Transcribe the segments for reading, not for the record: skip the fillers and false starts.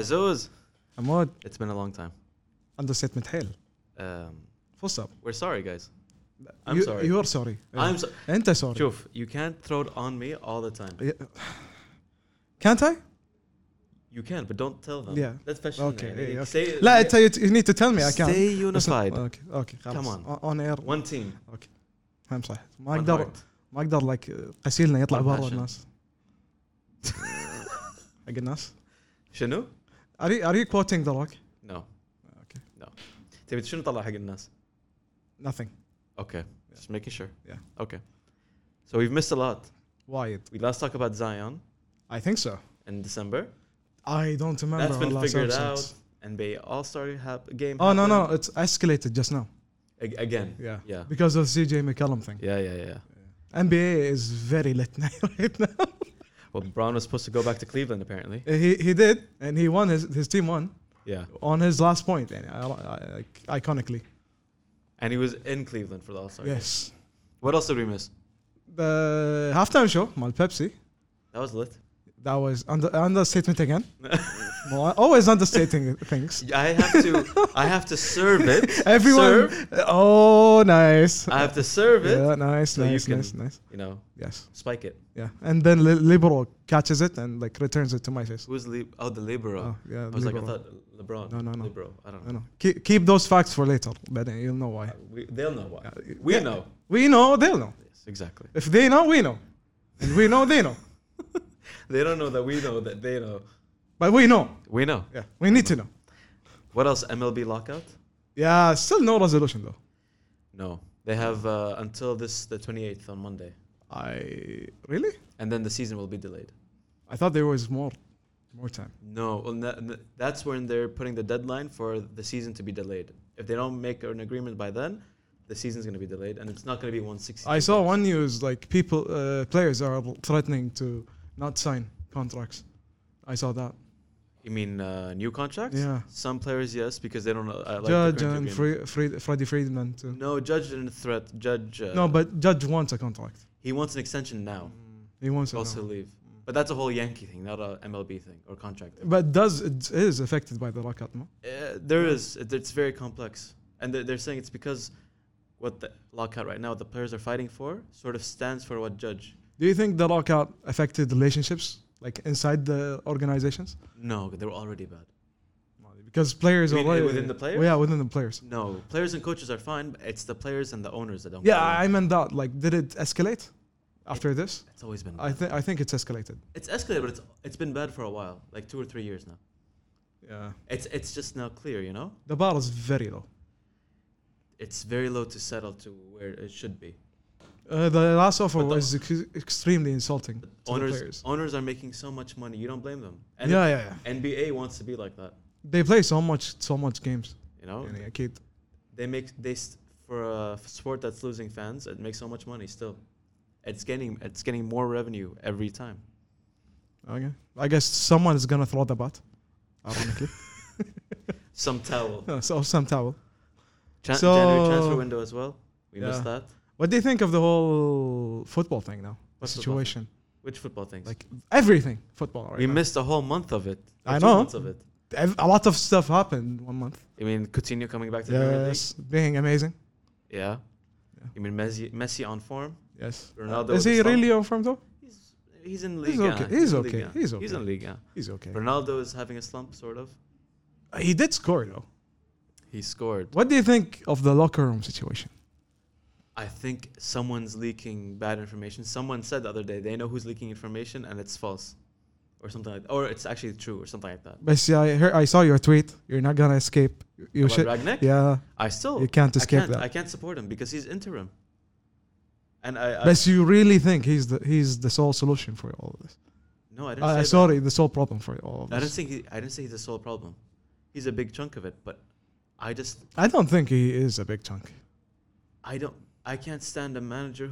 Azuz, عمود it's been a long time. understatement حيل. Full stop. We're sorry, guys. I'm sorry. You're sorry. I'm so. أنت sorry. شوف, you can't throw it on me all the time. Can't I? You can, but don't tell them. Yeah. Let's fetch Okay. them. Yeah, Stay, لا أنت you need to tell me I can't. Stay unified. Okay. خلاص. Come on. On air. One team. هم صح. One ما أقدر like قسيلنا يطلع One برا passion. الناس. حق الناس. شنو؟ Are you quoting The Rock? No. Okay. No. تبي شنو طلع حق الناس؟ Nothing. Okay. Just making sure. Yeah. Okay. So we've missed a lot. Wide. We last talked about Zion I think so. in December. I don't remember. That's been our last figured episodes. out. NBA All-Star game. Oh no, happened. it's escalated just now. Again. Yeah. Yeah. Because of CJ McCollum thing. Yeah. NBA is very lit right now. Well, Braun was supposed to go back to Cleveland apparently. He did, and he won. His team won Yeah. on his last point, and iconically. And he was in Cleveland for the All-Star game. Yes. What else did we miss? The halftime show, mal Pepsi. That was lit. That was understatement again. Well, always understating things. I have to serve it. Everyone. Serve. Oh, nice. I have to serve it. Yeah, nice. You know, Yes. spike it. Yeah, and then Libero catches it and like returns it to my face. Who's the libero? Oh, yeah, I was like, I libero. thought LeBron. No. Libero. I don't I know. know. Keep those facts for later, but you'll know why. They'll know why. Yeah, We yeah. know. We know, they'll know. Yes, exactly. If they know, we know. And we know, they know. They don't know that we know that they know. But we know. We know. Yeah, we need to know. What else? MLB lockout? Yeah, still no resolution though. No. They have until the 28th on Monday. Really? And then the season will be delayed. I thought there was more time. No. Well, that's when they're putting the deadline for the season to be delayed. If they don't make an agreement by then, the season's going to be delayed and it's not going to be 160. I saw one news like players are threatening to not sign contracts. I saw that. You mean new contracts? Yeah. Some players, yes, because they don't like Judge the and Freddie Freeman too. No, Judge didn't threat. Judge. No, but Judge wants a contract. He wants an extension now. He wants it Also now. leave. But that's a whole Yankee thing, not a MLB thing or contract thing. But it is affected by the lockout, no? There is. It's very complex. And they're saying it's because what the lockout right now, the players are fighting for, sort of stands for what Judge. Do you think the lockout affected relationships, like inside the organizations? No, they were already bad. Because players You mean already within the players? Well, yeah, within the players. No, players and coaches are fine. But it's the players and the owners that don't. Yeah, get along. I meant that. Like, did it escalate after this? It's always been. Bad. I think it's escalated. It's escalated, but it's been bad for a while, like 2 or 3 years now. Yeah. It's just now clear, you know. The bar is very low. It's very low to settle to where it should be. The last offer But the- was extremely insulting to the players. Owners are making so much money. You don't blame them. And Yeah. NBA wants to be like that. They play so much games. You know, يعني أكيد. for a sport that's losing fans, it makes so much money still. It's getting more revenue every time. Okay. I guess someone is gonna throw the bat. Ironically. Some towel. So some towel. January transfer window as well. We Yeah. missed that. What do you think of the whole football thing now? What football Situation. Which football things? Like everything football. Right we now. missed a whole month of it. Or I 2 know. months of it. A lot of stuff happened 1 month. You mean Coutinho coming back to the Premier League? Yes, being amazing. Yeah. You mean Messi on form? Yes. Ronaldo Is with he the really on form though? He's in He's Liga. okay. He's in okay. Liga. He's okay. He's in Liga. He's okay. Ronaldo is having a slump, sort of. He did score though. He scored. What do you think of the locker room situation? I think someone's leaking bad information. Someone said the other day they know who's leaking information and it's false, or something like that. Or it's actually true, or something like that. But see, I saw your tweet. You're not gonna escape. You About should. Ragnick? Yeah. You can't escape that. I can't support him because he's interim. And But you really think he's the sole solution for all of this? no, I didn't say that. Sorry, the sole problem for all of I this. didn't say he's the sole problem. He's a big chunk of it, but I don't think he is a big chunk. I can't stand a manager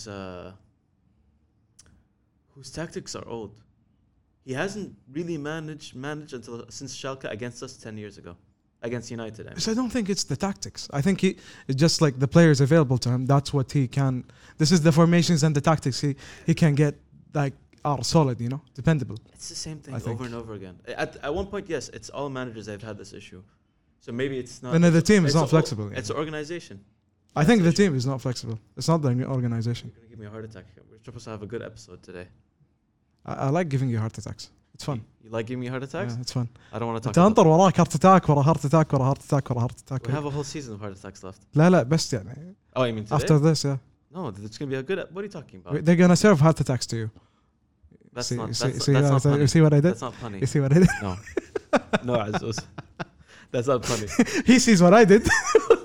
whose tactics are old. He hasn't really managed since Schalke against us 10 years ago, against United. I mean. So I don't think it's the tactics. I think it's just like the players available to him. That's what he can. This is the formations and the tactics he can get like are solid, dependable. It's the same thing I think. over and over again. At one point, yes, it's all managers that have had this issue. So maybe it's not. And the team is it's not flexible. It's an organization. I think the issue. team is not flexible. It's not the organization. You're gonna give me a heart attack. We're supposed to have a good episode today. I like giving you heart attacks. It's fun. You like giving me heart attacks? Yeah, it's fun. I don't want to talk. تنطر وراك heart attack ورا heart attack ورا heart attack ورا heart attack. We have a whole season of heart attacks left. لا بس يعني. Oh, you mean today? After this, yeah. No, it's gonna be a good. What are you talking about? They're gonna serve heart attacks to you. That's see, not. see, That's, see, that's not funny. you see what I did? That's not funny. You see what I did? No, no, Azuz. That's not funny. He sees what I did.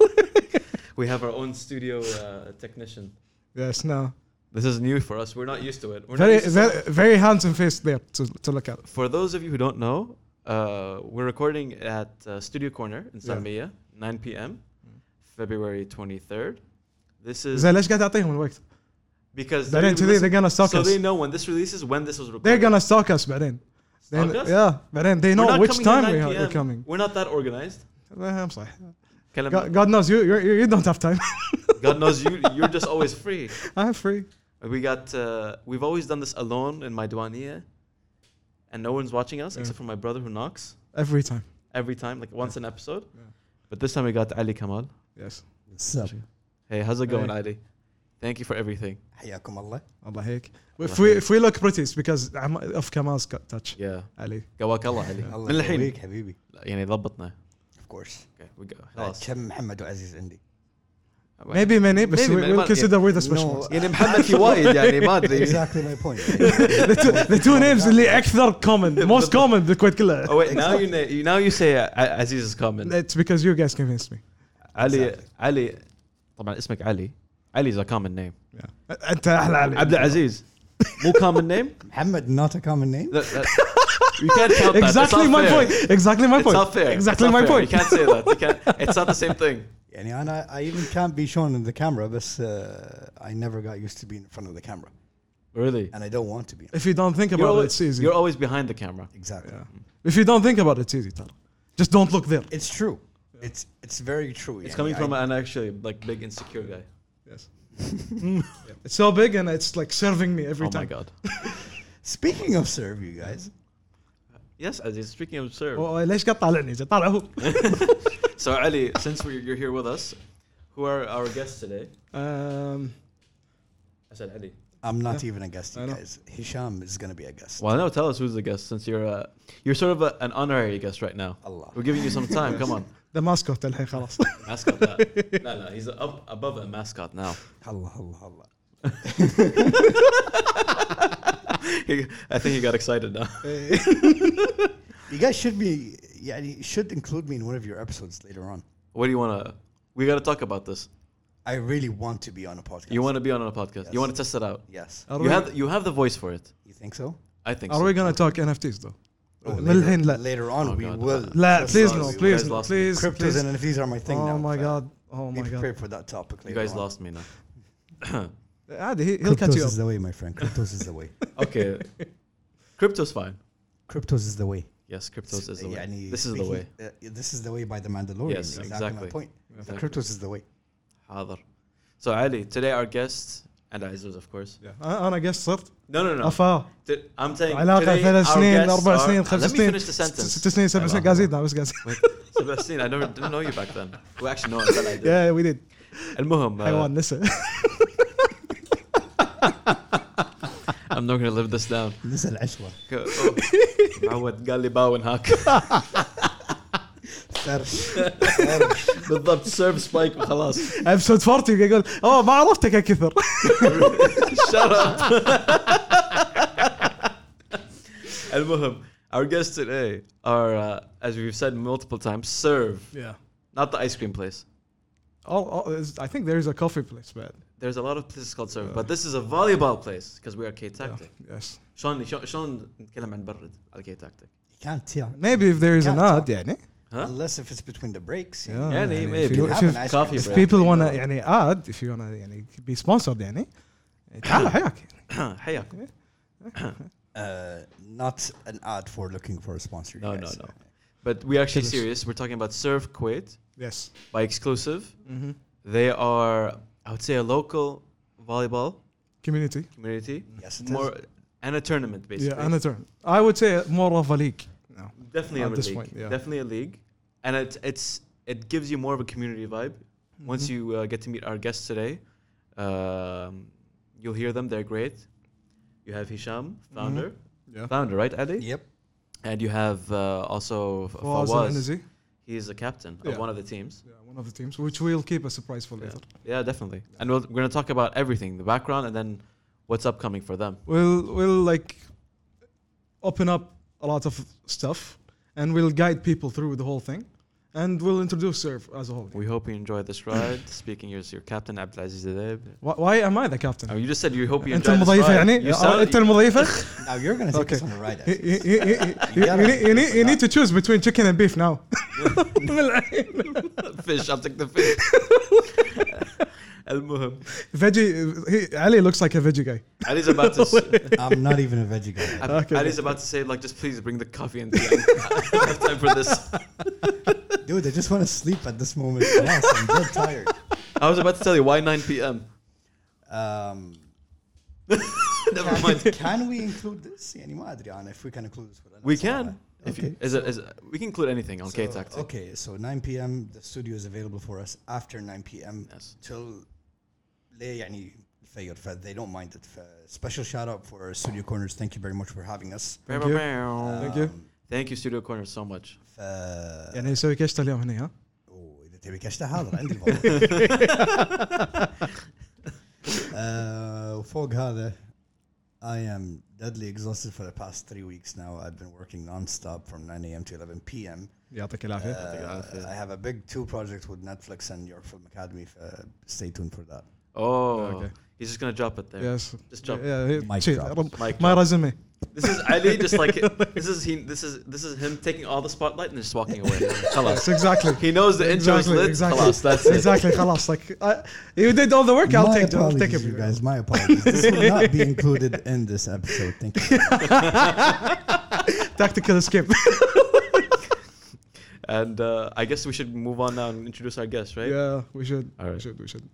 We have our own studio technician. Yes, no. This is new for us. We're not used to it. We're Very, not used to very, very handsome face there to look at. For those of you who don't know, we're recording at Studio Corner in Salmiya, 9 p.m., February 23rd. This is زين ليش قاعد تعطيهم الوقت؟ because بعدين they're gonna stalk so us. they know when this releases, when this was recorded. They're gonna stalk us بعدين. Stalk us? Yeah, بعدين they We're know not which coming time here 9 we're PM. coming. We're not that organized. I'm صح. God, God knows you don't have time. God knows you're just always free. I'm free. We've always done this alone in my duaniya, and no one's watching us except for my brother who knocks Every time. every time, like once an episode. Yeah. But this time we got Ali Kamal. Yes. What's up? Hey, how's it going, Hey. Ali? Thank you for everything. حياكم الله. Allah هيك. Allah If we look pretty, it's because of Kamal's touch. Yeah. Ali. قواك الله علي. الله من الحين يقويك حبيبي. يعني ضبطنا. Of course. Okay, we go. خلاص. كم محمد وعزيز عندي. Maybe many, but Maybe, we'll but- consider we're the No. special ones. يعني محمد في وايد يعني ما أدري. Exactly my point. The two names اللي أكثر common, most common بالكويت كلها. Oh wait, now you say Aziz is common. It's because you guys convinced me. علي طبعا اسمك علي. Ali is a common name. Yeah. أنت أحلى علي. عبد العزيز. مو common name? محمد not a common name. You can't count that. Exactly It's not my fair. point. Exactly my It's point. not fair. Exactly It's not my fair. point. You can't say that. You can't. It's not the same thing. يعني أنا I even can't be shown in the camera but I never got used to being in front of the camera Really? and I don't want to be. If you don't think about it, it's easy. You're always behind the camera. Exactly. Yeah. If you don't think about it, it's easy. ترى. Just don't look there. It's true. It's very true. It's يعني coming from I- an actually like big insecure guy. Yes. It's so big and it's like serving me every Oh time. my god. Speaking of serve, you guys. Yes, Aziz. Speaking of serve. ليش قاعد طالعني؟ طالع هو. So Ali, since you're here with us, who are our guests today? I said Ali. I'm not even a guest, I you know. guys. Hisham is going to be a guest. Well, no. Tell us who's the guest, since you're sort of an honorary guest right now. Allah. We're giving you some time. Come on. The mascot الحين خلاص. Mascot. No. He's above a mascot now. Allah, Allah, Allah. I think he got excited now. You guys should be, yeah, you should include me in one of your episodes later on. What do you want to? We got to talk about this. I really want to be on a podcast. You want to be on a podcast. Yes. You want to test it out. Yes. Are You have the voice for it. You think so? I think Are so. we gonna talk NFTs though? Oh, من الحين لا. Later on, Oh, we God. will. لا, Trust please us. no, You please guys no, lost me. please. Cryptos please. and NFTs are my thing now. Oh my god. Oh Be my god. prepared for that topic You later guys on. lost me now. عادي he'll cut Cryptos you is up. the way, my friend. Cryptos is the way. Okay. Crypto's fine. Cryptos is the way. Yes, cryptos is the way. يعني This is the way. This is the way by the Mandalorian. Yes, exactly. exactly. My point. Exactly. Cryptos is the way. حاضر. So Ali, today our guest and Aziz, of course. أنا قص صرت. No. أفا. I'm saying علاقة today 3 our سنين guests 4 are- سنين 5 Let me سنين finish the sentence. 6 سنين 7 سنين قاعدين بس قاعدين. Wait, Sebastian, I didn't know you back then. We actually know until I did. Yeah, we did. المهم حيوان نسى. I'm not gonna live this down. نسى العشوة. معود قال لي باون هاك. بالضبط سيرف سبايك وخلاص. episode 40 يقول اوه ما عرفتك يا كثر. Shut up. المهم our guests today are as we've said multiple times serve, Yeah. not the ice cream place. I think there is a coffee place, but There's a lot of places called serve, but this is a volleyball place because we are K Tactic. yes. شلون نتكلم عن برد على K Tactic. You can't tell. Maybe if there is an Can't ad talk. يعني. Huh? Unless if it's between the breaks. Yeah. يعني if maybe. you- Have if an ice coffee cream. break. people wanna يعني ad if you wanna يعني be sponsored يعني تعال حياك. حياك. Not an ad for looking for a sponsor. No, you no, guys. no. But we're actually Serious. serious. We're talking about Serve Kuwait Yes. by Exclusive. Mm-hmm. They are, I would say, a local volleyball Community. community. Yes, it More, and a tournament basically. Yeah, and a turn. I would say more of a league. No. Definitely At a this league. point, yeah. Definitely a league, and it gives you more of a community vibe. Once you get to meet our guests today, you'll hear them. They're great. You have Hisham, founder, right, Ali? Yep. And you have also Fawaz Fawaz. Al-Anazi. He is the captain of Yeah. one of the teams. Yeah, one of the teams, which we'll keep a surprise for later. Yeah, definitely. And we're going to talk about everything, the background, and then what's upcoming for them. We'll like open up a lot of stuff, and we'll guide people through the whole thing, and we'll introduce Serve as a whole. We hope you enjoy this ride. Speaking as your captain, Abdelaziz Adeb. Why am I the captain? Oh, you just said you hope you انت enjoy this المضيفة ride. يعني You sound- انت المضيفة. Now you're gonna take Okay. us on a ride. You need to choose between chicken and beef now. Fish, I'll take the fish. المهم. Veggie. Ali looks like a veggie guy. Ali's about to I'm not even a veggie guy. Okay. Ali's about to say, like, just please bring the coffee and tea. I don't have time for this. Dude, I just want to sleep at this moment. Yes, I'm dead tired. I was about to tell you, why 9 p.m.? Never mind. Can we include this? يعني ما أدري أنا if we can include this. We can. If Okay. you, we can include anything on K-Tactic. Okay, so 9 p.m. the studio is available for us after 9 p.m. Yes. till ليه يعني الفجر ف they don't mind it. Special shout out for Studio Corners. Thank you very much for having us. Thank you. Thank you. Thank you, Studio Corner, so much. ف يعني يسوي كشطة اليوم هنا ها. إذا تبي كشتة حاضر عندي وفوق هذا I am deadly exhausted for the past 3 weeks now. I've been working non-stop from 9 a.m. to 11 p.m. يعطيك العافية. I have a big 2 projects with Netflix and York Film Academy. Stay tuned for that. Oh, Okay. he's just going to drop it there. Yes. Just drop. Yeah. Mic shit. drop. Mic My drop. resume. This is Ali, just like this is him taking all the spotlight and just walking away. Khalas. Yes, exactly. He knows the intro is lit. Khalas, that's it. Exactly. خلاص. Like you did all the work. I'll My take apologies, it. you guys. My apologies. This will not be included in this episode. Thank you. Tactical escape. And I guess we should move on now and introduce our guest, right? Yeah, we should. All right. We should.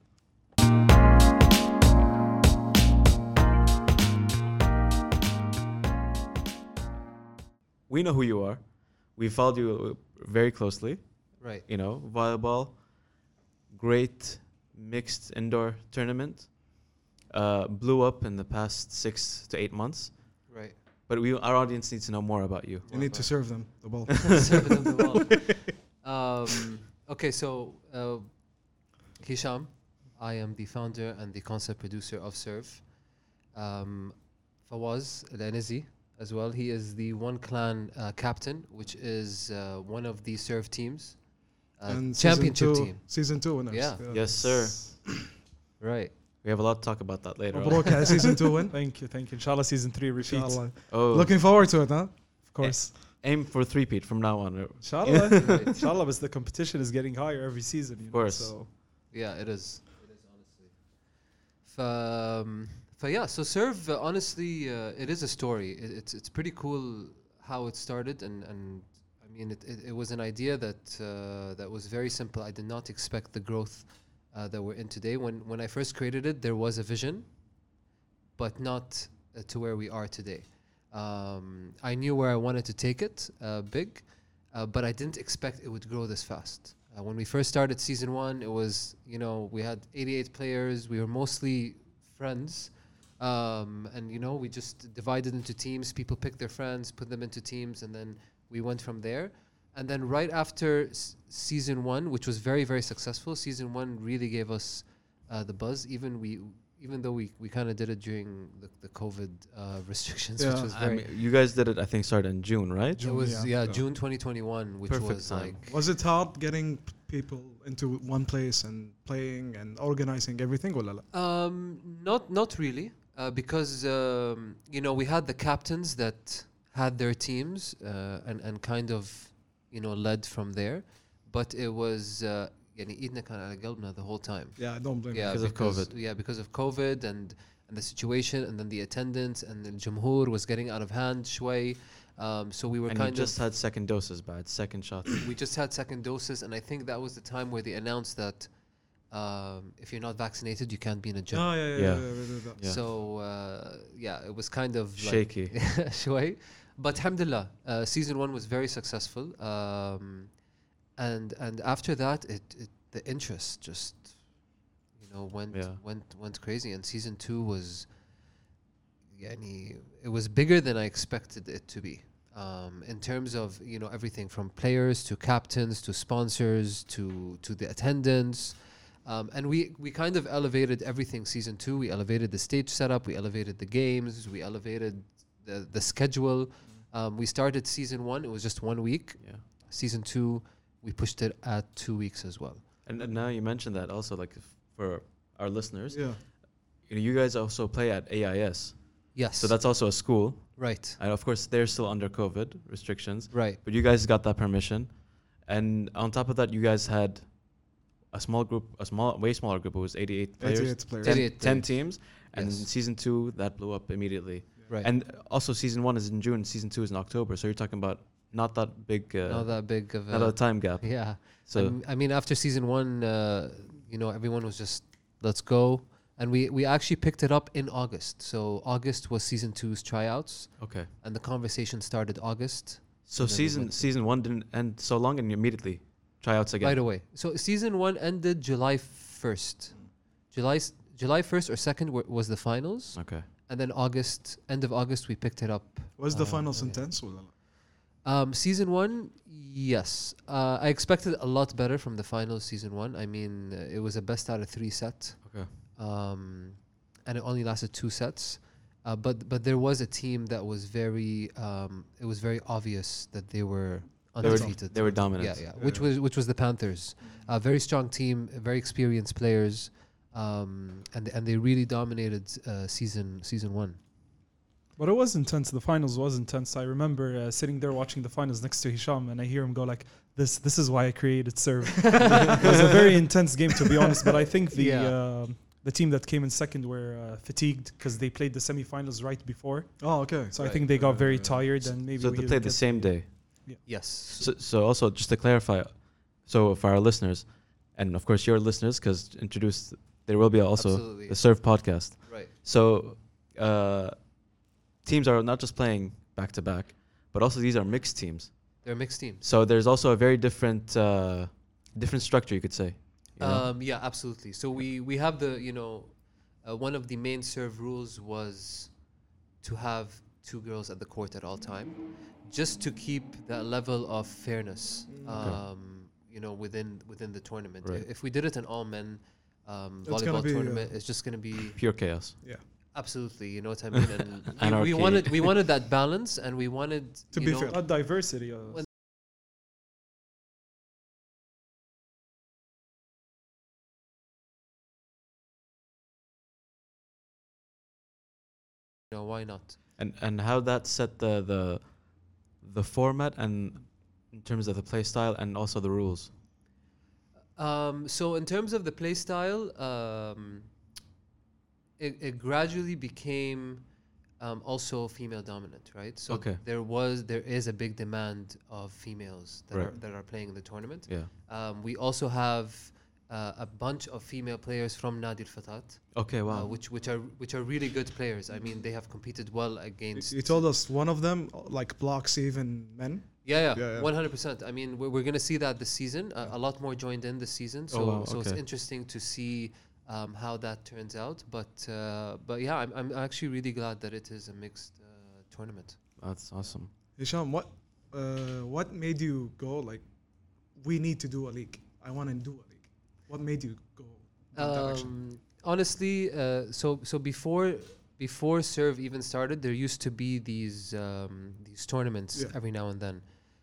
We know who you are. We followed you very closely. Right. You know, volleyball, great mixed indoor tournament. Blew up in the past 6 to 8 months. Right. But our audience needs to know more about you. You need to serve them the ball. Serve them the ball. Okay, so Hisham, I am the founder and the concept producer of Serve. Fawaz Al-Anazi as well. He is the One Clan captain, which is one of the Serve teams. And Championship team. Season 2 winners. Yeah. Yes, sir. Right. We have a lot to talk about that later on. مبروك على season 2 win. Thank you. Inshallah, season 3 repeat. Inshallah. Oh, Looking forward to it, huh? Of course. aim for 3-peat from now on. Inshallah. Right. Inshallah, but the competition is getting higher every season. You know, course. So Yeah, it is. It is honestly. Yeah, so Serve, honestly, it is a story. It's pretty cool how it started, and I mean, it was an idea that was very simple. I did not expect the growth that we're in today. When I first created it, there was a vision, but not to where we are today. I knew where I wanted to take it, big, but I didn't expect it would grow this fast. When we first started season 1, it was, you know, we had 88 players. We were mostly friends. And, you know, we just divided into teams. People picked their friends, put them into teams, and then we went from there. And then right after season 1, which was very, very successful, season 1 really gave us the buzz. Even though we kind of did it during the COVID restrictions, Yeah. which was I very... mean, you guys did it, I think, started in June, right? it was, yeah. June 2021, which Perfect was time. like... Was it hard getting people into one place and playing and organizing everything? ولا لا? Not really, because you know, we had the captains that had their teams and kind of, you know, led from there, but it was يعني ايدنا كان على قلبنا the whole time. Yeah, don't blame Yeah, me. Because of COVID. Yeah, because of COVID and the situation, and then the attendance, and the Jamhoor was getting out of hand شوي. So we were And you kind just had second doses, bad second shots. we just had second doses, and I think that was the time where they announced that if you're not vaccinated, you can't be in a gym. Oh, yeah. Yeah. Yeah. Yeah. So it was kind of Shaky. like شوي. But alhamdulillah, season 1 was very successful. And after that, the interest just went crazy. And season 2 was it was bigger than I expected it to be. In terms of everything from players to captains to sponsors to the attendance. And we kind of elevated everything season 2. We elevated the stage setup, we elevated the games, we elevated the schedule. We started season 1, it was just 1 week. Yeah. Season 2, we pushed it at 2 weeks as well. And now you mentioned that also, like for our listeners, Yeah. you guys also play at AIS. Yes. So that's also a school. right. And of course, they're still under COVID restrictions. Right. But you guys got that permission. And on top of that, you guys had a small group, way smaller group. It was 88 players. 88 players. 88 10 players. teams. And Yes. in season 2, that blew up immediately. Right. And also, season 1 is in June, season 2 is in October. So you're talking about not that big, not that big of not a time gap. yeah. So I mean, after season 1, everyone was just, let's go. And we actually picked it up in August. So August was season 2's tryouts. okay. And the conversation started August. So And then we went- season 1 didn't end so long, and you immediately tryouts again. Right away. So season 1 ended July 1st. July 1st or 2nd was the finals. Okay. And then end of August, we picked it up. Was the finals okay. intense? Or Season 1, yes. I expected a lot better from the finals season 1. I mean, it was a best out of 3 set. Okay. And it only lasted 2 sets. But there was a team that was it was very obvious that they were undefeated. They were dominant. Yeah. Which was the Panthers. Very strong team, very experienced players. And they really dominated season 1. But it was intense. The finals was intense. I remember sitting there watching the finals next to Hisham, and I hear him go like, "This is why I created Serve." It was a very intense game, to be honest. But I think the team that came in second were fatigued because they played the semifinals right before. Oh, okay. So I think they got very tired, and maybe So we they played the didn't same day. Yes. So also, just to clarify, so for our listeners, and of course your listeners, because there will be also Absolutely. the Serve podcast. Right. So teams are not just playing back to back, but also these are mixed teams. They're mixed teams. So there's also a very different structure, you could say. you know? Yeah, absolutely. So we have one of the main serve rules was to have 2 girls at the court at all time, just to keep that level of fairness, within the tournament. Right. If we did it in all men gonna volleyball be, tournament, it's just going to be Pure chaos. Yeah. absolutely, you know what I mean. And Anarchy. we wanted that balance, and we wanted To be fair. Not diversity. Well, why not? And how that set the format and in terms of the play style and also the rules. So in terms of the play style, it gradually became also female dominant, right? So Okay. there is a big demand of females Right. that are playing in the tournament. Yeah. We also have a bunch of female players from Nadi Al-Fatat, Okay. Wow. which are really good players. I mean, they have competed well against. You told us one of them like blocks even men. Yeah, Yeah, yeah. 100%. I mean, we're going to see that this season. A lot more joined in this season, so wow, so it's okay. interesting to see how that turns out. But yeah, I'm actually really glad that it is a mixed tournament. That's awesome. Hisham, what made you go like, we need to do a league? I want to do a league. What made you go that direction? Honestly, so before Serve even started, there used to be these tournaments Yeah. every now and then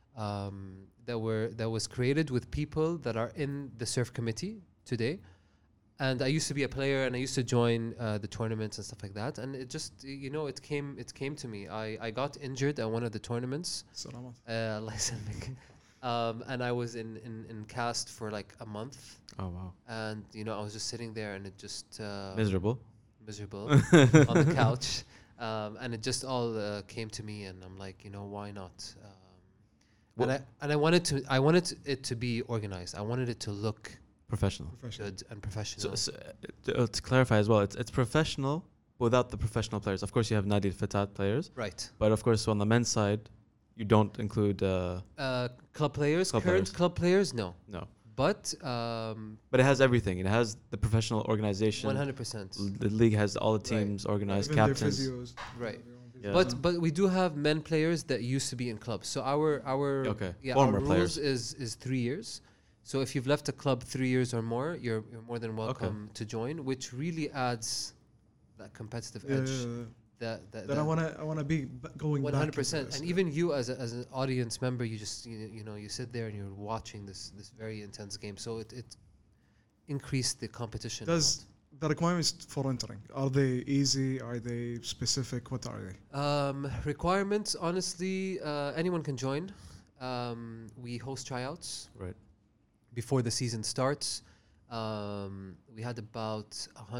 that was created with people that are in the Serve committee today. And I used to be a player, and I used to join the tournaments and stuff like that. And it just, it came to me. I got injured at one of the tournaments. Salamat. Allah يسلمك. And I was in cast for like a month. Oh wow. And I was just sitting there, and it just Miserable. miserable on the couch, and it just all came to me, and I'm like, why not? And I wanted it to be organized. I wanted it to look Professional. Professional. good and professional. To clarify as well, it's professional without the professional players. Of course, you have Nadi Fatat players, Right. but of course, on the men's side, you don't include Club players, Club current players. club players, no. no. But But it has everything. It has the professional organization. 100%. The league has all the Right. teams organized, Even their captains. physios. Right. Yeah. But we do have men players that used to be in clubs. So our Okay. yeah, Former our players. rules is 3 years. So if you've left a club 3 years or more, you're more than welcome to join, which really adds that competitive Yeah, edge. yeah, yeah. That I wanna be going back. 100%. into And this. even you as an audience member, you just you know you sit there and you're watching this very intense game. So it increased the competition. a Does the requirements for entering, are they easy? Are they specific? What are they? Requirements, honestly, anyone can join. We host tryouts Right. before the season starts. We had about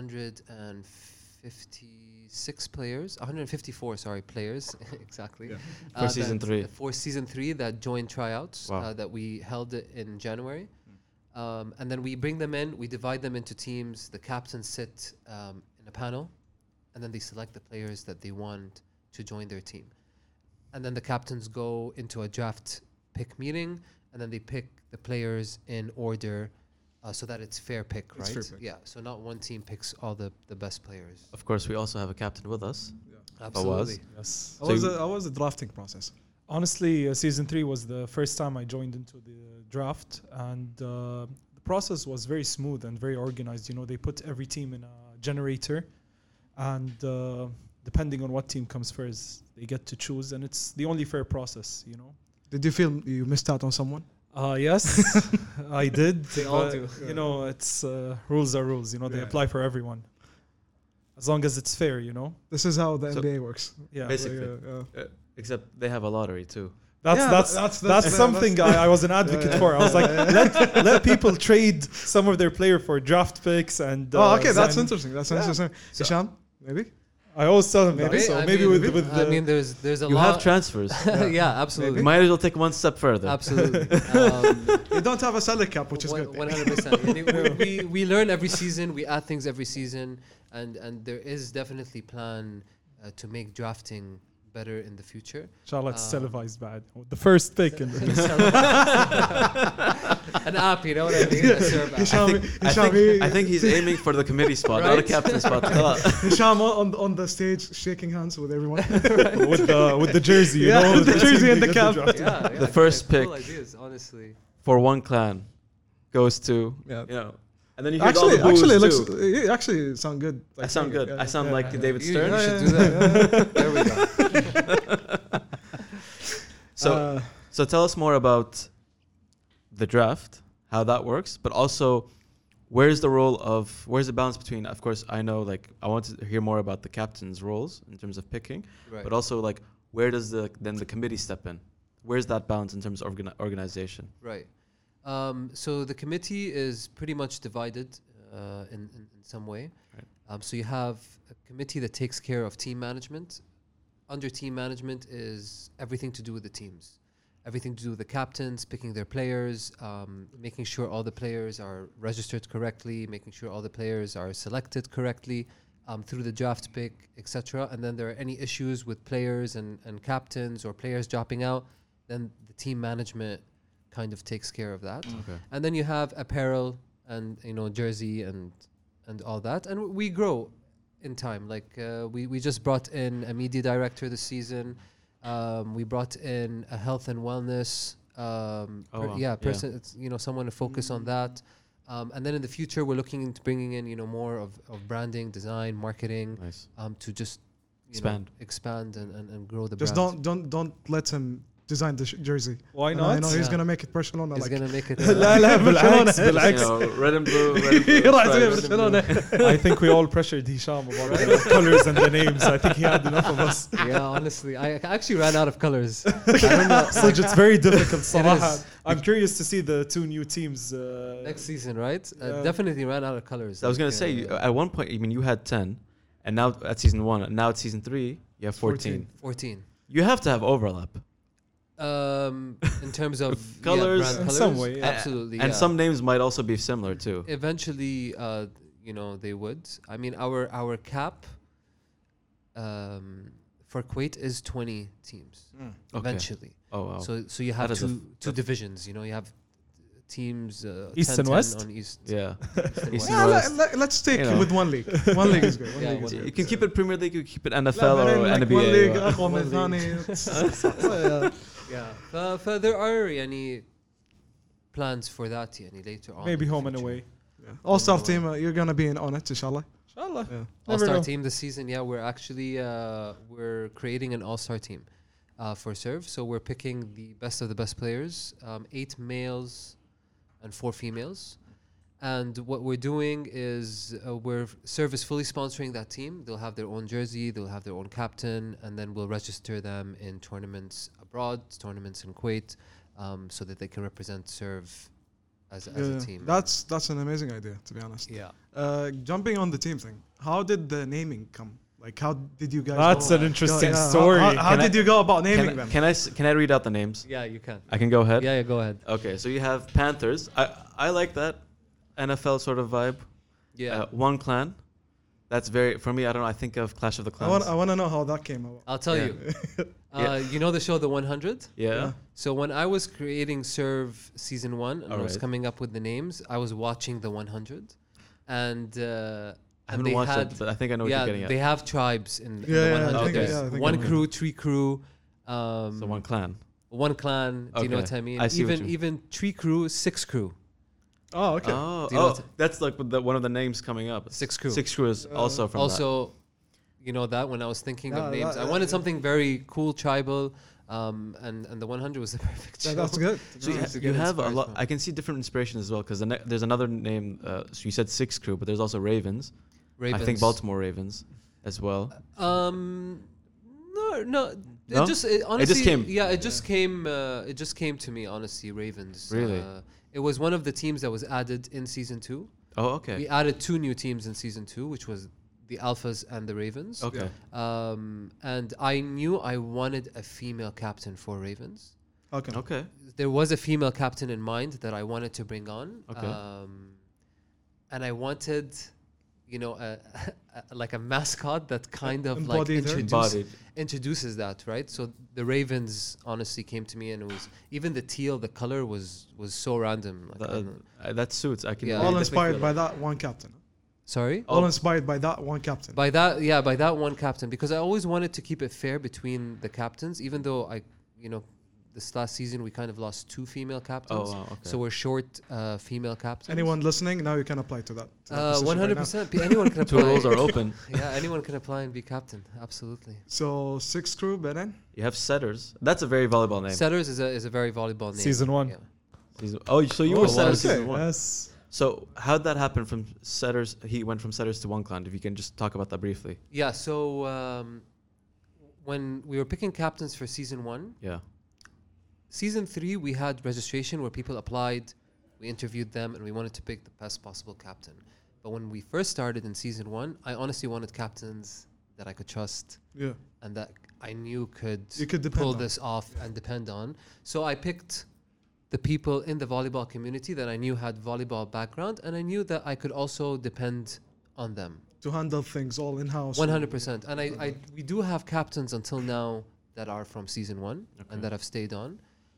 156 players, 154, sorry, players, exactly. Yeah. For season that- 3. For season 3 that joined tryouts Wow. that we held it in January. And then we bring them in, we divide them into teams. The captains sit in a panel, and then they select the players that they want to join their team. And then the captains go into a draft pick meeting, and then they pick the players in order so that it's fair pick, It's right? fair pick. Yeah, so not one team picks all the best players. Of course, we also have a captain with us. Absolutely. Yes. So How was the drafting process? Honestly, season 3 was the first time I joined into the draft, and the process was very smooth and very organized. You know, they put every team in a generator, and depending on what team comes first, they get to choose, and it's the only fair process. You know. Did you feel you missed out on someone? Yes, I did. They all but, do. You know, it's rules are rules. You know, they Yeah. apply for everyone, as long as it's fair. You know. This is how the So- NBA works. Yeah. Basically. Yeah. Except they have a lottery too. That's something I was an advocate for. I was like, let people trade some of their player for draft picks and. Oh, okay, that's sign- interesting. That's interesting. So- Hisham, maybe? I always tell them that. Maybe. So I maybe mean, with I the, mean, there's a You lot. have transfers. Yeah, absolutely. You might as well take one step further. Absolutely. You don't have a salary cap, which is good. 100%. We learn every season. We add things every season, and there is definitely plan to make drafting better in the future. inshallah, it's televised bad. The first pick in the An app, you know what I mean? A serve app. I think he's aiming for the committee spot, not a Right? captain spot. Hisham on the stage shaking hands with everyone. with the jersey, you Yeah, know, with the team jersey they and the get to cap. draft. Yeah, The first cool pick. ideas, honestly. For one clan goes to, Yeah. you know, and then you hear all the boos Actually, too. it actually sound good. I sound good. I sound like David You Stern. should do that. There we go. So tell us more about the draft, how that works, but also where's the balance between, of course, I know, like, I want to hear more about the captain's roles in terms of picking, Right. but also, like, where does the committee step in? Where's that balance in terms of organization? Right. So the committee is pretty much divided in some way. Right. So you have a committee that takes care of team management. Under team management is everything to do with the teams. Everything to do with the captains, picking their players, making sure all the players are registered correctly, making sure all the players are selected correctly through the draft pick, etc. And then there are any issues with players and captains or players dropping out, then the team management kind of takes care of that. Okay. And then you have apparel and jersey and all that, and we grow in time. Like we just brought in a media director this season. We brought in a health and wellness wow. person. It's, someone to focus on that. And then in the future, we're looking into bringing in more of branding, design, marketing, Nice. to just Expand. and grow the Just brand. don't let him design the jersey. Why I not? know he's Yeah. gonna make it Barcelona. It's Like gonna make it. لا لا بالعكس You بالعكس. know, red and blue. Red and blue راح يسوي stripes. برشلونة. I think we all pressured Hisham about the colors and the names. I think he had enough of us. Yeah, honestly, I actually ran out of colors. I don't know. So it's very difficult. صراحة. is. I'm curious to see the two new teams. Next season, right? Yeah. Definitely ran out of colors. I was gonna say at one point, you had 10, and now at season 1, and now at season 3, you have 14. 14. You have to have overlap. In terms of Colors. brand In colors, some way, yeah. absolutely. And yeah. some names might also be similar too. Eventually, they would. I mean, our cap for Kuwait is 20 teams. Okay. Eventually, Oh wow. so you have That is a two divisions. You have teams East 10, and 10 West? on East. yeah. and East West. and West. Let's stick You know. with one league. One league is good. One Yeah, league is one good. You can keep it Premier League, you can keep it لا، NFL or بعدين like NBA. one league or- أقوى من One الثاني. Yeah. There are any plans for that later on. Maybe in the home and future. away. All-Star team, you're gonna be in on it, inshallah. Inshallah. Yeah. Never All-Star know. team this season. Yeah, we're actually we're creating an all-star team for Serve. So we're picking the best of the best players, 8 males and 4 females. And what we're doing is Serve is fully sponsoring that team. They'll have their own jersey, they'll have their own captain, and then we'll register them in tournaments abroad, tournaments in Kuwait, so that they can represent Serve as a team. That's an amazing idea, to be honest. yeah. Jumping on the team thing, how did the naming come? Like, how did you guys? That's go- an interesting Yeah, story. How Can did I- you go about naming them? Can I read out the names? Yeah, you can. I can go ahead. Yeah, go ahead. Okay, so you have Panthers. I like that NFL sort of vibe. Yeah. One Clan. That's very for me. I don't know. I think of Clash of the Clans. I want to know how that came about. I'll tell Yeah. you. Yeah. You know the show The 100? Yeah. So when I was creating Serve Season 1 and I was Alright. coming up with the names, I was watching The 100. And I haven't watched it, but I think I know what you're getting at. they have tribes in Yeah, the yeah, 100. I think- There's yeah, I think one I know. crew, 3 crew, So One Clan. one clan. Do you know Okay. what I mean? I see what Even 3 crew, 6 crew. Oh, okay. Oh, Do you know what- that's like one of the names coming up. 6 crew. 6 Crew is also from Also, you know that when I was thinking Yeah, of names, that- I wanted something very cool, tribal, and the 100 was the perfect show. That's good. that. So you, Nice to you get have a inspired lot. from. I can see different inspirations as well because there's another name. So you said 6 Crew, but there's also Ravens. Ravens. I think Baltimore Ravens as well. No. No? Honestly, came. Yeah, it just came. It just came to me. Honestly, Ravens. Really? It was one of the teams that was added in season 2. Oh, okay. We added 2 new teams in season 2, which was the Alphas and the Ravens. Okay. And I knew I wanted a female captain for Ravens. Okay. Okay. There was a female captain in mind that I wanted to bring on. Okay. And I wanted, like a mascot that kind of like Embodied her? Embodied. introduces that, right? So the Ravens honestly came to me, and it was even the teal, the color was so random. Like, I don't know. That suits. I can. Yeah. I All definitely inspired feel by that. that one captain. Sorry. All inspired by that one captain. By that one captain, because I always wanted to keep it fair between the captains, even though this last season we kind of lost 2 female captains. Oh wow. Okay. So we're short female captains. Anyone listening, now you can apply to that. to that position right now. 100%. Anyone can Two apply. roles are open. Yeah, anyone can apply and be captain. Absolutely. So 6 crew, Beren. You have Setters. That's a very volleyball name. Setters is a very volleyball name. Season 1. Yeah. Oh, so you Oh, were wow. Setters Okay. season 1. Yes. So how'd that happen from Setters? He went from Setters to One Clan. If you can just talk about that briefly. Yeah. So when we were picking captains for season 1, Yeah. season 3 we had registration where people applied, we interviewed them, and we wanted to pick the best possible captain. But when we first started in season 1, I honestly wanted captains that I could trust Yeah. and that I knew You could depend pull on. this off and depend on. So I picked the people in the volleyball community that I knew had volleyball background, and I knew that I could also depend on them. To handle things all in house. 100%. And we do have captains until now that are from season 1 and that have stayed on.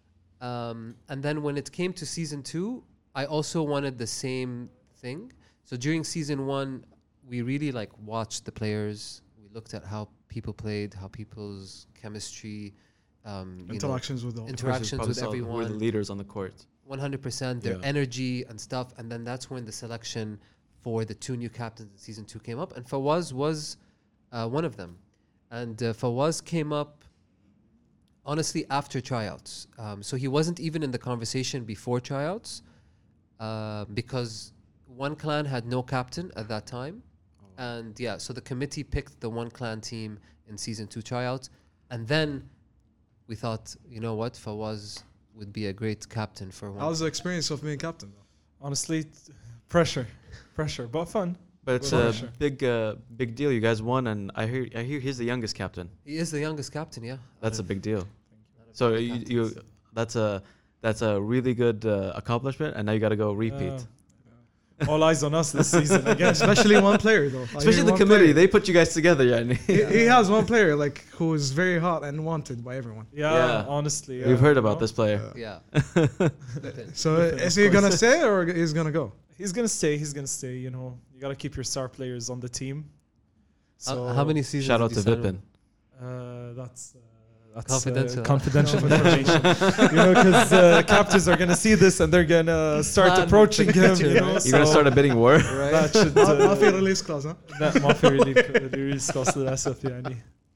And then when it came to season 2, I also wanted the same thing. So during season 1, we really watched the players. We looked at how people played, how people's chemistry, Interactions with all. interactions with Who are the everyone. leaders on the court? 100%, their Yeah. energy and stuff. And then that's when the selection for the 2 new captains in season 2 came up. And Fawaz was one of them. And Fawaz came up, honestly, after tryouts. So he wasn't even in the conversation before tryouts because One Clan had no captain at that time. And yeah, so the committee picked the One Clan team in season 2 tryouts. And then we thought, you know what, Fawaz would be a great captain for One How's the experience of being captain? Though? Honestly, pressure, but fun. But it's For a sure. big deal. You guys won, and I hear he's the youngest captain. He is the youngest captain, yeah. That's a big deal. Out of So the you captains. that's a really good accomplishment, and now you got to go repeat. All eyes on us this season again. Especially one player though. Especially the committee, they put you guys together, yeah. He has one player like who is very hot and wanted by everyone. Yeah. Honestly. We've heard about this player. Yeah. So Flippin', is of he gonna course. stay or he's gonna go? He's gonna stay. He's gonna stay. You know, you gotta keep your star players on the team. So How many seasons? Shout out did to you sign Vipin. him? That's Confidential. confidential information. You know, because captains are gonna see this and they're gonna start Plan approaching the him. future, You know, right? You're gonna start a bidding war. Right. that should ما في release clause ها؟ لا ما في release cost للأسف يعني.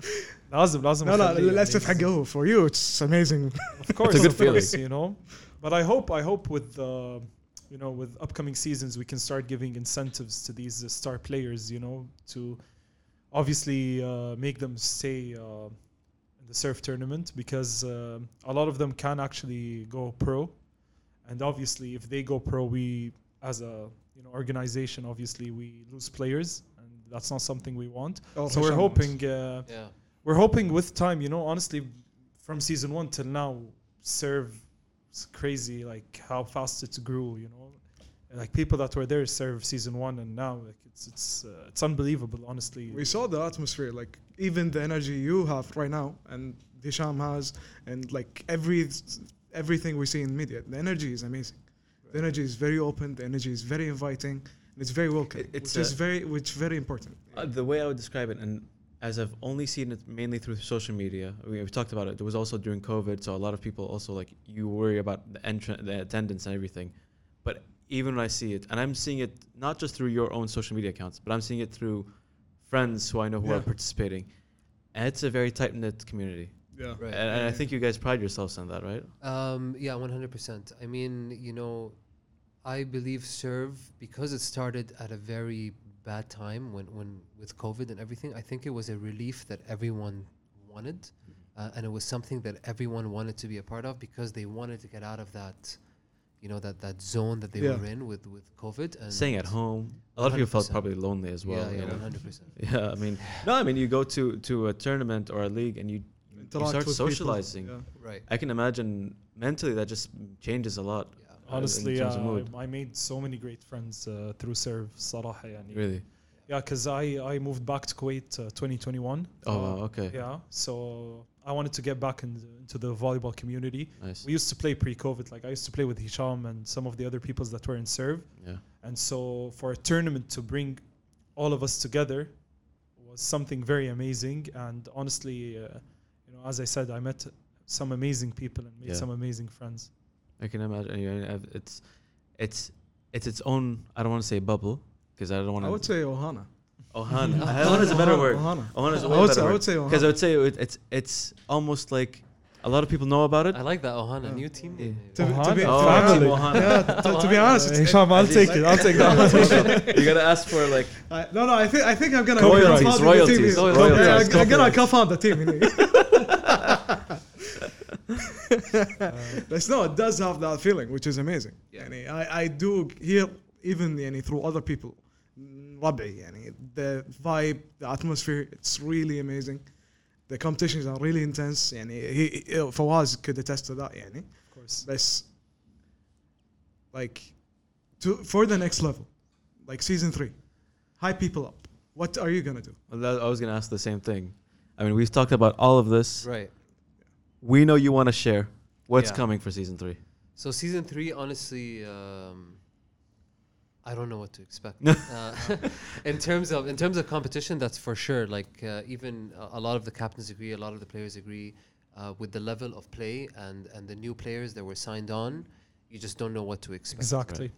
لازم لا لا أخليه للأسف يعني. حقه for you it's amazing. Of course, It's a good of course, feeling. you know. But I hope with you know, with upcoming seasons we can start giving incentives to these star players, you know, to obviously make them stay in the surf tournament because a lot of them can actually go pro, and obviously if they go pro, we as a organization obviously we lose players, and that's not something we want. Oh, So we're hoping. Yeah. We're hoping with time, you know, honestly, from season 1 till now, serve it's crazy, like how fast it's grew, you know. Like people that were there serve season 1, and now like it's unbelievable, honestly. We saw the atmosphere, like even the energy you have right now and Hisham has, and like everything we see in media. The energy is amazing. The energy is very open. The energy is very inviting. And it's very welcoming, It's which is very important. The way I would describe it, and as I've only seen it mainly through social media, we've talked about it. There was also during COVID, so a lot of people also like you worry about the attendance and everything. But even when I see it, and I'm seeing it not just through your own social media accounts, but I'm seeing it through friends who I know who are participating, and it's a very tight knit community. Yeah. Right. And I think you guys pride yourselves on that, right? Yeah, 100%. I mean, you know, I believe Serve, because it started at a very bad time when with COVID and everything, I think it was a relief that everyone wanted. And it was something that everyone wanted to be a part of because they wanted to get out of that, you know, that zone that they were in with COVID. And Staying at home. A lot of people felt 100%. probably lonely as well. Yeah, you know? 100%. Yeah, I mean, you go to a tournament or a league and you Interact start with people. socializing. Yeah. Right. I can imagine mentally that just changes a lot. Yeah. Honestly, in terms of mood. I made so many great friends through Serve صراحة يعني. Really? Yeah, because I moved back to Kuwait 2021. Oh, wow, okay. Yeah, so I wanted to get back into the volleyball community. Nice. We used to play pre-COVID. Like I used to play with Hisham and some of the other peoples that were in Serve. Yeah. And so for a tournament to bring all of us together was something very amazing. And honestly, you know, as I said, I met some amazing people and made some amazing friends. I can imagine. It's its own. I don't want to say bubble because I don't want to. I would say Ohana. Ohana. Ohana is a better word. Ohana. Ohana is a I way would better say- I word. would say Ohana. Because I would say it's almost like a lot of people know about it. I like that Ohana, new team. Yeah. name. To be Oh, Family. Ohana. yeah, to be honest, it's, Hisham, I'll take it. I'll take that. You gotta ask for like no, I think I'm gonna Royalties, co-found the royalties, team. Yeah, royalties. I'm gonna co-found the team. But no, it does have that feeling, which is amazing. يعني I do hear even يعني through other people ربعي يعني the vibe, the atmosphere, it's really amazing. The competitions are really intense. يعني Fawaz could attest to that يعني. Of course. But like for the next level, like season 3, hype people up. What are you gonna do? I was gonna ask the same thing. I mean, we've talked about all of this. Right. We know you want to share what's Yeah. coming for season 3. So season 3, honestly, I don't know what to expect. In terms of competition, that's for sure. Like even a lot of the captains agree, a lot of the players agree with the level of play and the new players that were signed on. You just don't know what to expect. Exactly.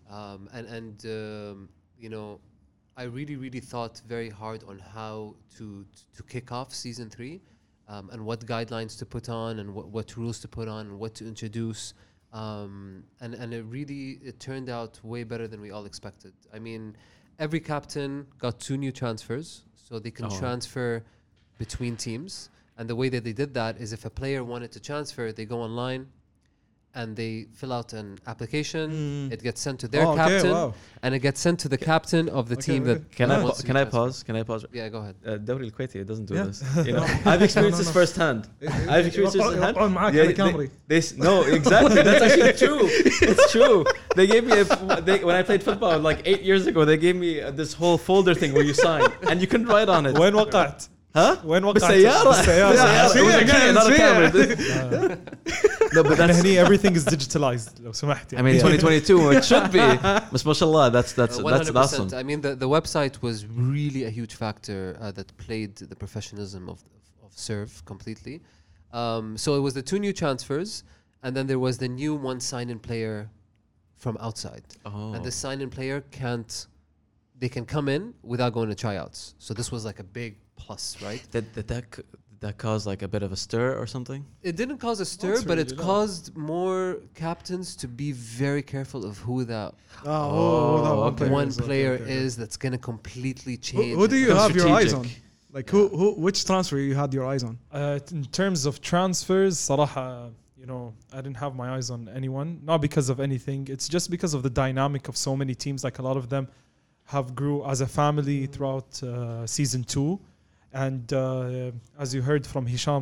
You know, I really thought very hard on how to kick off season 3, and what guidelines to put on, and what rules to put on, and what to introduce. And it turned out way better than we all expected. I mean, every captain got 2 new transfers, so they can transfer between teams. And the way that they did that is if a player wanted to transfer, they go online and they fill out an application. Mm. It gets sent to their Oh, okay, captain, wow. and it gets sent to the captain of the Okay, team okay. that Can that I wants to can be I transferred. pause? Can I pause? Yeah, go ahead. Dawri al-Kuwaiti doesn't do Yeah. this. You know, I've experienced this firsthand. I've experienced this firsthand. يوقعون معاك Yeah, على كامري. no, exactly. That's actually true. It's true. They gave me when I played football like 8 years ago. They gave me this whole folder thing where you sign and you couldn't write on it. وين وقعت؟ Huh? وين وقعت؟ بالسيارة. بالسيارة. It was a key, not a camera. No, but احنا that's. هني everything is digitalized لو سمحت I يعني. mean, 2022. It should be. But mashallah, that's 100%. awesome. I mean, the website was really a huge factor that played the professionalism of Serve completely. So it was the 2 new transfers, and then there was the new one sign-in player from outside. Oh. And the sign-in player they can come in without going to tryouts. So this was like a big plus, right? Did that cause like a bit of a stir or something? It didn't cause a stir, That's but really it low. caused more captains to be very careful of who that Oh, that okay. one is. Okay, player okay, okay. is that's going to completely change. Who do you have your eyes on? Strategic. Like which transfer you had your eyes on? In terms of transfers صراحة you know I didn't have my eyes on anyone, not because of anything, it's just because of the dynamic of so many teams. Like a lot of them have grew as a family throughout season 2, and as you heard from Hisham,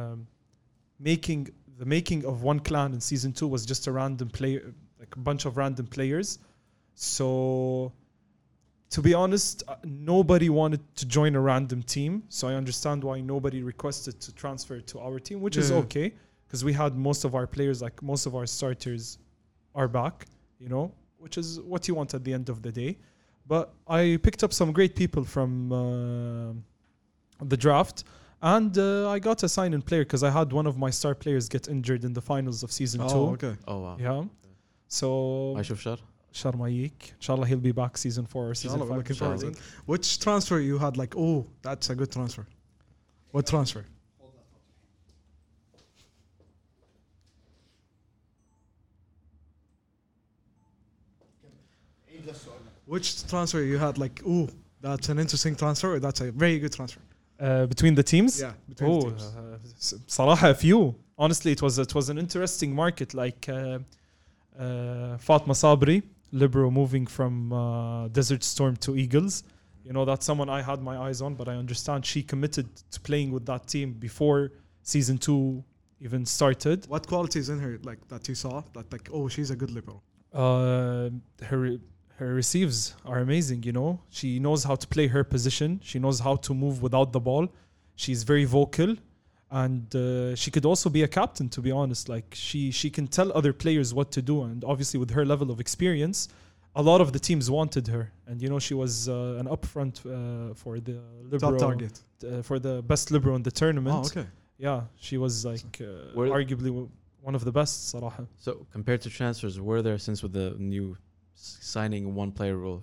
the making of one clan in season 2 was just a random player, like a bunch of random players. So to be honest, nobody wanted to join a random team, so I understand why nobody requested to transfer to our team, which is Yeah. okay, because we had most of our players, like most of our starters are back, you know, which is what you want at the end of the day. But I picked up some great people from the draft, and I got a sign-in player because I had one of my star players get injured in the finals of season 2. Oh, okay. Oh wow. Yeah. So ما يشوف شر. Sharmayik. Inshallah, he'll be back season 4 or season Inshallah, 5. looking forward to Inshallah. it. Which transfer you had like, oh, that's a good transfer? What transfer? Which transfer you had like, oh, that's an interesting transfer, or that's a very good transfer? Between the teams? Yeah, between the Oh, teams. صراحة a few. Honestly, it was an interesting market. Like Fatma Sabri, libero moving from Desert Storm to Eagles. You know, that's someone I had my eyes on, but I understand she committed to playing with that team before season 2 even started. What qualities in her like that you saw that like, oh, she's a good liberal? Her receives are amazing, you know. She knows how to play her position. She knows how to move without the ball. She's very vocal, and she could also be a captain, to be honest. Like she can tell other players what to do, and obviously with her level of experience, a lot of the teams wanted her. And you know, she was an upfront for the libero, Top target. for the best libero in the tournament. Oh, okay. Yeah, she was like Were- arguably one of the best, صراحة. So compared to transfers, were there, since with the new signing one player rule,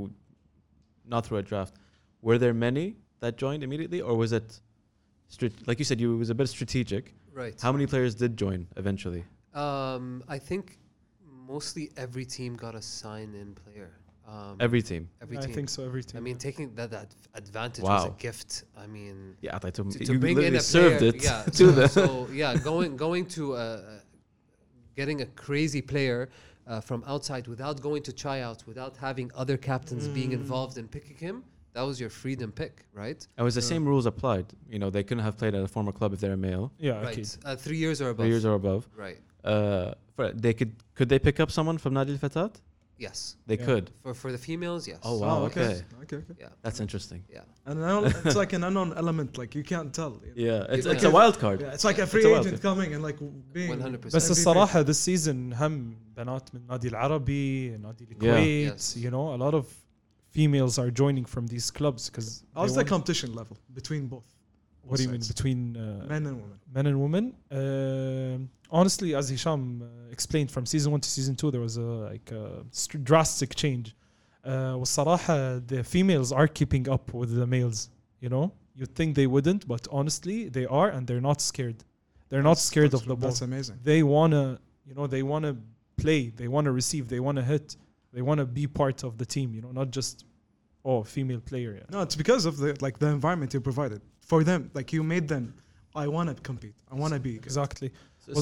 not through a draft, were there many that joined immediately, or was it like you said, it was a bit strategic? Right. How many players did join eventually? I think mostly every team got a sign-in player. Every team. Every I team. think so. Every team. I mean, taking that advantage was a Wow. gift. I mean, Yeah, I thought to to bring in a served player, it yeah. to So, the. so yeah, going to getting a crazy player from outside without going to tryouts, without having other captains being involved in picking him. That was your freedom pick, right? And was the same rules applied? You know, they couldn't have played at a former club if they're a male, yeah, Right. okay. 3 years or above. 3 years or above. Right. They could they pick up someone from Nadi Al-Fatat? Yes. They Yeah. could. For the females, yes. Oh wow. Okay. Okay. Yeah. That's interesting. Yeah. And now it's like an unknown element, like you can't tell. You know? Yeah, it's Yeah. a wild card. Yeah, it's like a free It's a wild agent card. coming and like being 100%. بس MVP. الصراحة this season هم بنات من نادي العربي نادي الكويت Yes. you know, a lot of females are joining from these clubs because How's the competition level between both? what do you mean sides? between Men and women? men and women? Honestly, as Hisham explained, from season 1 to season 2 there was a drastic change. والصراحة the females are keeping up with the males, you know. You'd think they wouldn't, but honestly they are, and they're not scared. They're not scared of the ball. That's amazing. They wanna, you know, they wanna play, they wanna receive, they wanna hit, they wanna be part of the team, you know, not just female player. Yeah. No, it's because of the environment you provided for them. Like you made them. I want to compete. I want to be. Good. Exactly. So Well-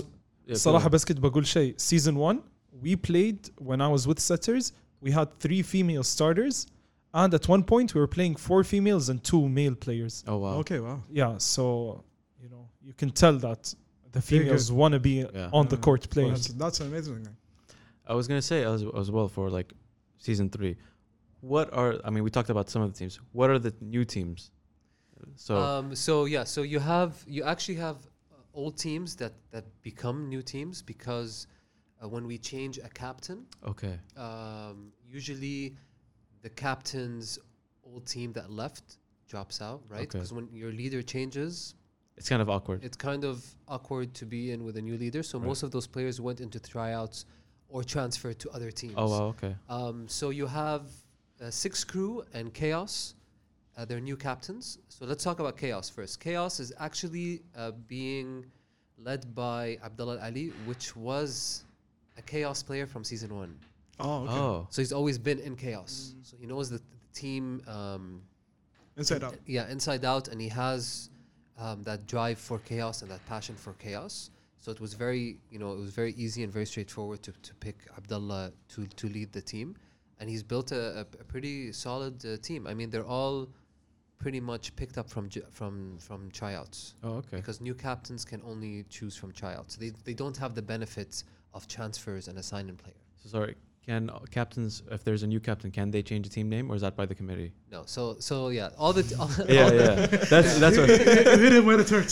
صراحة بس كنت بقول شيء. Season 1 we played when I was with setters. We had 3 female starters, and at one point we were playing 4 females and 2 male players. Oh wow. Okay, wow. Yeah, so you know you can tell that the females want to be on the court playing. That's amazing. I was gonna say as well for like season 3. What are we talked about some of the teams. What are the new teams? So So you actually have old teams that become new teams because when we change a captain, okay. usually the captain's old team that left drops out, right? Because when your leader changes, it's kind of awkward. It's kind of awkward to be in with a new leader. So most of those players went into tryouts or transferred to other teams. Oh wow, okay. So you have Six Crew and Chaos. They're new captains. So let's talk about Chaos first. Chaos is actually being led by Abdullah Ali, which was a Chaos player from season 1. Oh, okay. Oh. So he's always been in Chaos. So he knows the team inside out. Yeah, inside out, and he has that drive for Chaos and that passion for Chaos. So it was very easy and very straightforward to pick Abdullah to lead the team. And he's built a pretty solid team. I mean, they're all pretty much picked up from tryouts. Oh, okay. Because new captains can only choose from tryouts. They don't have the benefits of transfers and assigning player. So sorry, can captains, if there's a new captain, can they change the team name, or is that by the committee? No. So yeah, all the That's what. Hit him where it hurts.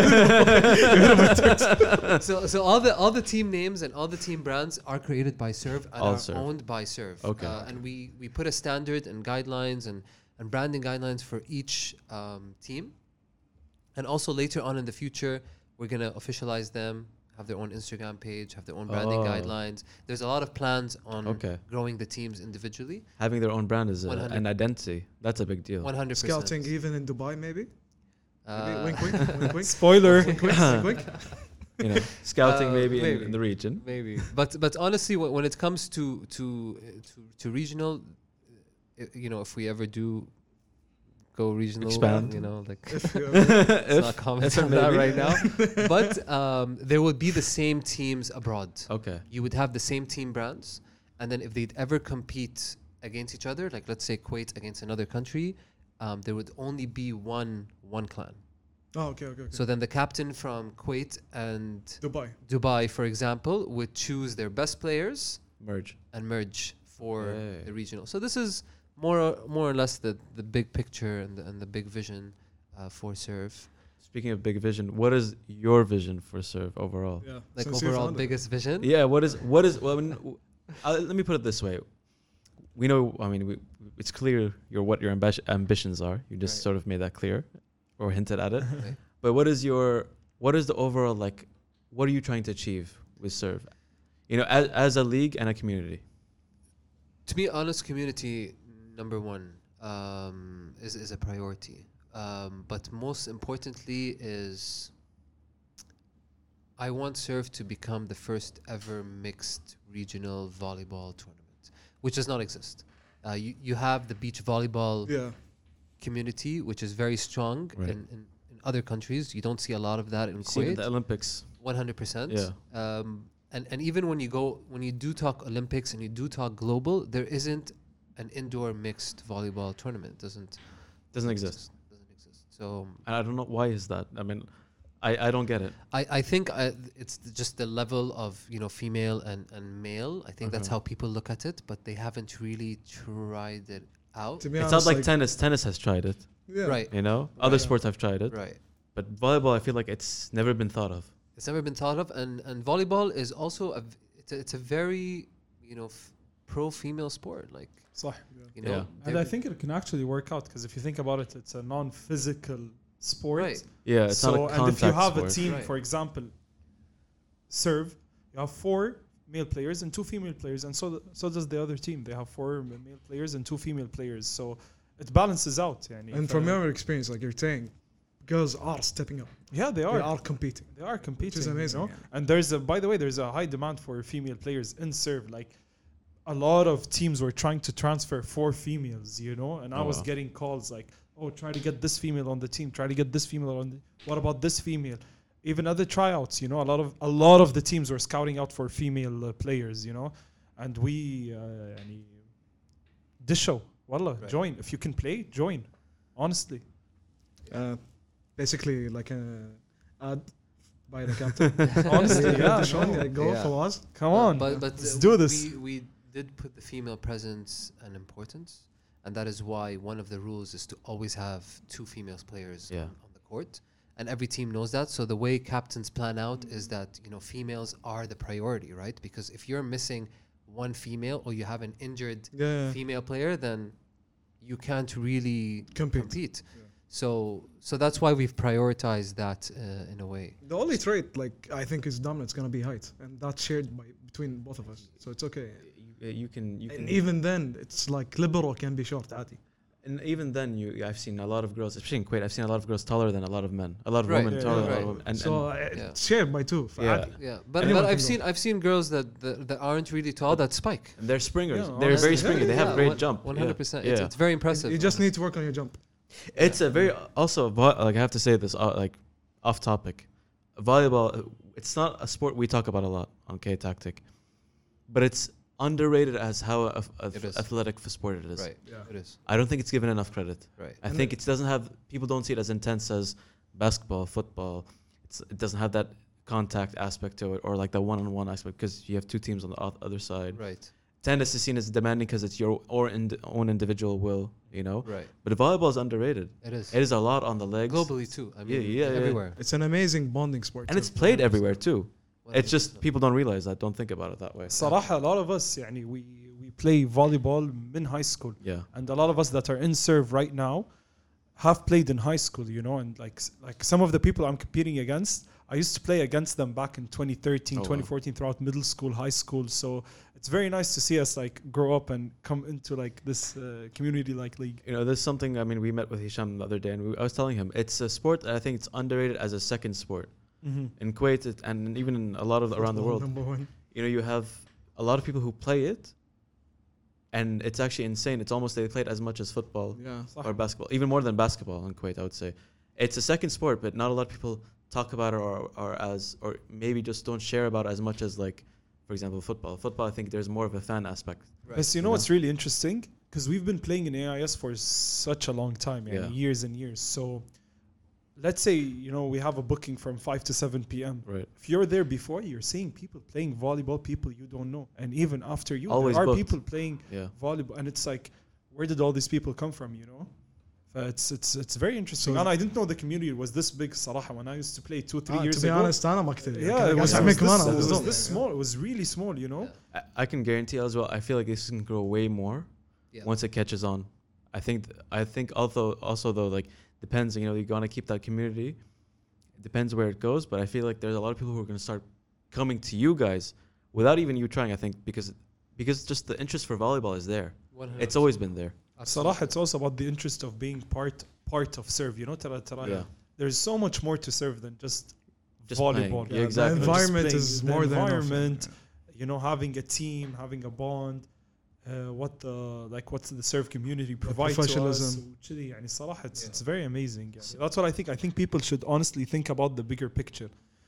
So all the team names and all the team brands are created by Serve and All are Serve. owned by Serve. Okay. And we put a standard and guidelines and branding guidelines for each team. And also later on in the future, we're gonna officialize them, have their own Instagram page, have their own branding guidelines. There's a lot of plans on growing the teams individually. Having their own brand is 100. an identity. That's a big deal. 100%. Scouting even in Dubai, maybe? Wink, wink, wink, wink. Spoiler. Wink, wink, wink. Scouting maybe maybe. in the region. Maybe, but honestly, when it comes to regional, if we ever do go regional, Expand. let's not comment on that right now. But there would be the same teams abroad. Okay. You would have the same team brands, and then if they'd ever compete against each other, like let's say Kuwait against another country, there would only be one clan. Oh, okay. So then the captain from Kuwait and Dubai, for example, would choose their best players merge for the regional. So this is more or less the big picture and the big vision for Serve. Speaking of big vision, what is your vision for Serve overall? Yeah. Like overall biggest vision? Yeah, what is well, let me put it this way. We know, it's clear what your ambitions are. You just sort of made that clear or hinted at it. Right. But what is the overall, what are you trying to achieve with Serve? As a league and a community. To be honest, community number one is a priority. But most importantly is I want Serve to become the first ever mixed regional volleyball tournament, which does not exist. You have the beach volleyball community, which is very strong in other countries. You don't see a lot of that in Kuwait. The Olympics. 100%. Yeah. And even when you do talk Olympics and you do talk global, there isn't an indoor mixed volleyball tournament. Doesn't exist. So I don't know why is that. I don't get it. I think it's just the level of female and male. I think that's how people look at it, but they haven't really tried it out. It sounds like tennis. Tennis has tried it. Yeah. Right. Other sports have tried it. Right. But volleyball, I feel like it's never been thought of. It's never been thought of, and volleyball is also it's a very pro female sport. Like صح. and I think it can actually work out because if you think about it, it's a non-physical sport. Right. Yeah, it's not a contact and if you have sport. a team, Right. for example, Serve, you have 4 male players and 2 female players, and so does the other team. They have 4 male players and 2 female players, so it balances out. And from your experience, like you're saying, girls are stepping up. Yeah, they are. They are competing. They are competing. Which is amazing. And by the way, there's a high demand for female players in Serve. Like a lot of teams were trying to transfer 4 females, and I was getting calls like, oh, try to get this female on the team. Try to get this female on the. What about this female? even other tryouts. You know, a lot of the teams were scouting out for female players. You know, and we يعني this show, wallah, Right. join if you can play, join. Honestly, Basically like a ad by the captain. honestly, yeah. The show, no. like, go Yeah. Fawaz. Come on, but let's do this. We did put the female presence and importance, and that is why one of the rules is to always have 2 female players Yeah. on the court, and every team knows that. So the way captains plan out is that females are the priority, right? Because if you're missing one female or you have an injured Yeah. female player, then you can't really compete. So that's why we've prioritized that in a way. The only trait, like, I think is dominant is gonna be height, and that's shared between both of us. So it's okay. You can And even then, it's like libero can be short, عادي. and even then I've seen a lot of girls, especially in Kuwait. I've seen a lot of girls taller than a lot of men. A lot of Right. women Yeah, taller yeah, than a lot right. of women. And So Yeah. it's shared by 2. Yeah. Yeah, but Anyone I've can go. seen girls that aren't really tall that spike. and they're springers. Yeah, They're very honestly. springy. They have a great jump. 100%. Yeah. It's very impressive. You just need to work on your jump. It's a very also like I have to say this like off topic. Volleyball, it's not a sport we talk about a lot on K Tactic, but it's underrated as how It is. athletic a sport it is. Right. Yeah. It is. I don't think it's given enough credit. Right. I think it doesn't have people don't see it as intense as basketball, football. It doesn't have that contact aspect to it or like the one-on-one aspect because you have 2 teams on the other side. Right. Tennis is seen as demanding because it's your own individual will, Right. But volleyball is underrated. It is. It is a lot on the legs. Globally too. I mean, yeah. everywhere. It's an amazing bonding sport. And too. it's played everywhere too. It's just 100%. people don't realize that, don't think about it that way. صراحة a lot of us يعني we play volleyball in high school, Yeah. and a lot of us that are in serve right now have played in high school, you know, and like some of the people I'm competing against, I used to play against them back in 2013, Oh, wow. 2014 throughout middle school, high school. So it's very nice to see us like grow up and come into like this community like league. There's something, I mean, we met with Hisham the other day and I was telling him, it's a sport that I think it's underrated as a second sport. In Kuwait and even in a lot of around the world, Number 1. you have a lot of people who play it and it's actually insane. It's almost they play it as much as football Yeah. or basketball, even more than basketball in Kuwait, I would say. It's a second sport, but not a lot of people talk about it or maybe just don't share about it as much as like, for example, football. Football, I think there's more of a fan aspect. Right. But you know what's really interesting? Because we've been playing in AIS for such a long time, Yeah. years and years. So let's say, we have a booking from 5 to 7 p.m. Right. If you're there before, you're seeing people playing volleyball, people you don't know. And even after you, Always there are booked. people playing Yeah. volleyball. And it's like, where did all these people come from, It's very interesting. So- And I didn't know the community was this big, صراحة, when I used to play 2-3 years To be ago. honest, أنا ما كنت. Yeah, it was, قاعد it was أعمل كمان، this, I it was was dumb. this small. It was really small, I can guarantee as well. I feel like this can grow way more Yeah. once it catches on. I think also though, like depends. You gotta keep that community. It depends where it goes, but I feel like there's a lot of people who are gonna start coming to you guys without even you trying. I think because just the interest for volleyball is there. 100%. It's always been there. صراحة it's also about the interest of being part of serve. ترى Yeah. there's so much more to serve than just Just volleyball. playing. Yeah, exactly. The Just environment playing. is The more than enough. environment, having a team, having a bond, what's the serve community provides to us. professionalism. وكذي. يعني صراحة it's very amazing. يعني. That's what I think. I think people should honestly think about the bigger picture.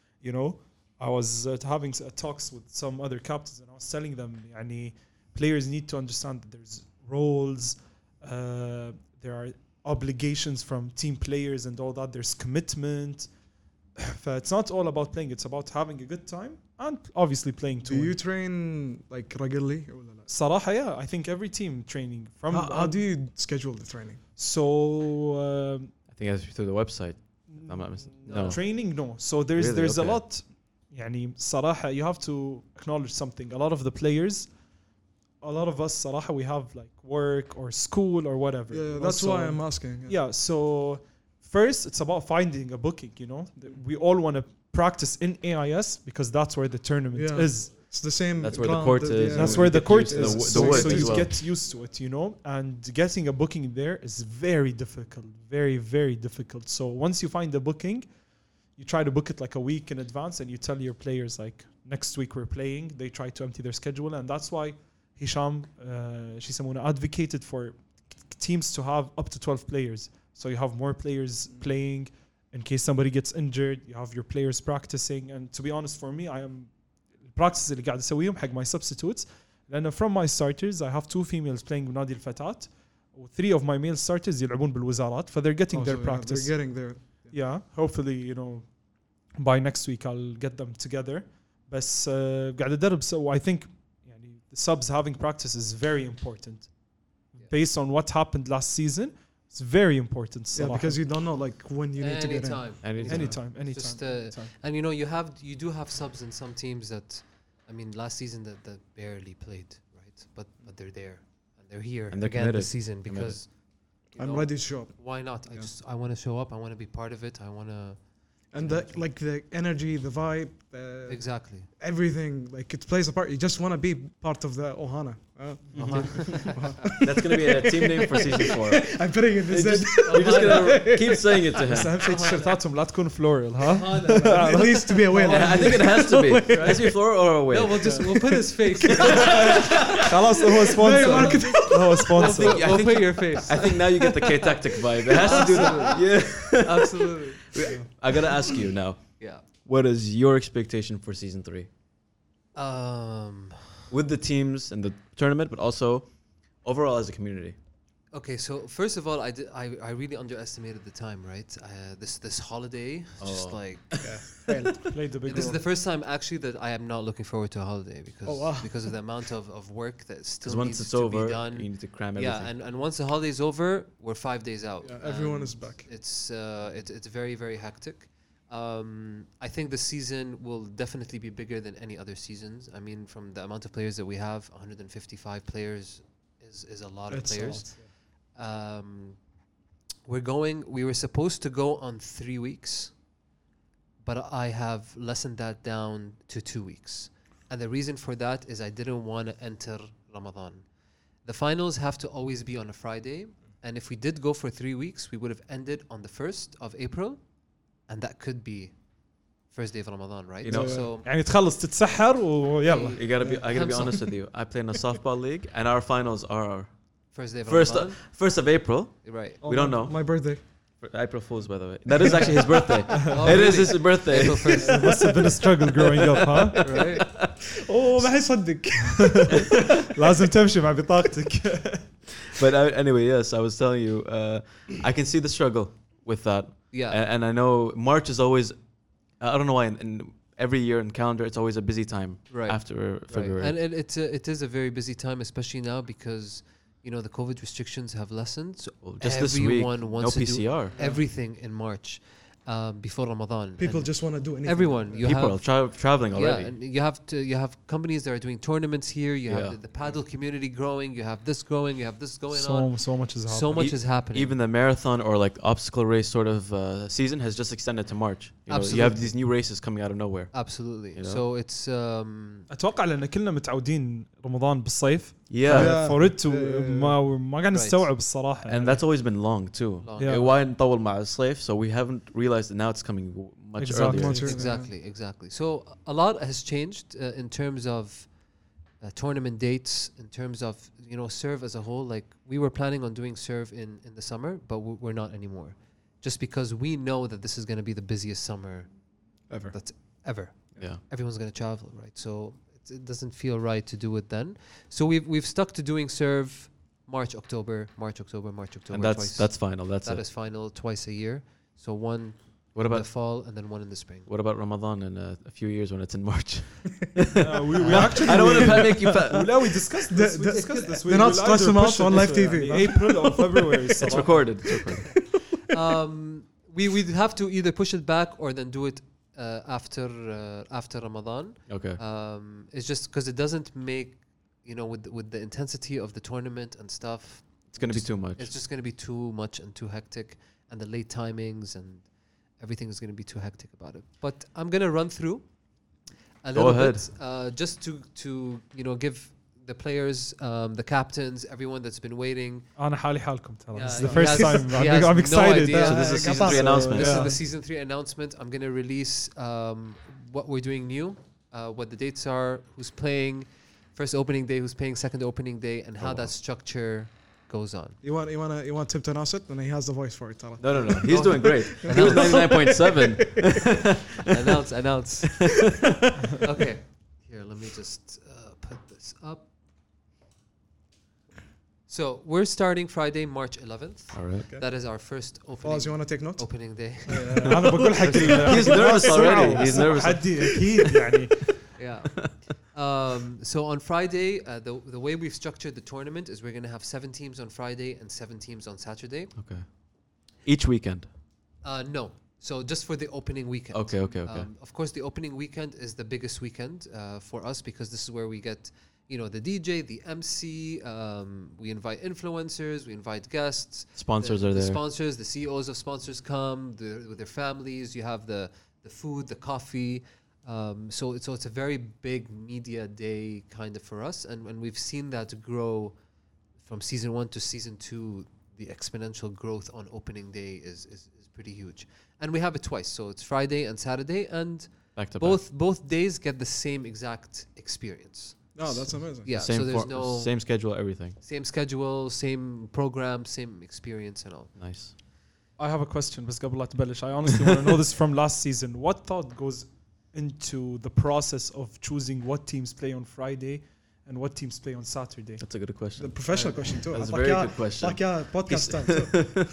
I was having talks with some other captains and I was telling them يعني players need to understand that there's roles, there are obligations from team players and all that. There's commitment. It's not all about playing. It's about having a good time and obviously playing Do too. you train like regularly? ولا لا? صراحة, yeah. I think every team training from. How do you schedule the training? So. I think that's through the website. I'm not missing. No. Training, no. So there's Really? a Okay. lot. يعني صراحة, you have to acknowledge something. A lot of the players, a lot of us صراحة, we have like work or school or whatever. Yeah, that's So- why I'm asking. Yeah, so first it's about finding a booking, We all want to practice in AIS because that's where the tournament Yeah. is. It's the same. That's where the ground court that- is. yeah. That's we where the get court used to is. the wood so as you well. get used to it, and getting a booking there is very difficult, very, very difficult. So once you find the booking, you try to book it like a week in advance and you tell your players like next week we're playing. They try to empty their schedule, and that's why Hisham, Shisamuna advocated for teams to have up to 12 players. So you have more players playing in case somebody gets injured. You have your players practicing. And to be honest, for me, I am practice اللي قاعد أسويهم حق my substitutes. لأن from my starters, I have 2 females playing بنادي الفتاة, و 3 of my male starters يلعبون بالوزارات. So they're getting their practice. They're getting there. Yeah, hopefully, you know, by next week I'll get them together. بس قاعد أدرب, so I think يعني, the subs having practice is very important. Based on what happened last season, it's very important. Yeah, because you don't know like when you need to get in. Anytime. Just, and you know, you do have subs in some teams that, I mean, last season that barely played, right? But they're there and they're here and they're again committed. this season because I'm ready to show up. Why not? I want to show up. I want to be part of it. I want to. And the energy, the vibe, exactly everything, like it plays a part. You just want to be part of the Ohana. That's gonna be a team name for season 4. I'm putting it in this. You're just gonna keep saying it to him. بس أهم شيء تيشيرتاتهم لا تكون floral, ها? It needs to be a whale. I think it has to be. It has to be floor or away. No, we'll put his face. خلاص هو sponsor. هو sponsor. We'll put your face. I think now you get the K-Tactic vibe. It has to do that. Yeah. Absolutely. I gotta ask you now. Yeah. What is your expectation for season 3? With the teams and the tournament, but also overall as a community. Okay, so first of all, I really underestimated the time, right? This holiday, just like Played the big this is role. the first time actually that I am not looking forward to a holiday because of the amount of work that still Because once needs it's to over, be done. you need to cram everything. Yeah, and once the holiday is over, we're 5 days out. Yeah, everyone And is back. It's very, very hectic. I think the season will definitely be bigger than any other seasons. I mean, from the amount of players that we have, 155 players is a lot of players. We were supposed to go on 3 weeks, but I have lessened that down to 2 weeks. And the reason for that is I didn't want to enter Ramadan. The finals have to always be on a Friday. And if we did go for 3 weeks, we would have ended on the 1st of April. And that could be first day of Ramadan, right? You know, so يعني تخلص تتسحر ويلا. I gotta be honest with you. I play in a softball league, and our finals are first day of first Ramadan. 1st of April. Right. We don't know. My birthday. April Fools, by the way. That is actually his birthday. Oh, It is really? his birthday. April 1st. It must have been a struggle growing up, huh? Right. Oh ما حيصدق. لازم تمشي مع بطاقتك. But anyway, yes, I was telling you, I can see the struggle with that. Yeah. And I know March is always, I don't know why, in every year in calendar, it's always a busy time Right. after February. Right. And it is a very busy time, especially now because, you know, the COVID restrictions have lessened. So Well, just this week, everyone wants no to PCR. do everything in March before Ramadan. People And just want to do anything. everyone. You People have are traveling already. Yeah, and you have companies that are doing tournaments here. You have Yeah. the paddle community growing. You have this growing. You have this going on. So much is happening. So much is happening. Even the marathon or like obstacle race sort of season has just extended to March. You know, you have Absolutely. these new races coming out of nowhere. Absolutely. You know? So it's اتوقع لان كلنا متعودين رمضان بالصيف. Yeah. For it to ما قاعد نستوعب الصراحة. And that's always been long too. long. Yeah. Why نطول مع الصيف? So we haven't realized that now it's coming much Exactly. earlier. Exactly. So a lot has changed in terms of tournament dates, in terms of, you know, serve as a whole. Like we were planning on doing serve in the summer, but we're not anymore, just because we know that this is going to be the busiest summer Ever. that's ever. Yeah. Everyone's going to travel, right? So it doesn't feel right to do it then. So we've stuck to doing serve March, October, And twice. that's final. That's That it. is final twice a year. So one What in about the fall and then one in the spring. what about Ramadan in a few years when it's in March? we actually I don't want to make you. لا we discussed this. We discussed this. they're not We'll stress either them out push it on this live way, TV, يعني April or February. It's الصراحة. recorded. It's recorded. We'd have to either push it back or then do it after Ramadan. Okay. It's just because it doesn't make, you know, with the intensity of the tournament and stuff. It's gonna be too much. It's just going to be too much and too hectic, and the late timings and everything is going to be too hectic about it. But I'm going to run through a Go little ahead. bit just to you know, give the players, the captains, everyone that's been waiting. أنا حالي حالكم ترى. Yeah, This is the he first has- time. he has I'm no excited. idea. So this is season 3 announcement. This Yeah. is the season 3 announcement. I'm going to release what we're doing new, what the dates are, who's playing, first opening day, who's playing second opening day, and how wow. that structure goes on. You want Tim to announce it, and he has the voice for it. Tara. No. He's doing great. He was 99.7. Announce. Okay. Here, let me just put this up. So we're starting Friday, March 11th. All right. Okay. That is our first Fawaz, you want to take notes? opening day. انا بقول حق He's nervous already. He's nervous. حدي اكيد يعني. Yeah. So on Friday, the way we've structured the tournament is we're going to have 7 teams on Friday and 7 teams on Saturday. Okay. Each weekend. No. So just for the opening weekend. Okay. Of course, the opening weekend is the biggest weekend for us because this is where we get, the DJ, the MC. We invite influencers, we invite guests. Sponsors are The there. sponsors, the CEOs of sponsors come with their families. You have the food, the coffee. So it's a very big media day kind of for us, and we've seen that grow from season 1 to season 2. The exponential growth on opening day is pretty huge, and we have it twice. So it's Friday and Saturday, and Back to both days get the same exact experience. No, that's amazing. Yeah, Same so there's no same schedule, everything. same schedule, same program, same experience, and all. Nice. I have a question بس قبل لا تبلش. I honestly want to know this from last season. What thought goes into the process of choosing what teams play on Friday and what teams play on Saturday? That's a good The question. professional question too. That's a very good question. Like podcast time too.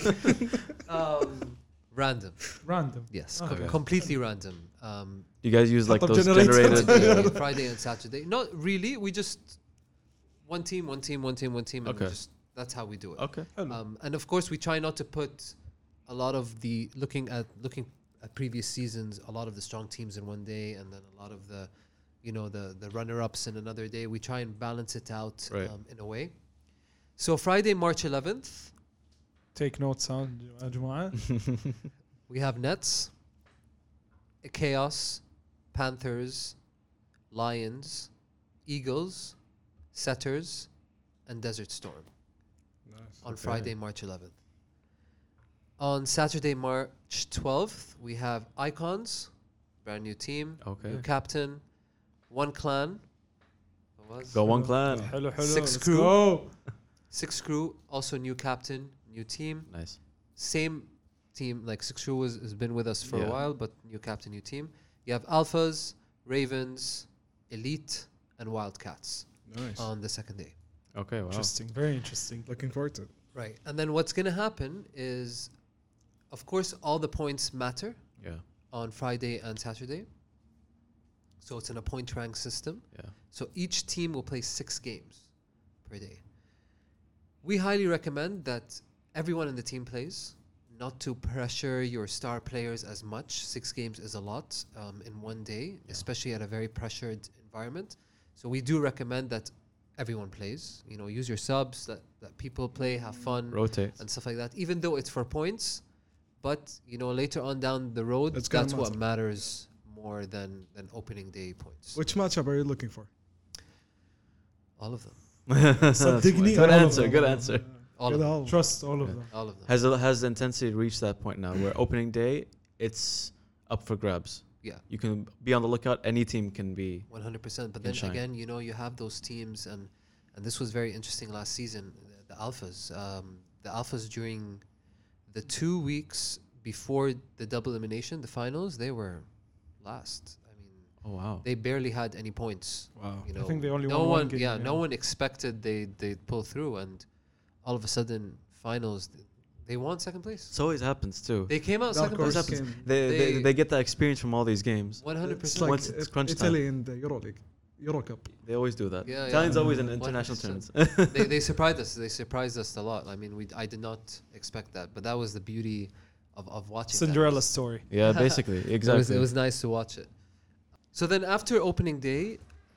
Random, Random. yes, Okay. completely random. You guys use like Top those generated. generated. Friday and Saturday. Not really. We just one team. And Okay. that's how we do it. Okay. And of course, we try not to put a lot of the looking at previous seasons, a lot of the strong teams in one day, and then a lot of the, the runner-ups in another day. We try and balance it out Right. in a way. So Friday, March 11th, Take notes, huh, يا جماعة. we have Nets, Chaos, Panthers, Lions, Eagles, Setters, and Desert Storm on Friday, March 11th. On Saturday, March 12th, we have Icons, brand new team, Okay. new captain, one clan. Go one clan. حلو. 6 Let's crew. go. 6 crew, also new captain, new team. Nice. Same team, like 6 crew has been with us for a Yeah. while, but new captain, new team. You have Alphas, Ravens, Elite, and Wildcats Nice. on the second day. Okay. Wow. Interesting. Very interesting. Looking forward to it. Right. And then what's going to happen is, of course, all the points matter Yeah. on Friday and Saturday. So it's in a point rank system. Yeah. So each team will play 6 games per day. We highly recommend that everyone in the team plays, not to pressure your star players as much. 6 games is a lot in one day, especially at a very pressured environment. So we do recommend that everyone plays. Use your subs, that people play, have fun, Rotate. and stuff like that. Even though it's for points, but later on down the road, It's gonna that's what matter. matters more than opening day points. Which matchup are you looking for? All of them. صدقني Good all of answer. them. Good answer. All of them. Trust all of them. All of them. Has the intensity reached that point now where opening day it's up for grabs? Yeah. You can be on the lookout. Any team can be. 100%. But then shine. again, you have those teams, and this was very interesting last season. The Alphas during the 2 weeks before the double elimination, the finals, they were last. I mean, Oh wow. they barely had any points. Wow. I think they only no won one, one game. yeah, no one expected they'd pull through, and all of a sudden, finals, they won second place. This always happens too. They came out Dark second horse place. happens. game. They get that experience from all these games. 100%. It's like Once it's crunch time. Italy in the Euro League, Euro Cup. They always do that. Yeah, Italians yeah. always in international 100%. tournaments. they surprised us. They surprised us a lot. I mean, I did not expect that, but that was the beauty of watching. that. Cinderella story. Yeah, basically, exactly. It was nice to watch it. So then after opening day,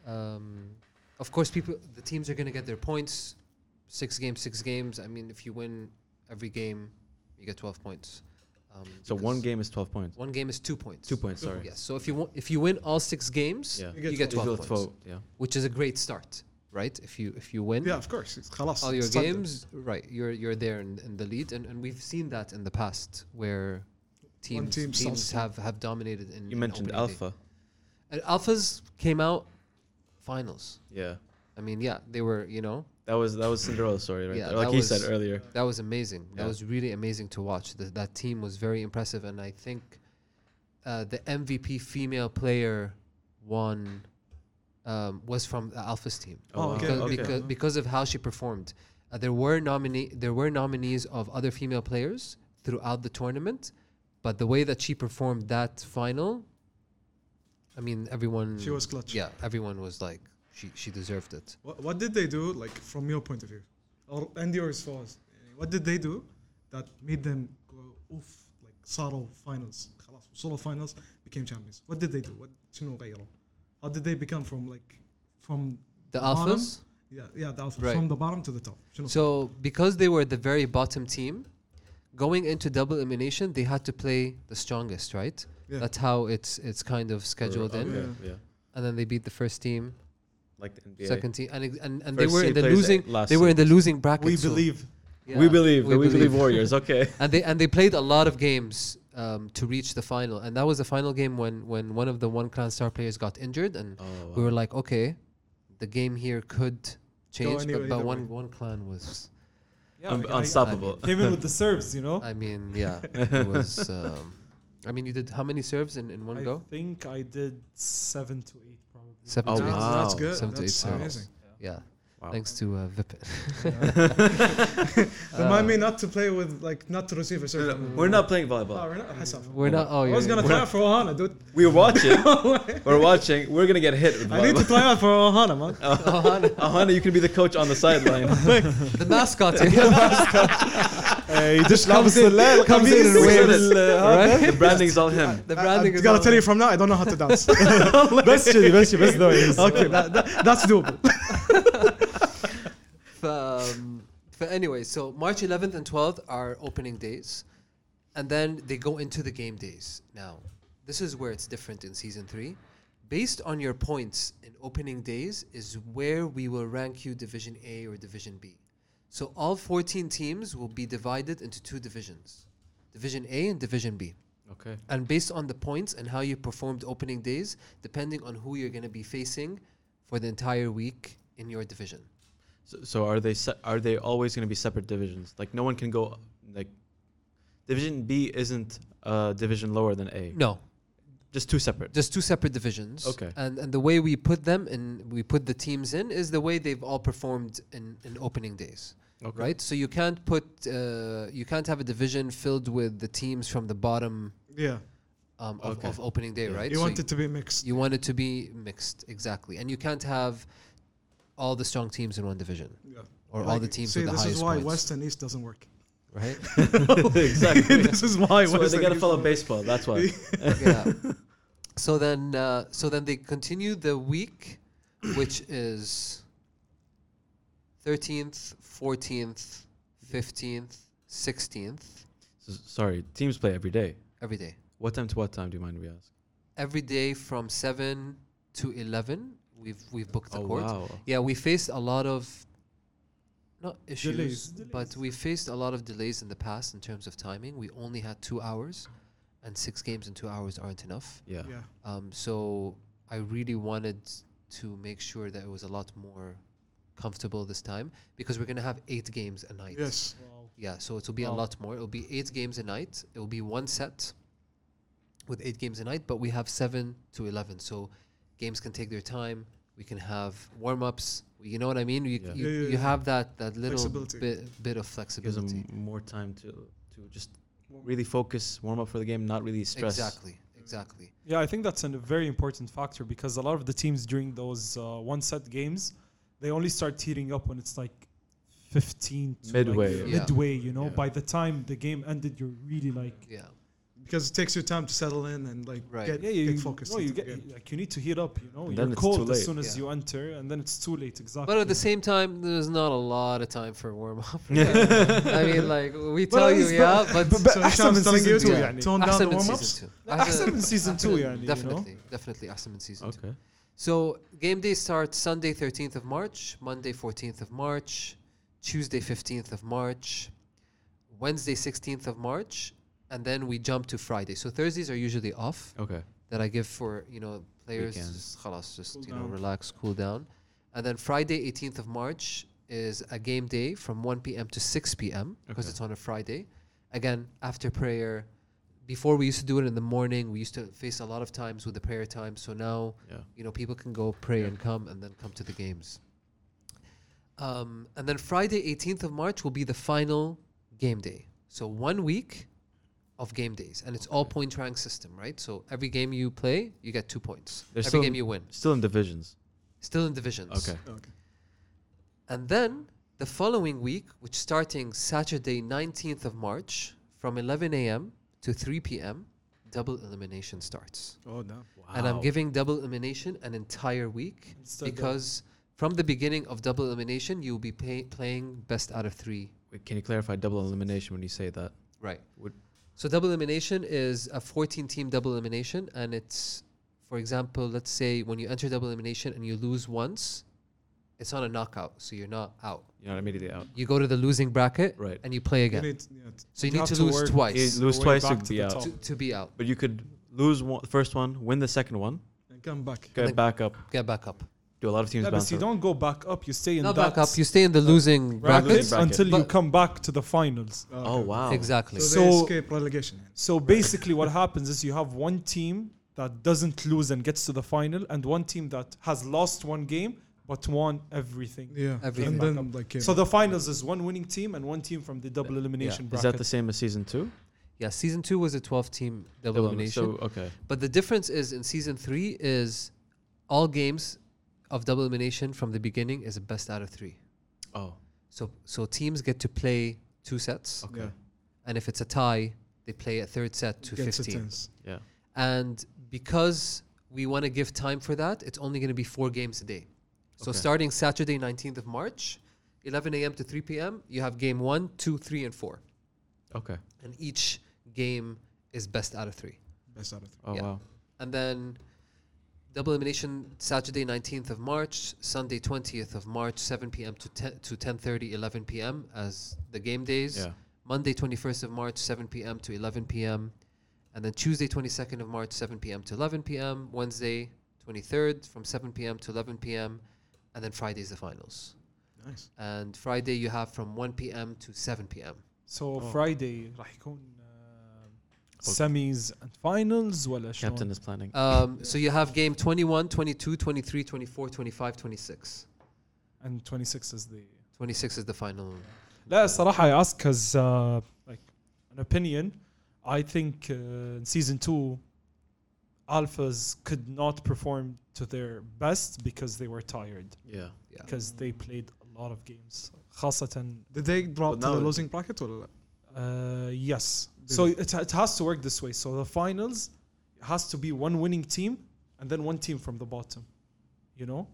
of course, the teams are going to get their points. 6 games. I mean, if you win every game, you get 12 points. So one game is 12 points. One game is 2 points. 2 points, sorry. Yes. So if you win all 6 games, Yeah. you get 12 Equal points, Yeah. which is a great start, right? If you win, Yeah, of course. It's خلاص. all your it's started. games, right? You're there in the lead, and we've seen that in the past where One team teams starts have dominated in. You in mentioned opening day. Alpha. And Alphas came out finals. Yeah. I mean, yeah, they were That was Cinderella's story right Yeah, there. Like that he said was- earlier. That was amazing. That Yeah. was really amazing to watch. That team was very impressive, and I think the MVP female player won was from the Alphas team. Oh, okay, because, okay. because of how she performed. There were nominees of other female players throughout the tournament, but the way that she performed that final, I mean, everyone. She was clutch. Yeah, everyone was like, she deserved it. What did they do, like from your point of view, or and yours was? What did they do that made them go oof, like صاروا finals, خلاص وصلوا finals, became champions? What did they do? شنو غيروا? How did they become from The bottom? Alphas. Yeah, the alpha Right. from the bottom to the top. شنو؟ So because they were the very bottom team, going into double elimination, they had to play the strongest, right? Yeah. That's how it's kind of scheduled in. Okay, Yeah. yeah. And then they beat the first team, Like the NBA. second team, and they First were in seed the plays losing. last They were in seed. the losing bracket. We so- believe. Yeah, We believe Warriors. Okay. and they played a lot of games to reach the final, and that was the final game when one of the One Clan star players got injured, and Oh, we were like, okay, the game here could change, anyway, but either one clan was. Yeah, like unstoppable. Came in with the serves, you know. I mean, yeah, it was. I mean, you did how many serves in one I go? think I did 7 to 8 probably. 7 Oh, to 8. wow. That's good. 7 to 8 That's serves. amazing. Yeah, Wow. thanks to Vipin. Remind me not to play with, like, not to receive a serve. We're not playing Oh, volleyball. we're not. حسب. We're not. Oh, I was gonna try out for Ohana, dude. We're watching. We're watching. We're gonna get hit with I need to volleyball. try out for Ohana, man. Ahana, you can be the coach on the sideline. the mascot. يدش لابس الليل comes in and waves. The branding's all him. The branding I is. gotta all- tell you from now, I don't know how to dance. بس كذي بس ذوي. Okay, that's doable. Anyway, so March 11th and 12th are opening days, and then they go into the game days. Now, this is where it's different in season 3. Based on your points in opening days is where we will rank you Division A or Division B. So all 14 teams will be divided into 2 divisions, Division A and Division B. Okay. And based on the points and how you performed opening days, depending on who you're going to be facing for the entire week in your division. So are they always going to be separate divisions? Like no one can go like Division B isn't a division lower than A. No, Just 2 separate. just 2 separate divisions. Okay. And the way we put them in, we put the teams in, is the way they've all performed in opening days. Okay. Right? So you can't you can't have a division filled with the teams from the bottom Yeah, Okay. of opening day, Yeah. right? you So want it to be mixed. you want it to be mixed, exactly. And you can't have all the strong teams in one division. Yeah. Or all the teams with the this highest is why points. West and East doesn't work. Right? Exactly. This is why That's why West they and gotta East follow don't work. baseball. That's why. Yeah. So then they continue the week, which is 13th, 14th, 15th, 16th, Sorry, teams play every day. every day. What time to what time? Do you mind if we ask? Every day from 7 to 11, we've booked the Oh court. wow. Yeah, we faced a lot of not issues, Delays. but we faced a lot of delays in the past in terms of timing. We only had 2 hours, and 6 games in 2 hours aren't enough. Yeah. Yeah. So I really wanted to make sure that it was a lot more comfortable this time, because we're gonna have 8 games a night. Yes. Yeah, so it will be a Wow. lot more. It will be 8 games a night. It will be one set with 8 games a night, but we have 7 to 11. So games can take their time. We can have warm-ups. You know what I mean? Yeah. You have that little Flexibility. bit of Gives flexibility. them more time to just really focus, warm up for the game, not really stress. Exactly. Yeah, I think that's a very important factor, because a lot of the teams during those one-set games, they only start heating up when it's like 15 to Midway. like Yeah. midway, you know. Yeah. By the time the game ended, you're really like, Yeah. Because it takes you time to settle in and like Right. get, yeah, you get focused. No, you into the get game. like you need to heat up, you know. And You're then it's cold too as late. soon as Yeah. you enter, and then it's too late. Exactly. But at the same time, there's not a lot of time for warm-up. I mean, like, we tell you, yeah, but So Hisham's telling you to يعني. tone down the أحسن من warm-ups. season 2. أحسن من season 2 يعني, you know. Definitely أحسن من season 2. Okay. So game day starts Sunday 13th of March, Monday 14th of March, Tuesday 15th of March, Wednesday 16th of March, and then we jump to Friday. So Thursdays are usually off Okay. that I give for, players Weekends. just, خلاص, just Cool down. relax, cool down. And then Friday 18th of March is a game day from 1 p.m. to 6 p.m. because Okay. it's on a Friday. Again, after prayer. Before we used to do it in the morning. We used to face a lot of times with the prayer time. So now, Yeah. people can go pray and come and then come to the games. And then Friday, 18th of March will be the final game day. So 1 week of game days. And it's all point rank system, right? So every game you play, you get 2 points. They're Every still game you win. Still in divisions. Still in divisions. Okay. Okay. And then the following week, which starting Saturday, 19th of March, from 11 a.m. to 3 p.m., double elimination starts. Oh, damn. And I'm giving double elimination an entire week Instead of- because from the beginning of double elimination, you'll be playing best out of 3. Wait, can you clarify double elimination when you say that? Right. Would- So double elimination is a 14-team double elimination, and it's, for example, let's say when you enter double elimination and you lose once, it's on a knockout, so you're not out. You're not immediately out. You go to the losing bracket Right. and you play You again. need, So you You need have to to lose work- twice You lose way twice back to to be the out. top. to be out. But you could lose the first one, win the second one, and come back. get then- back up. Get back up. Do a lot of teams Yeah, but bounce you up. don't go back up. You stay in Not that back up. You stay in the losing bracket brackets. bracket. until you But- come back to the finals. Oh, wow. Exactly. So they So- escape relegation. So basically, what happens is you have one team that doesn't lose and gets to the final, and one team that has lost one game but won everything. Yeah. Everything. And then like So the finals is one winning team and one team from the double elimination Is bracket. that the same as season 2? Yeah, season 2 was a 12-team double elimination. So, okay. But the difference is in season 3 is all games of double elimination from the beginning is a best out of 3. Oh, So teams get to play 2 sets, okay. Yeah. and if it's a tie, they play a third set to Gets 15. tense. Yeah. And because we want to give time for that, it's only going to be 4 games a day. So Okay. starting Saturday, 19th of March, 11 a.m. to 3 p.m., you have game 1, 2, 3, and 4. Okay. And each game is best out of 3. Best out of 3. Oh, Yeah. wow. And then double elimination Saturday 19th of March, Sunday 20th of March, 7 p.m. to 10:30, 11 p.m. as the game days. Yeah. Monday 21st of March, 7 p.m. to 11 p.m. And then Tuesday 22nd of March, 7 p.m. to 11 p.m. Wednesday 23rd from 7 p.m. to 11 p.m. And then Friday's the finals. Nice. And Friday you have from 1 p.m. to 7 p.m. So Oh. Friday راح يكون semis and finals ولا شلون؟ Captain is planning. So you have game 21, 22, 23, 24, 25, 26. and 26 is the 26 is the final. لا صراحة I ask because like an opinion I think in season 2 Alphas could not perform to their best because they were tired Yeah. Yeah. because they played a lot of games خاصة Did they drop But to now the it- losing bracket or yes so it has to work this way so the finals has to be one winning team and then one team from the bottom you know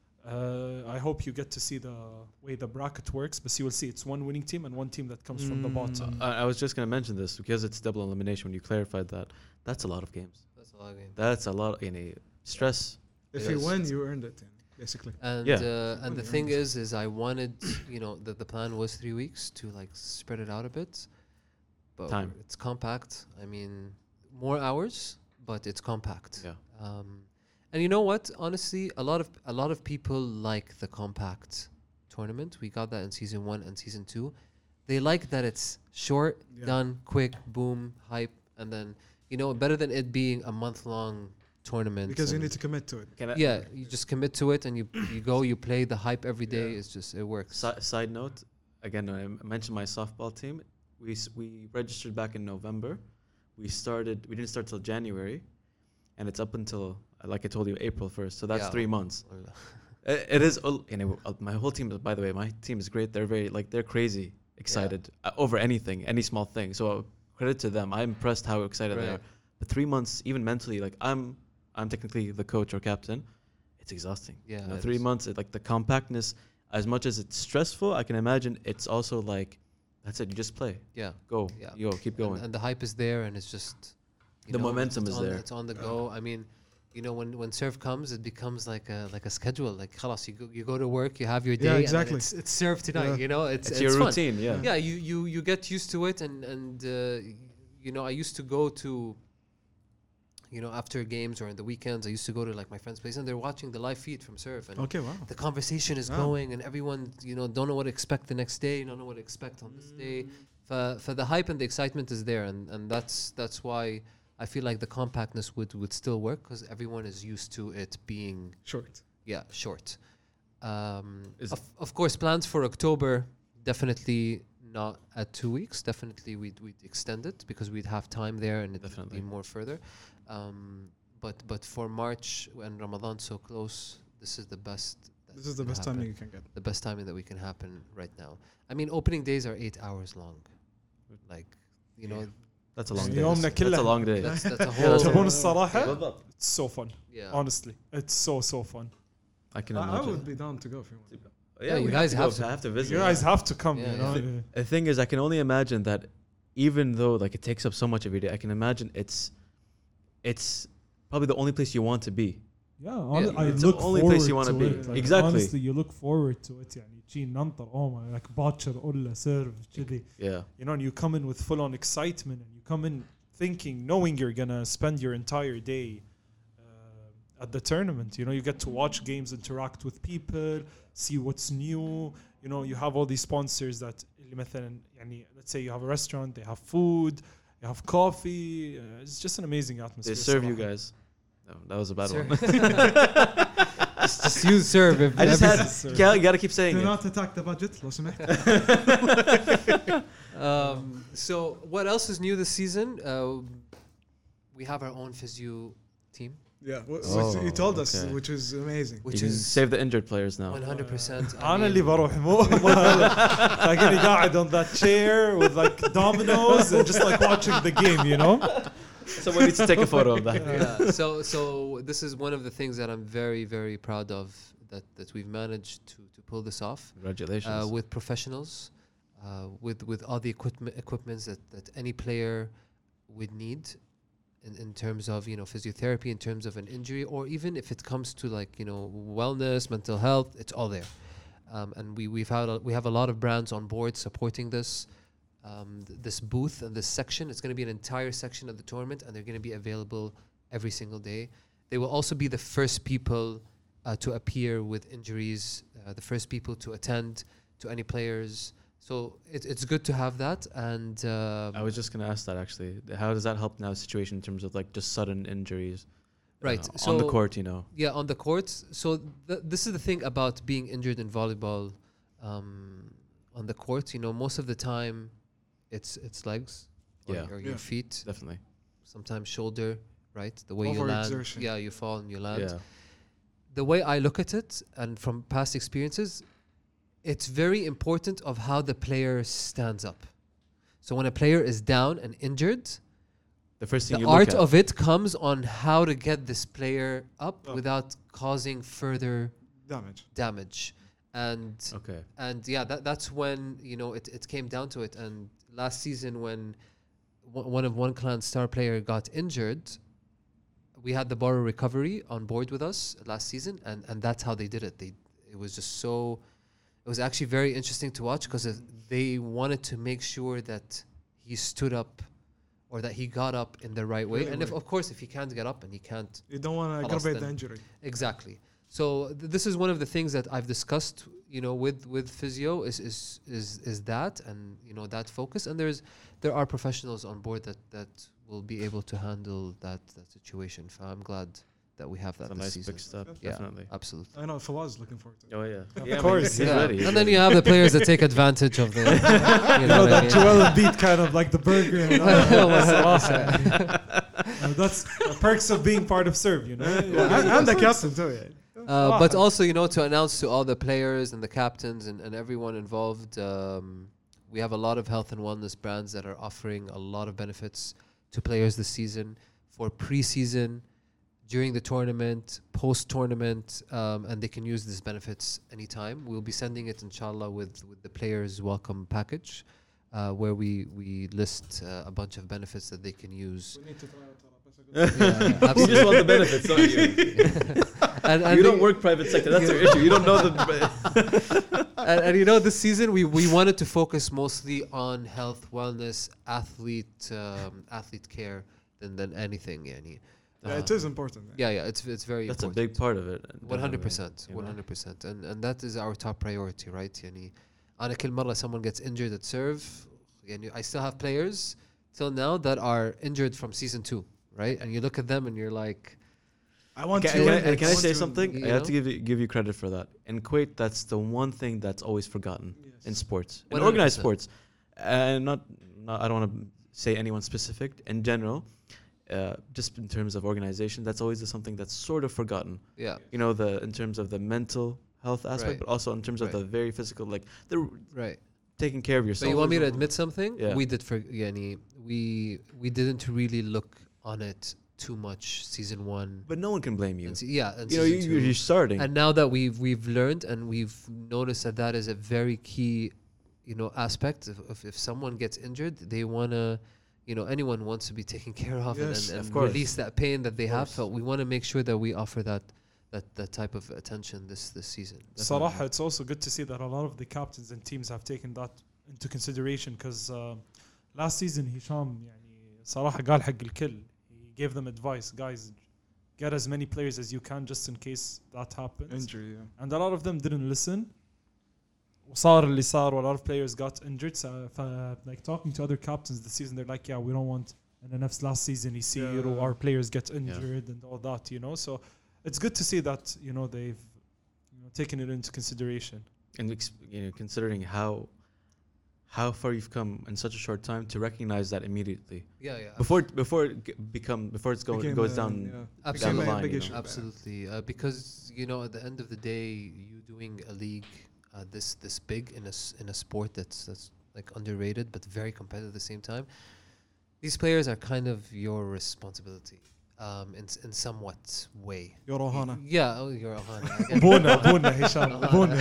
I hope you get to see the way the bracket works but you will see it's one winning team and one team that comes from the bottom I was just going to mention this because it's double elimination. When you clarified that, that's a lot of games. That's a lot of games. That's a lot. Stress. if Yes. you win, you earned it, basically. And Yeah. and the thing is I wanted, the plan was 3 weeks to like spread it out a bit, but Time. it's compact. I mean, more hours, but it's compact. Yeah. And you know what? Honestly, a lot of people like the compact tournament. We got that in season 1 and season 2. They like that it's short, Yeah. done, quick, boom, hype, and then better than it being a month-long tournament. Because you and- need to commit to it. Can I, yeah, you just commit to it and you go, you play the hype every day. Yeah. It's just, it works. Side note, again, I mentioned my softball team. We registered back in November. We didn't start till January, and it's up until, like I told you, April 1st. So that's Yeah. 3 months. It is, my whole team, by the way, my team is great. They're crazy excited over anything, any small thing. So credit to them. I'm impressed how excited they Right. are. But 3 months, even mentally, like I'm technically the coach or captain. It's exhausting. Yeah, it 3 is. months, like the compactness, as much as it's stressful, I can imagine it's also like, that's it. You just play, Yeah. go, Yeah. keep going. And the hype is there and it's just, The momentum it's is on, there. It's on the go. I mean, when serve comes, it becomes like a schedule. Like, khalas, you go to work, you have your day. Yeah, and then exactly. it's serve tonight, Yeah. It's your fun. routine, yeah. Yeah, you get used to it and I used to go to you know, after games or in the weekends, I used to go to like my friend's place and they're watching the live feed from Surf, and Okay, wow. the conversation is Ah. going, and everyone, you know, don't know what to expect the next day, don't know what to expect on this day. For the hype and the excitement is there, and that's why I feel like the compactness would still work, because everyone is used to it being Short. short. Is- Of course, plans for October, definitely not at 2 weeks. Definitely we'd extend it because we'd have time there and it'd Definitely. be more further. But for March, when Ramadan's so close, this is the best. that This is the can best happen. timing you can get. The best timing that we can happen right now. I mean, opening days are 8 hours long. Like, you know, That's a long day. يومنا That's a كله. long day. that's a Yeah, whole. تبون الصراحة بالضبط. it's so fun Yeah. honestly it's so fun. I can I imagine. would be down to go if you want. Yeah, you we guys to have go. to. I have to visit. You guys have to come, Yeah, you know. yeah. The thing is, I can only imagine that even though like it takes up so much of your day, I can imagine it's probably the only place you want to be. Yeah, I It's look the only forward place you wanna to be. it. Like, Exactly. Honestly, you look forward to it. يعني تجي ننطر like باكر قلة سيرف كذي. Yeah. You know, and you come in with full on excitement, and you come in thinking, knowing you're gonna spend your entire day at the tournament. You know, you get to watch games, interact with people, see what's new. You know, you have all these sponsors that اللي مثلا يعني let's say you have a restaurant, they have food, you have coffee. It's just an amazing atmosphere. They serve you صراحة. guys. No, that was a bad Serve. one. Just use serve. If I just every- had. You gotta keep saying Do it. not attack the budget, لو سمحت. So what else is new this season? We have our own physio team, Yeah, Oh, you told us, okay. which is amazing. which You can is save the injured players now. 100%. أنا اللي بروح مو تلاقيني قاعد on that chair with like dominoes and just like watching the game, you know. Someone needs to take a photo of that. Yeah. So this is one of the things that I'm very, very proud of, that we've managed to pull this off Congratulations. with professionals, with all the equipments that any player would need in terms of, you know, physiotherapy, in terms of an injury, or even if it comes to like, you know, wellness, mental health, it's all there. And we have a lot of brands on board supporting this. This booth and this section, it's going to be an entire section of the tournament, and they're going to be available every single day. They will also be the first people to appear with injuries, the first people to attend to any players. So it's good to have that. And I was just gonna ask that actually. How does that help now situation in terms of like just sudden injuries? right, On the so- court, you know. Yeah, on the courts. So this is the thing about being injured in volleyball on the court. You know, most of the time, it's legs or, Yeah. or your Yeah. feet. Definitely. Sometimes shoulder. Right, the way you land. Overexertion. Yeah, you fall and you land. Yeah. The way I look at it, and from past experiences, it's very important of how the player stands up. So when a player is down and injured, The first thing the you look art at. of it comes on how to get this player up Up. without causing further Damage. and Okay. and yeah, that's when, you know, it came down to it. And last season, when one clan star player got injured, we had the borrow recovery on board with us last season, and that's how they did it. It was just so. It was actually very interesting to watch, because they wanted to make sure that he stood up, or that he got up in the right way. Really And if, way. of course, if he can't get up and he can't. You don't want to خلاص aggravate the then. injury. Exactly. So this is one of the things that I've discussed, you know, with physio is that, and you know, that focus. And there are professionals on board that will be able to handle that situation. So I'm glad that we have that That's a this nice season. big step. Yeah, Definitely. absolutely. I know Fawaz looking forward to it. Oh yeah. Of Yeah, course, He's Yeah. ready. And then you have the players that take advantage of the. You You know know what I that mean? Joel Embiid kind of like the burger. You know? That's the perks of being part of Serve, you know. And the captain too. Yeah. But also, you know, to announce to all the players and the captains and everyone involved, we have a lot of health and wellness brands that are offering a lot of benefits to players this season, for pre-season, during the tournament, post-tournament, and they can use these benefits anytime. We'll be sending it, inshallah, with the players' welcome package, where we list a bunch of benefits that they can use. We need to try it. Yeah, You absolutely. just want the benefits, don't you? And You they- don't work private sector. That's your issue. You don't know the. and you know, this season we wanted to focus mostly on health, wellness, athlete care than anything. Yani. Yeah, it is important. Yeah, it's very That's important. a big part of it. 100%, you know? 100%, and that is our top priority, right? يعني أنا كل مرة someone gets injured at serve, يعني I still have players till now that are injured from season 2, right? And you look at them and you're like, I want Can, to. can, I, I can I want say to- something? you I have to know? give you credit for that. In Kuwait, that's the one thing that's always forgotten in Yes. sports, in 100%. organized sports, and not I don't want to say anyone specific. In general, just in terms of organization, that's always something that's sort of forgotten. yeah, You know, the in terms of the mental health aspect, Right. but also in terms of Right. the very physical, like the right. taking care of But yourself. you want me to admit something? Yeah. We did for yani we didn't really look on it too much season 1. But no one can blame you. And and You know, season 2. you're starting. And now that we've learned and we've noticed that that is a very key, aspect of if someone gets injured, they wanna, anyone wants to be taken care of Yes, and of course. release that pain that they have. course. So we want to make sure that we offer that type of attention this season. صراحة it's also good to see that a lot of the captains and teams have taken that into consideration because last season هشام يعني صراحة قال حق الكل. He gave them advice, guys, get as many players as you can just in case that happens. Injury, yeah. And a lot of them didn't listen. وصار اللي صار, a lot of players got injured. So, like talking to other captains this season, they're like, yeah, we don't want in the last season يصير Yeah. our players get injured and all that, So it's good to see that, they've taken it into consideration. And considering how far you've come in such a short time to recognize that immediately Yeah. before it's Became goes a- down. yeah. Absolutely. Down the line, big you know. issue. Absolutely, because at the end of the day, you doing a league this big in a sport that's like underrated but very competitive at the same time. These players are kind of your responsibility, in somewhat way. Your Ohana. Yeah, you're Ohana. ابونا هشام ابونا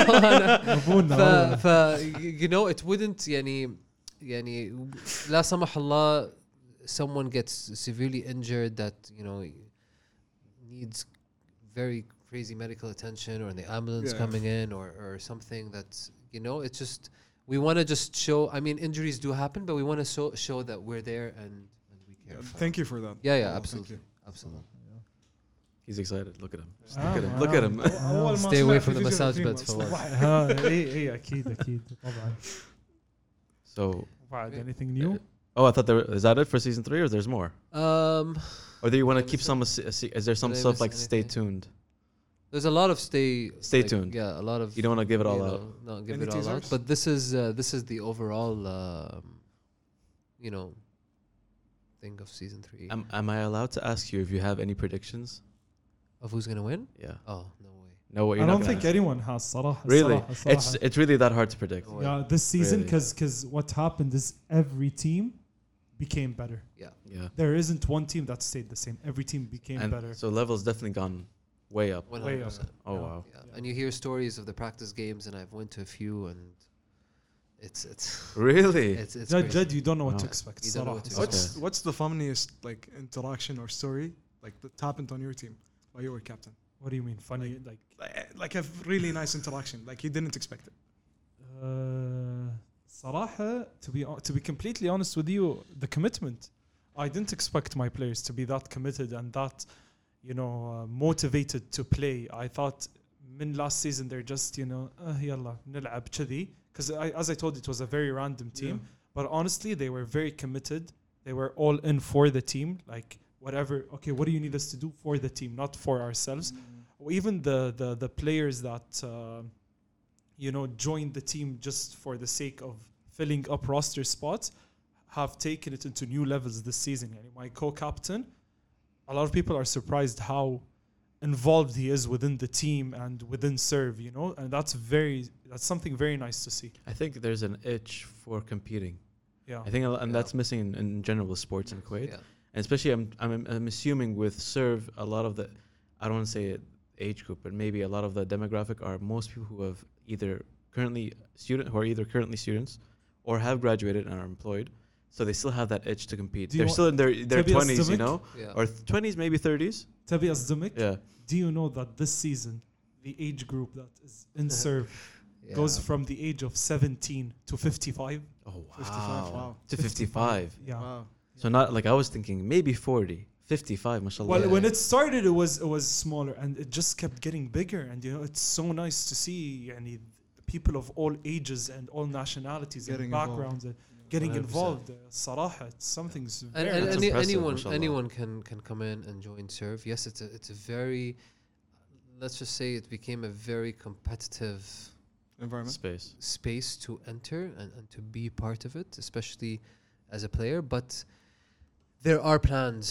ابونا it wouldn't يعني لا سمح الله someone gets severely injured that needs very crazy medical attention or the ambulance Yeah. coming in or something that's it's just we want to just show. I mean, injuries do happen, but we want to show that we're there and we care. Thank you for that. Yeah, Oh, thank absolutely, you. absolutely. He's excited. Look at him. Ah, Look at him. Look at him. أول ما Stay away سمعت from the فيديو massage الأخير beds ما for سمعت. once. اي اكيد طبعا. So, بعد anything new? I thought is that it for season 3 or there's more? Or do you want to Let me keep see. some? Is there some Did I stuff miss like stay anything? tuned? There's a lot of stay like, tuned. Yeah, a lot of. You don't want to give it all you out. know, Not give Any it all out. teasers? But this is the overall, thing of season 3. Am I allowed to ask you if you have any predictions? Of who's gonna win? Yeah. Oh no way. No, I you're don't not think gonna ask. anyone has صراحة. Really, صراحة. it's really that hard to predict. No way. Yeah, this season Really. because what happened is every team became better. Yeah. Yeah. There isn't one team that stayed the same. Every team became And better. so level's definitely gone way up. 100%. Oh Yeah. wow. Yeah. And you hear stories of the practice games, and I've went to a few, and it's Really? it's Jed, crazy. you don't know what to Wow. expect. You don't know what to صراحة. expect. What's the funniest like interaction or story like that happened on your team while you were captain? What do you mean funny? Like a really nice interaction, like you didn't expect it. صراحة, to be completely honest with you, the commitment. I didn't expect my players to be that committed and that, motivated to play. I thought من last season they're just, يلا نلعب كذي. Because as I told you, it was a very random team. Yeah. But honestly, they were very committed. They were all in for the team. Like whatever. Okay, what do you need us to do for the team, not for ourselves? Or even the players that joined the team just for the sake of filling up roster spots have taken it into new levels this season. Yani my co-captain, a lot of people are surprised how involved he is within the team and within serve, and that's something very nice to see. I think there's an itch for competing. Yeah. I think, and that's missing in general with sports in Kuwait. Yeah. And especially, I'm assuming with serve, a lot of the, I don't want to say it age group, but maybe a lot of the demographic are most people who have either currently students or have graduated and are employed. So they still have that itch to compete. Do you They're still in their to be 20s, a or 20s, maybe 30s. Tabi Azdamik, Yeah. do you know that this season, the age group that is in serve goes from the age of 17 to 55? Oh, wow. 55, wow. To 55. Yeah. Wow. So not like I was thinking maybe 40. 55, mashallah. Well, Yeah. when it started, it was smaller, and it just kept getting bigger. And it's so nice to see, people of all ages and all nationalities Getting and backgrounds getting 100%. involved. صراحة, it's something And, very and That's any, impressive, anyone mashallah. anyone can come in and join Serve. Yes, it's a very, let's just say it became a very competitive Environment. Space. space to enter and to be part of it, especially as a player. But there are plans,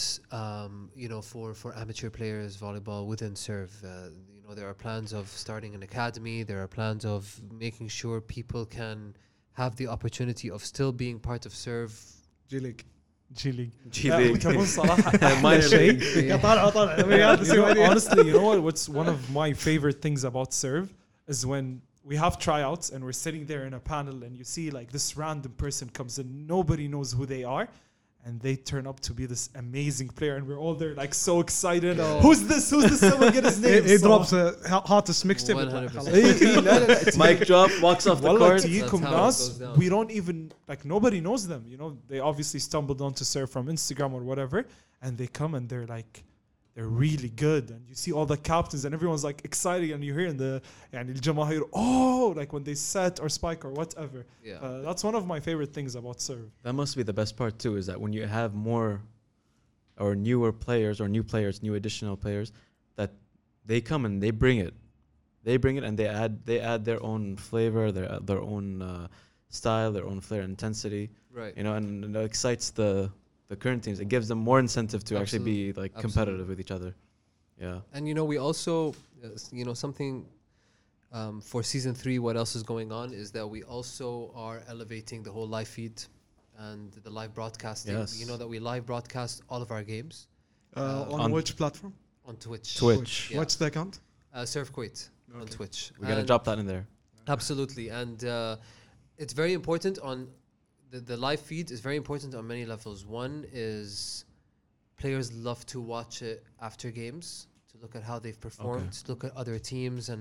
for amateur players volleyball within Serve. There are plans of starting an academy. There are plans of making sure people can have the opportunity of still being part of Serve. G League. G League. G League. كمان صراحة Minor أحلى شيء. league. Honestly, you know what? What's one of my favorite things about Serve is when we have tryouts and we're sitting there in a panel and you see like this random person comes in, nobody knows who they are, and they turn up to be this amazing player, and we're all there like so excited. Oh. Who's this? Someone get his name. He drops a hottest mixtape. 100%. Mic drop, walks off the والله court. تجيكم That's how it ناس goes down. we don't even like, nobody knows them, they obviously stumbled onto Serve from Instagram or whatever, and they come and they're really good, and you see all the captains and everyone's like excited, and you hear in the الجماهير, like when they set or spike or whatever. Yeah. That's one of my favorite things about Serve. That must be the best part too, is that when you have more or newer players or new additional players, that they come and they bring it. They bring it and they add their own flavor, their own style, their own flair, intensity. Right. And it excites the current teams. It gives them more incentive to actually be like competitive with each other. Yeah. And we also, something for season 3. What else is going on is that we also are elevating the whole live feed and the live broadcasting. Yes. You know that we live broadcast all of our games On which platform? on Twitch. Twitch. Yeah. What's the account? Serve Kuwait on Okay. Twitch. We're gonna And drop that in there. Absolutely, and it's very important on the live feed is very important on many levels. One is players love to watch it after games to look at how they've performed, to look at other teams, and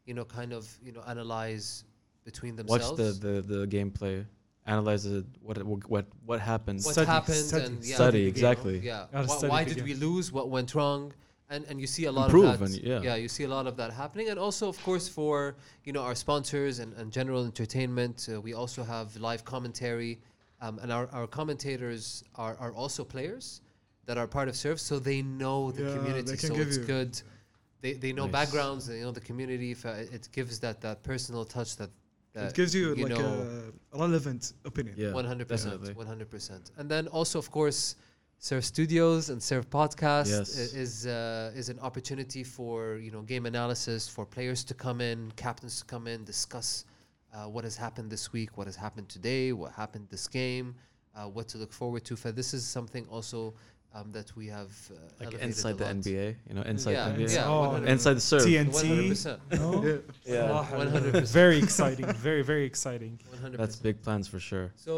analyze between themselves. Watch the gameplay, analyze it, what happened. What Study, happened study, and study, you know, exactly. Yeah. Gotta study Why the did game. we lose? What went wrong? And you see a lot Improve of that. and You see a lot of that happening, and also of course for our sponsors and general entertainment, we also have live commentary, and our commentators are also players that are part of Serve, so they know the Yeah, community, they can so give it's you- good. They know Nice. backgrounds, they know the community. It gives that personal touch that It gives you like know, a relevant opinion. Yeah, 100%, definitely. 100%. And then also, of course, Serve Studios and Serve Podcast Yes. is an opportunity for game analysis, for players to come in, captains to come in, discuss what has happened this week, what has happened today, what happened this game, what to look forward to. For this is something also that we have Like elevated inside a the lot. NBA, inside Yeah, the NBA. yeah, Oh, 100%. Inside the serve. TNT. 100%. No? Yeah. صراحة 100%. very exciting, very very exciting. 100%. That's big plans for sure. So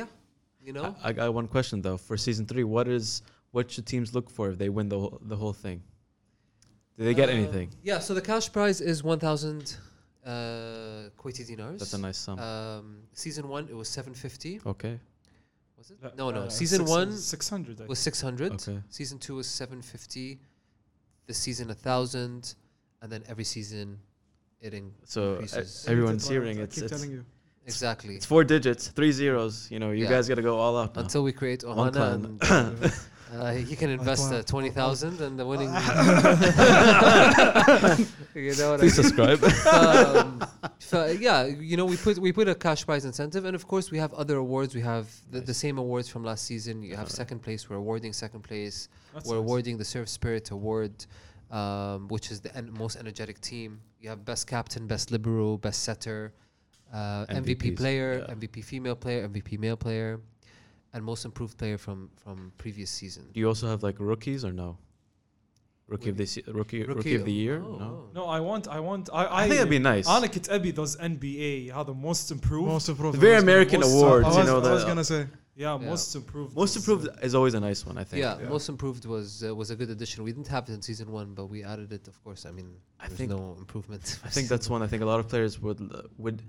I got one question though. For season 3, what should teams look for if they win the whole thing? Do they get anything? Yeah, so the cash prize is 1,000 Kuwaiti dinars. That's a nice sum. Season 1 it was 750. Okay. Was it? No. Season 1 600. was 600. Okay. Season 2 was 750. This season 1,000, and then every season it So increases. everyone's I hearing keep telling you. Exactly. it's 4 digits, 3 zeros. You Yeah. guys got to go all out now. Until we create One Ohana, clan. and you can invest 20,000 and the winning. You know what I Please mean? subscribe. We put a cash prize incentive, and of course we have other awards. We have the same awards from last season. You have second place. We're awarding second place. We're awarding the Serve Spirit Award, which is the most energetic team. You have best captain, best libero, best setter, MVP MVPs, player, yeah. MVP female player, MVP male player, and most improved player from previous season. Do you also have like rookies or no? Rookie of the year? Oh, No. No, I want. I think that'd be nice. أنا كنت أبي those NBA هذا most improved. Most improved. The very American most- awards, I you know was that. gonna say. Yeah, Yeah. most improved. Most improved is always a nice one, I think. Yeah, most improved was a good addition. We didn't have it in season 1, but we added it. Of course, I mean, there's think- no improvement. I think that's one. I think a lot of players would,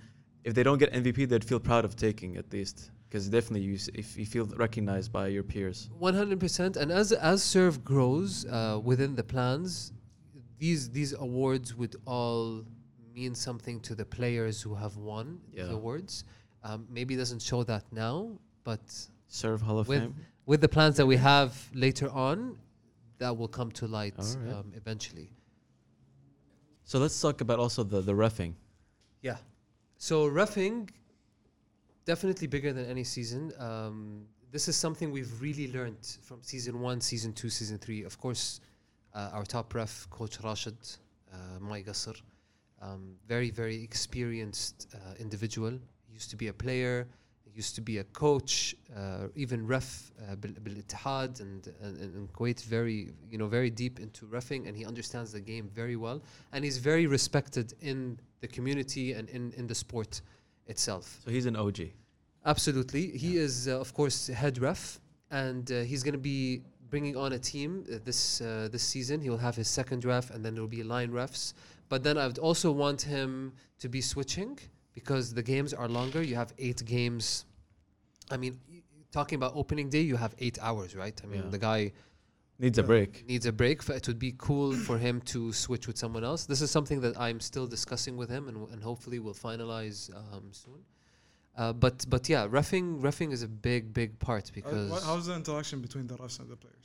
if they don't get MVP, they'd feel proud of taking at least. Because definitely, if you feel recognized by your peers. 100%. And as Serve grows within the plans, these awards would all mean something to the players who have won the awards. Maybe it doesn't show that now, but Serve Hall of Fame. With the plans that we have later on, that will come to light eventually. So let's talk about also the reffing. Yeah. So reffing, definitely bigger than any season. This is something we've really learned from season 1, season 2, season 3. Of course, our top ref, Coach Rashid Mai Qasr, very, very experienced individual. He used to be a player, he used to be a coach, even ref bil-Ittihad and Kuwait, very deep into reffing, and he understands the game very well. And he's very respected in the community and in the sport itself. So he's an OG. Absolutely. He is, of course, head ref, and he's going to be bringing on a team this season. He will have his second ref, and then there will be line refs. But then I would also want him to be switching because the games are longer. You have 8 games. I mean, talking about opening day, you have 8 hours, right? I mean, the guy needs a break. It would be cool for him to switch with someone else. This is something that I'm still discussing with him, and hopefully we'll finalize soon. But yeah, reffing is a big part because how's the interaction between the refs and the players?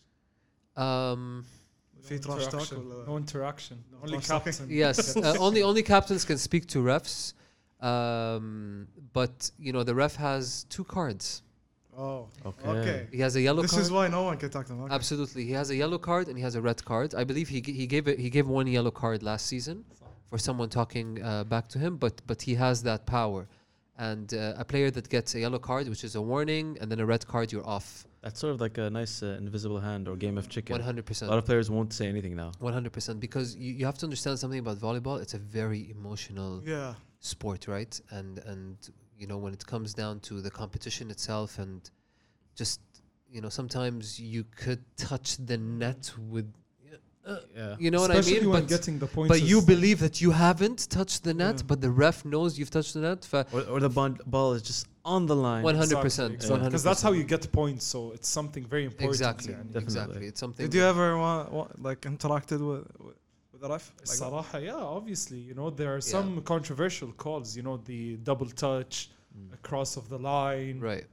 في trash talk ولا No interaction. No Only trash talking? captain. yes, only captains can speak to refs. But the ref has 2 cards. Oh, Okay. okay. He has a yellow This card. is why no one can talk to him. Okay. Absolutely, he has a yellow card and he has a red card. I believe he gave 1 yellow card last season for someone talking back to him. But he has that power. And a player that gets a yellow card, which is a warning, and then a red card, you're off. That's sort of like a nice invisible hand or game of chicken. 100%. A lot of players won't say anything now. 100%. Because you have to understand something about volleyball. It's a very emotional sport, right? And when it comes down to the competition itself, and just sometimes you could touch the net with. You know Especially what I mean? when getting the points. But you believe that you haven't touched the net, but the ref knows you've touched the net. Or the ball is just on the line. 100%. Because that's how you get points. So it's something very important. Exactly. يعني. Exactly. It's something. Did you ever interacted with the ref? الصراحة, yeah, obviously, there are some controversial calls. The double touch, across of the line. Right.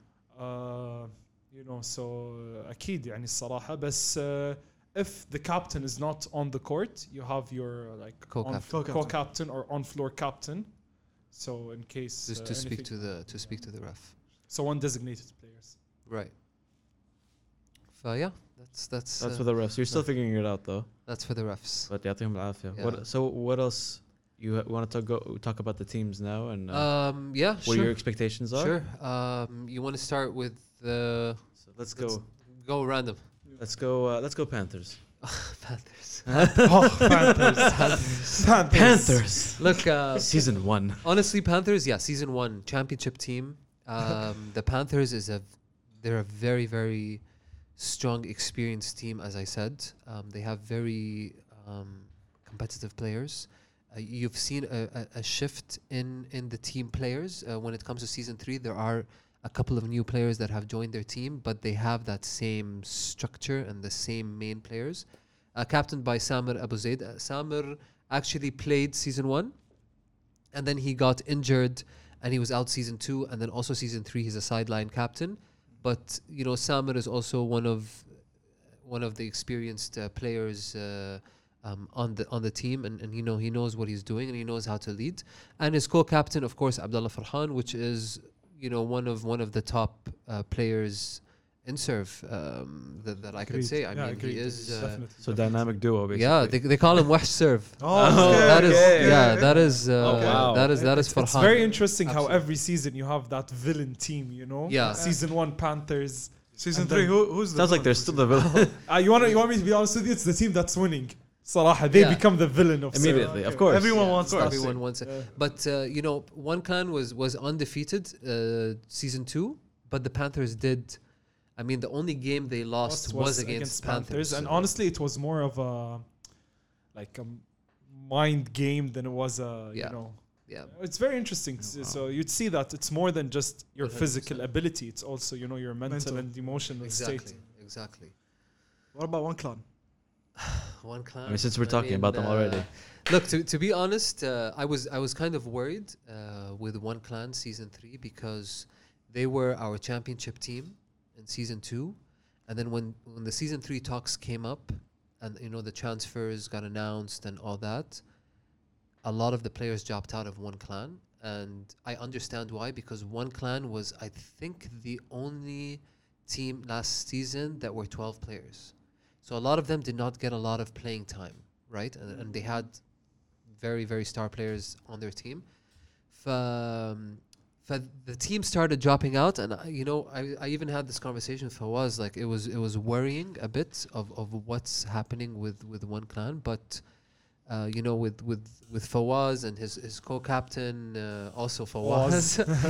So أكيد يعني الصراحة بس. If the captain is not on the court, you have your co-captain or on-floor captain. So in case just to speak to the ref. So one designated players. Right. So yeah, that's for the refs. You're still figuring it out though. That's for the refs. But يعطيهم العافية. Yeah. So what else? You want to talk about the teams now and yeah, what your expectations are? Sure. You want to start with the? So let's go. Go random. Let's go Panthers. Panthers. Panthers. Look, season 1. Honestly, Panthers. Yeah, season 1 championship team. The Panthers they're a very, very strong, experienced team. As I said, they have very competitive players. You've seen a shift in the team players when it comes to season 3. There are a couple of new players that have joined their team, but they have that same structure and the same main players. Captained by Samir Abu Zaid. Samir actually played season 1, and then he got injured, and he was out season 2, and then also season 3 he's a sideline captain. But Samir is also one of the experienced players on the team, and he knows what he's doing and he knows how to lead. And his co-captain, of course, Abdullah Farhan, which is one of the top players in serve that I could say. I mean, he is so dynamic duo. Basically. Yeah, they call him Wahsh Serve. That is Farhan. It's very interesting how every season you have that villain team. Yeah. Season 1 Panthers. Season 3 who's the sounds like they're still the villain. You want me to be honest with you? It's the team that's winning. صراحة, they become the villain of immediately. Of course, everyone wants that. Everyone wants it. But One Clan was undefeated season 2, but the Panthers did. I mean, the only game they lost was against Panthers. And honestly, it was more of a mind game than it was a Yeah. It's very interesting. So you'd see that it's more than just your 100%. physical ability. It's also, you know, your mental Mental. and emotional state. Exactly. What about one clan? One clan. I mean, since we're talking about them already. Look, to be honest, I was kind of worried with One Clan season 3 because they were our championship team in season 2, and then when the season 3 talks came up, and you know the transfers got announced and all that, a lot of the players dropped out of One Clan, and I understand why, because One Clan was, I think, the only team last season that were 12 players. So a lot of them did not get a lot of playing time, right? And they had very, very star players on their team. The team started dropping out, and you know, I even had this conversation with Fawaz, like it was worrying a bit of what's happening with One Clan, but you know, with Fawaz and his co-captain, also Fawaz,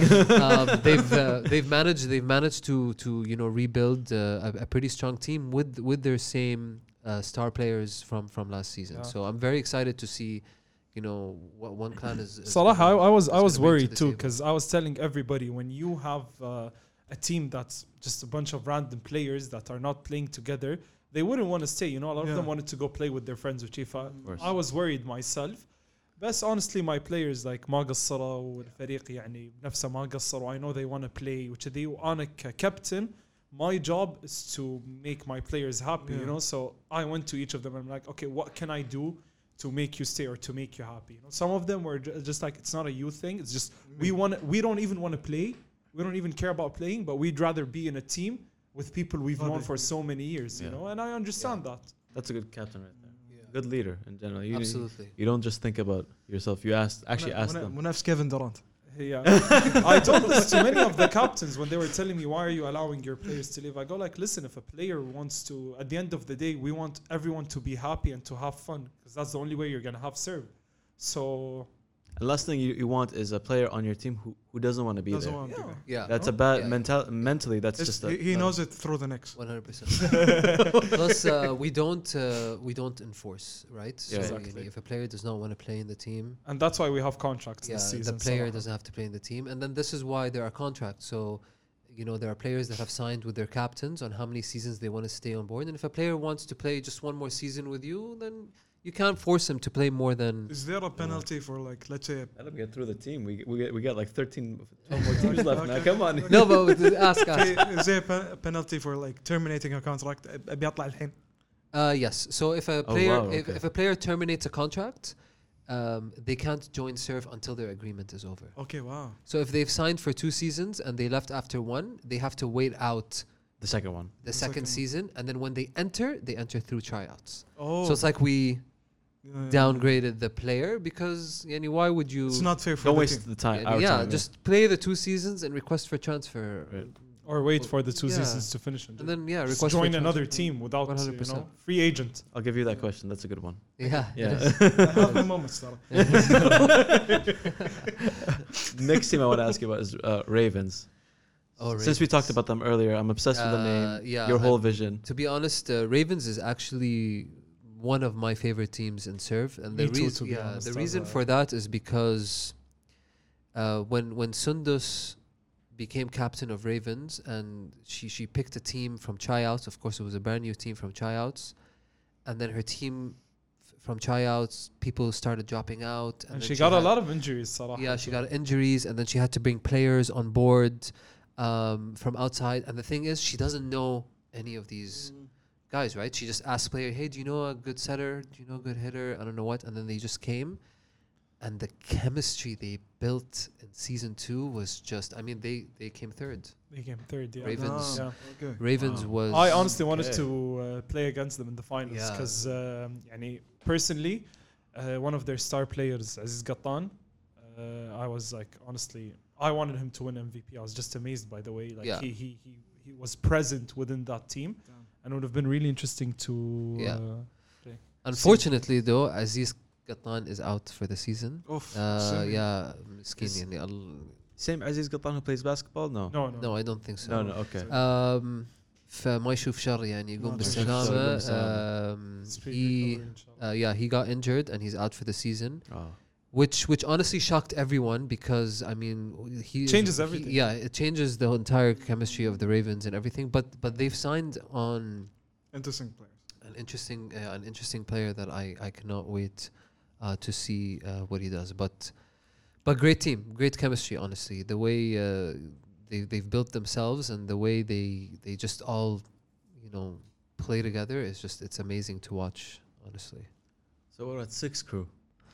they've managed to you know rebuild a pretty strong team with their same star players from last season. Yeah. So I'm very excited to see, you know, what One Clan is. Salah, I was gonna bring to worried the too table. because I was telling everybody, when you have a team that's just a bunch of random players that are not playing together, they wouldn't want to stay. You know, a lot of them wanted to go play with their friends with Chifa. course. I was worried myself. But honestly, my players like ما قصروا والفريق يعني نفسه ما قصروا. I know they want to play, which they أنا captain. My job is to make my players happy, you know. So I went to each of them and I'm like, okay, what can I do to make you stay or to make you happy? You know, some of them were just like, it's not a youth thing. It's just we don't even want to play. We don't even care about playing, but we'd rather be in a team with people we've known for so many years, you know. And I understand that. That's a good captain right there. Good leader in general. Absolutely. You don't just think about yourself. You ask them. ونفس كيفن دورانت. Yeah. I told this to many of the captains when they were telling me, why are you allowing your players to leave? I go like, listen, if a player wants to, at the end of the day, we want everyone to be happy and to have fun, because that's the only way you're going to have serve. So The last thing you want is a player on your team who doesn't want to be Doesn't there. want to be there. Yeah. That's a bad Yeah. mentally. That's It's- just he knows it through the necks. 100%. Plus, we don't enforce, right? So Exactly. if a player does not want to play in the team, and that's why we have contracts this season. the player so- doesn't have to play in the team, and then this is why there are contracts. So, you know, there are players that have signed with their captains on how many seasons they want to stay on board, and if a player wants to play just one more season with you, then you can't force him to play more than. Is there a penalty for, like, let's say, Let them get through the team. We get like 12 more teams left now. Come on. No, but ask. is there a penalty for, like, terminating a contract? بيطلع الحين. Yes. So if a player wow, okay. if a player terminates a contract, they can't join serve until their agreement is over. Okay, wow. So if they've signed for 2 seasons and they left after 1, they have to wait out The second one. the second season, and then when they enter through tryouts. Oh. So it's like we downgraded the player because, yani, why would you? It's not fair for Don't the waste team. the time. yani, Our yeah, time, just play the 2 seasons and request for transfer, Right. Or wait for the 2 Yeah. seasons to finish and and then just request join for another transfer. team without 100%. free agent. I'll give you that question. That's a good one. Yeah. Yeah. Have the moments ترى. Next team I want to ask you about is Ravens. Oh, Since we talked about them earlier, I'm obsessed with the name. yeah, Your whole vision. To be honest, Ravens is actually one of my favorite teams in serve, and Me the too, reason, to be honest, the as reason a- for that is because when Sundus became captain of Ravens, and she picked a team from tryouts. Of course, it was a brand new team from tryouts, and then her team from tryouts, people started dropping out, And then she got a had- lot of injuries, صراحة. yeah, she got injuries, and then she had to bring players on board from outside. And the thing is, she doesn't know any of these guys, right? She just asked player, "Hey, do you know a good setter? Do you know a good hitter? I don't know what." And then they just came, and the chemistry they built in season 2 was just. I mean, they came third. They came third, yeah. Ravens. Yeah. Okay. Ravens Wow. was. I honestly wanted Okay. to play against them in the finals Yeah. because, personally, one of their star players, Aziz Gattan, I was like, honestly, I wanted him to win MVP. I was just amazed by the way, like Yeah. he was present within that team, and it would have been really interesting to. Yeah. Unfortunately, though, Aziz Gattan is out for the season. Oof. Yeah, مسكين Is- يعني Same Aziz Gattan who plays basketball? No. No, I don't think so. No, okay. فما يشوف شر يعني يقوم ما بالسلامة. يشوف Speed He recovery, inshallah. he got injured and he's out for the season. Oh. which honestly shocked everyone because I mean he Changes everything. Yeah, it changes the entire chemistry of the Ravens and everything. But they've signed on Interesting players. an interesting player that I cannot wait to see what he does. But great team, great chemistry. Honestly, the way they've built themselves and the way they just all play together is it's amazing to watch. Honestly. So what about Six Crew?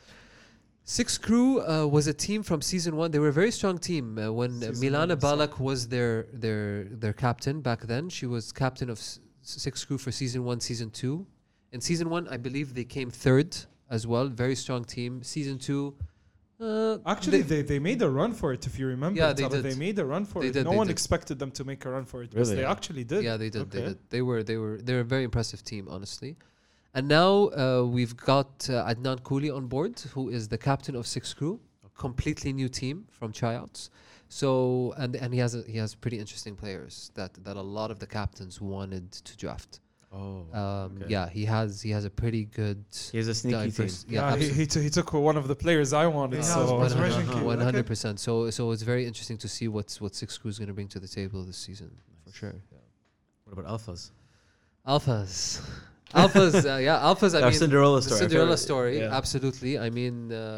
Six Crew was a team from season 1. They were a very strong team when Season Milana one, Balak was their captain back then. She was captain of Six Crew for season 1, season 2. In season 1, I believe they came third as well. Very strong team. Season 2. Actually, they made a run for it. If you remember, Yeah, they Tara, did. they made a run for They it. did, No they one did. expected them to make a run for it, but Really? they actually did. Yeah, they did. Okay. They did. They're a very impressive team, honestly. And now we've got Adnan Kouli on board, who is the captain of Six Crew, completely new team from tryouts. So and he has pretty interesting players that a lot of the captains wanted to draft. Oh, okay. Yeah, he has a pretty good. He has a sneaky team. diverse- Yeah, absolutely. he took one of the players I wanted. Yeah, so it's Resurrection King. 100%. So it's very interesting to see what Six Crew is going to bring to the table this season for sure. Yeah. What about Alphas? Alphas, Alphas. I Our mean, Cinderella the story. Cinderella story. Yeah. Absolutely. I mean,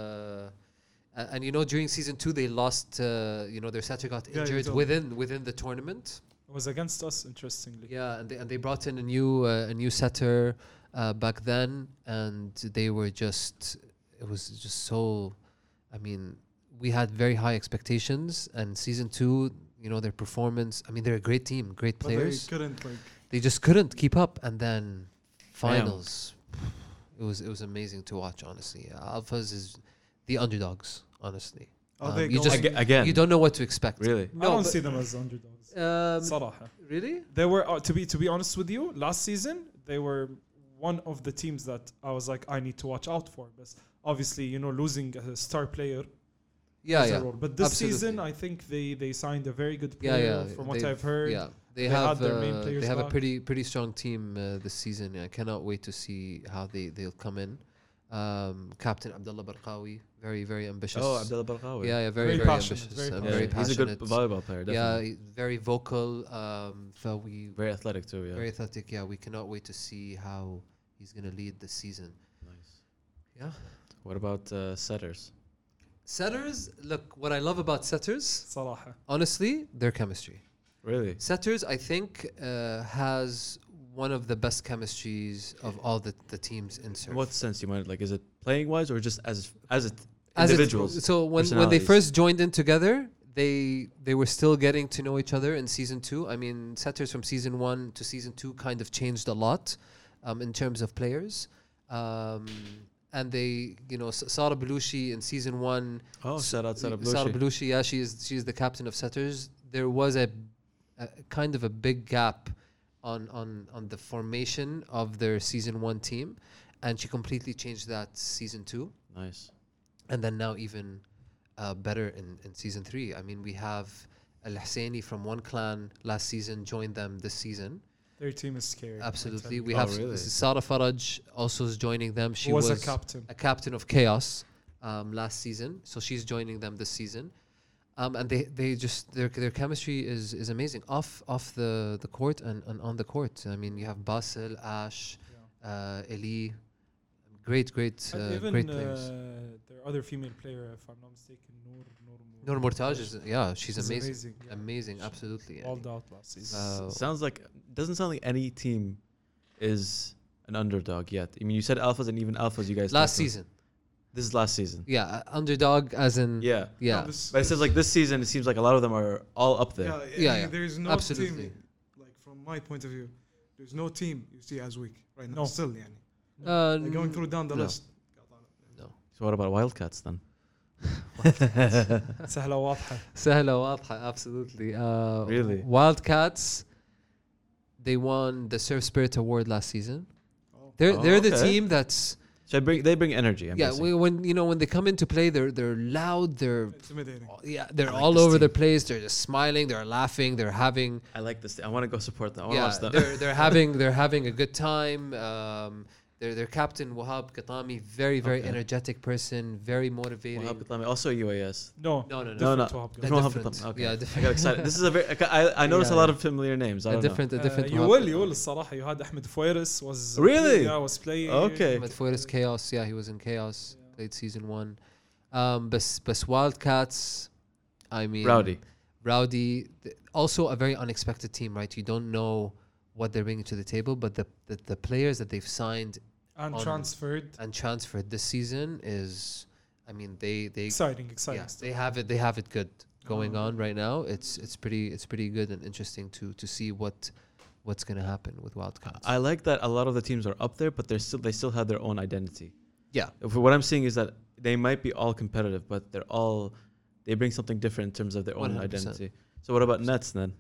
and during season 2 they lost. Their setter got Yeah, you injured told within the tournament. it was against us, interestingly. Yeah, and they brought in a new setter back then, and they were just. It was just so. I mean, we had very high expectations, and season 2, their performance. I mean, they're a great team, great But players. they couldn't They just couldn't keep up, and then finals. It was amazing to watch. Honestly, Alphas is the underdogs. Honestly, Are they you going- just Again. you don't know what to expect. Really? I don't but- see them as underdogs. صراحة. Really? They were to be honest with you, last season they were one of the teams that I was like I need to watch out for. But obviously, losing a star player. Yeah, plays a yeah. role. But this Absolutely. season, I think they signed a very good Yeah, player. yeah. From what They've- I've heard, Yeah, They had their main players they have a back. pretty strong team this season. I cannot wait to see how they'll come in. Captain Abdullah Barqawi, very very ambitious. Oh, Abdullah Barqawi. Yeah, very Very very passionate, ambitious. very Yeah, Very he's a passionate. good volleyball player. Yeah, Definitely. he's very vocal. We Very athletic too. Yeah. very athletic. Yeah, we cannot wait to see how he's gonna lead this season. Nice. Yeah. What about setters? Setters, look, what I love about setters, صراحة. honestly, their chemistry. Really? Setters, I think, has one of the best chemistries of all the teams in In surf. what sense you mind? Like, is it playing wise or just as As it- individuals? so when they personalities? first joined in together, they were still getting to know each other in season 2. I mean, setters from season 1 to season 2 kind of changed a lot in terms of players. And they, Sara Belushi in season 1. Oh, shout out Sarah Sara Belushi. Belushi, yeah, she's the captain of setters. There was a kind of a big gap on the formation of their season 1 team, and she completely changed that season 2, Nice. and then now even better in season 3. I mean, we have Al Husseini from one clan last season joined them this season. Their team is scary. Absolutely, I tell we Oh, have really? Sara Faraj also is joining them. She you. Was a captain. a captain of Chaos last season, so she's joining them this season. And they just their chemistry is amazing off the court and on the court. I mean, you have Basil, Ash, Eli, great Even great players. their other female player, if I'm not mistaken, Noor Mortaj is she's amazing, yeah. amazing, absolutely. Balled out last season. Sounds like doesn't sound like any team is an underdog yet. I mean, you said alphas and even alphas. You guys Last talked about. season, This is last season. underdog as in Yeah. yeah. But it says like this season, it seems like a lot of them are all up there. Yeah. There is no Absolutely. team, like from my point of view, there's no team you see as weak right now. No. Still, yani. Like going through down the no. list. So what about Wildcats then? سهلة واضحة. سهلة واضحة, absolutely. Really? Wildcats, they won the Surf Spirit Award last season. Oh. They're the okay. team that's So they bring energy. I'm guessing. when they come into play, they're loud, they're Intimidating. they're like all this over team. the place. They're just smiling, they're laughing, they're having I like this. I want to go support them. I want to watch them. they're having a good time. their captain Wahab Qatami, very Okay. energetic person, very motivating. Wahab Qatami, also UAS. No, No, no, no. No, no. different Wahab They're Qatami. Wahab different. Qatami, okay. Yeah, I different. got excited. This is a very. I noticed a Yeah, lot yeah. of familiar names. I A don't know. different. You Wahab will الصراحة. You had Ahmed Foueres was Really? Yeah, was playing. Okay. Ahmed Foueres Chaos. Yeah, he was in Chaos. Played season 1. But Wildcats. I mean, Rowdy. Also a very unexpected team, right? You don't know what they're bringing to the table, but the players that they've signed And on- transferred. and transferred this season is, I mean, they Exciting yeah, stuff. they have it good going on right now. It's pretty good and interesting to see what's gonna happen with Wildcats. I like that a lot of the teams are up there, but they still have their own identity. Yeah. What I'm seeing is that they might be all competitive, but they bring something different in terms of their own 100%. identity. So what about Nets then?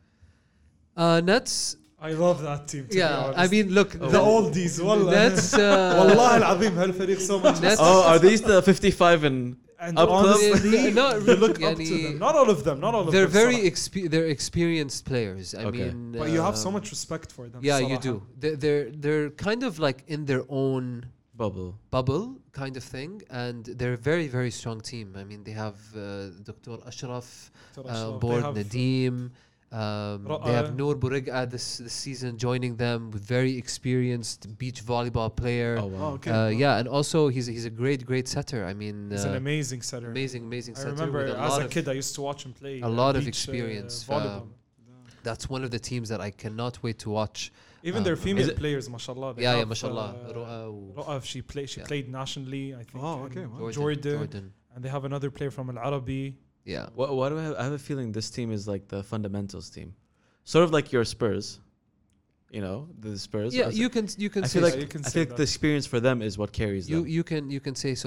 Nets. I love that team. To be Yeah, honest. I mean, look, the oldies. والله. Nets. والله العظيم هالفريق so much. Nets. Oh, are these the 55 and And Up close? honestly, Not you really, look up to يعني- them. Not all of them. Not all of They're them. very صراحة. they're experienced players. I Okay. mean, But you have so much respect for them. Yeah, you صراحة. do. They're kind of like in their own bubble? bubble kind of thing, and they're a very very strong team. I mean, they have Dr. Ashraf ترى on شباب. board, They have- Nadeem. They have Ra'a. Noor Bourega this season joining them, with very experienced beach volleyball player. Oh wow. Oh, okay. Yeah, and also he's a great setter. I mean, He's an amazing setter. amazing I setter. remember with as lot a of- kid, I used to watch him play. a lot of beach, experience, volleyball. That's one of the teams that I cannot wait to watch. Even their is female it- players, mashallah. they Yeah, have, mashallah. Ru'a و- Ru'af, she Yeah. played nationally, I think. Oh, okay, in wow. Jordan. And they have another player from Al Arabi. Yeah. Why do I have? I have a feeling this team is like the fundamentals team, sort of like your Spurs. You know, the Spurs. Yeah, I you can I say feel like so. You can I say feel like that. the experience for them is what carries them. you can say so.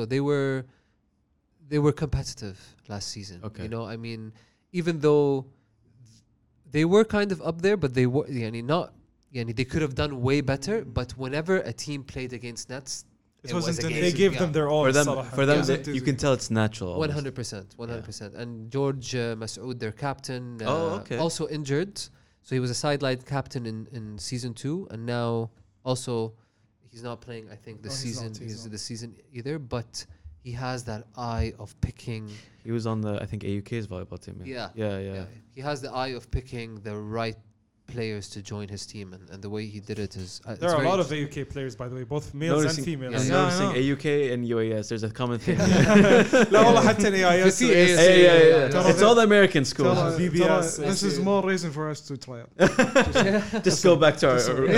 They were competitive last season. Okay. You know, I mean, even though they were kind of up there, but they were not. They could have done way better. But whenever a team played against Nets, It was wasn't a an game. They easy- gave Yeah. them their all. for them, صراحة. for them, Yeah. they- you can tell it's natural. almost. 100%, 100%. And George Masood, their captain, Okay. also injured. So he was a sideline captain in season 2, and now also he's not playing. I think this No, he's season. not, he's not. This season either. But he has that eye of picking. He was on the AUK's volleyball team. Yeah. He has the eye of picking the right players to join his team, and the way he did it is. There are a lot of AUK players, by the way, both males and Noticing- females. Yeah, I'm yeah. noticing I know. AUK and UAS. There's a common thing. لا والله حتى AIS في AIS. Yeah. It's all the American schools. Tell us- BBS, tell us- this is SC. more reason for us to try it. Just go back to our.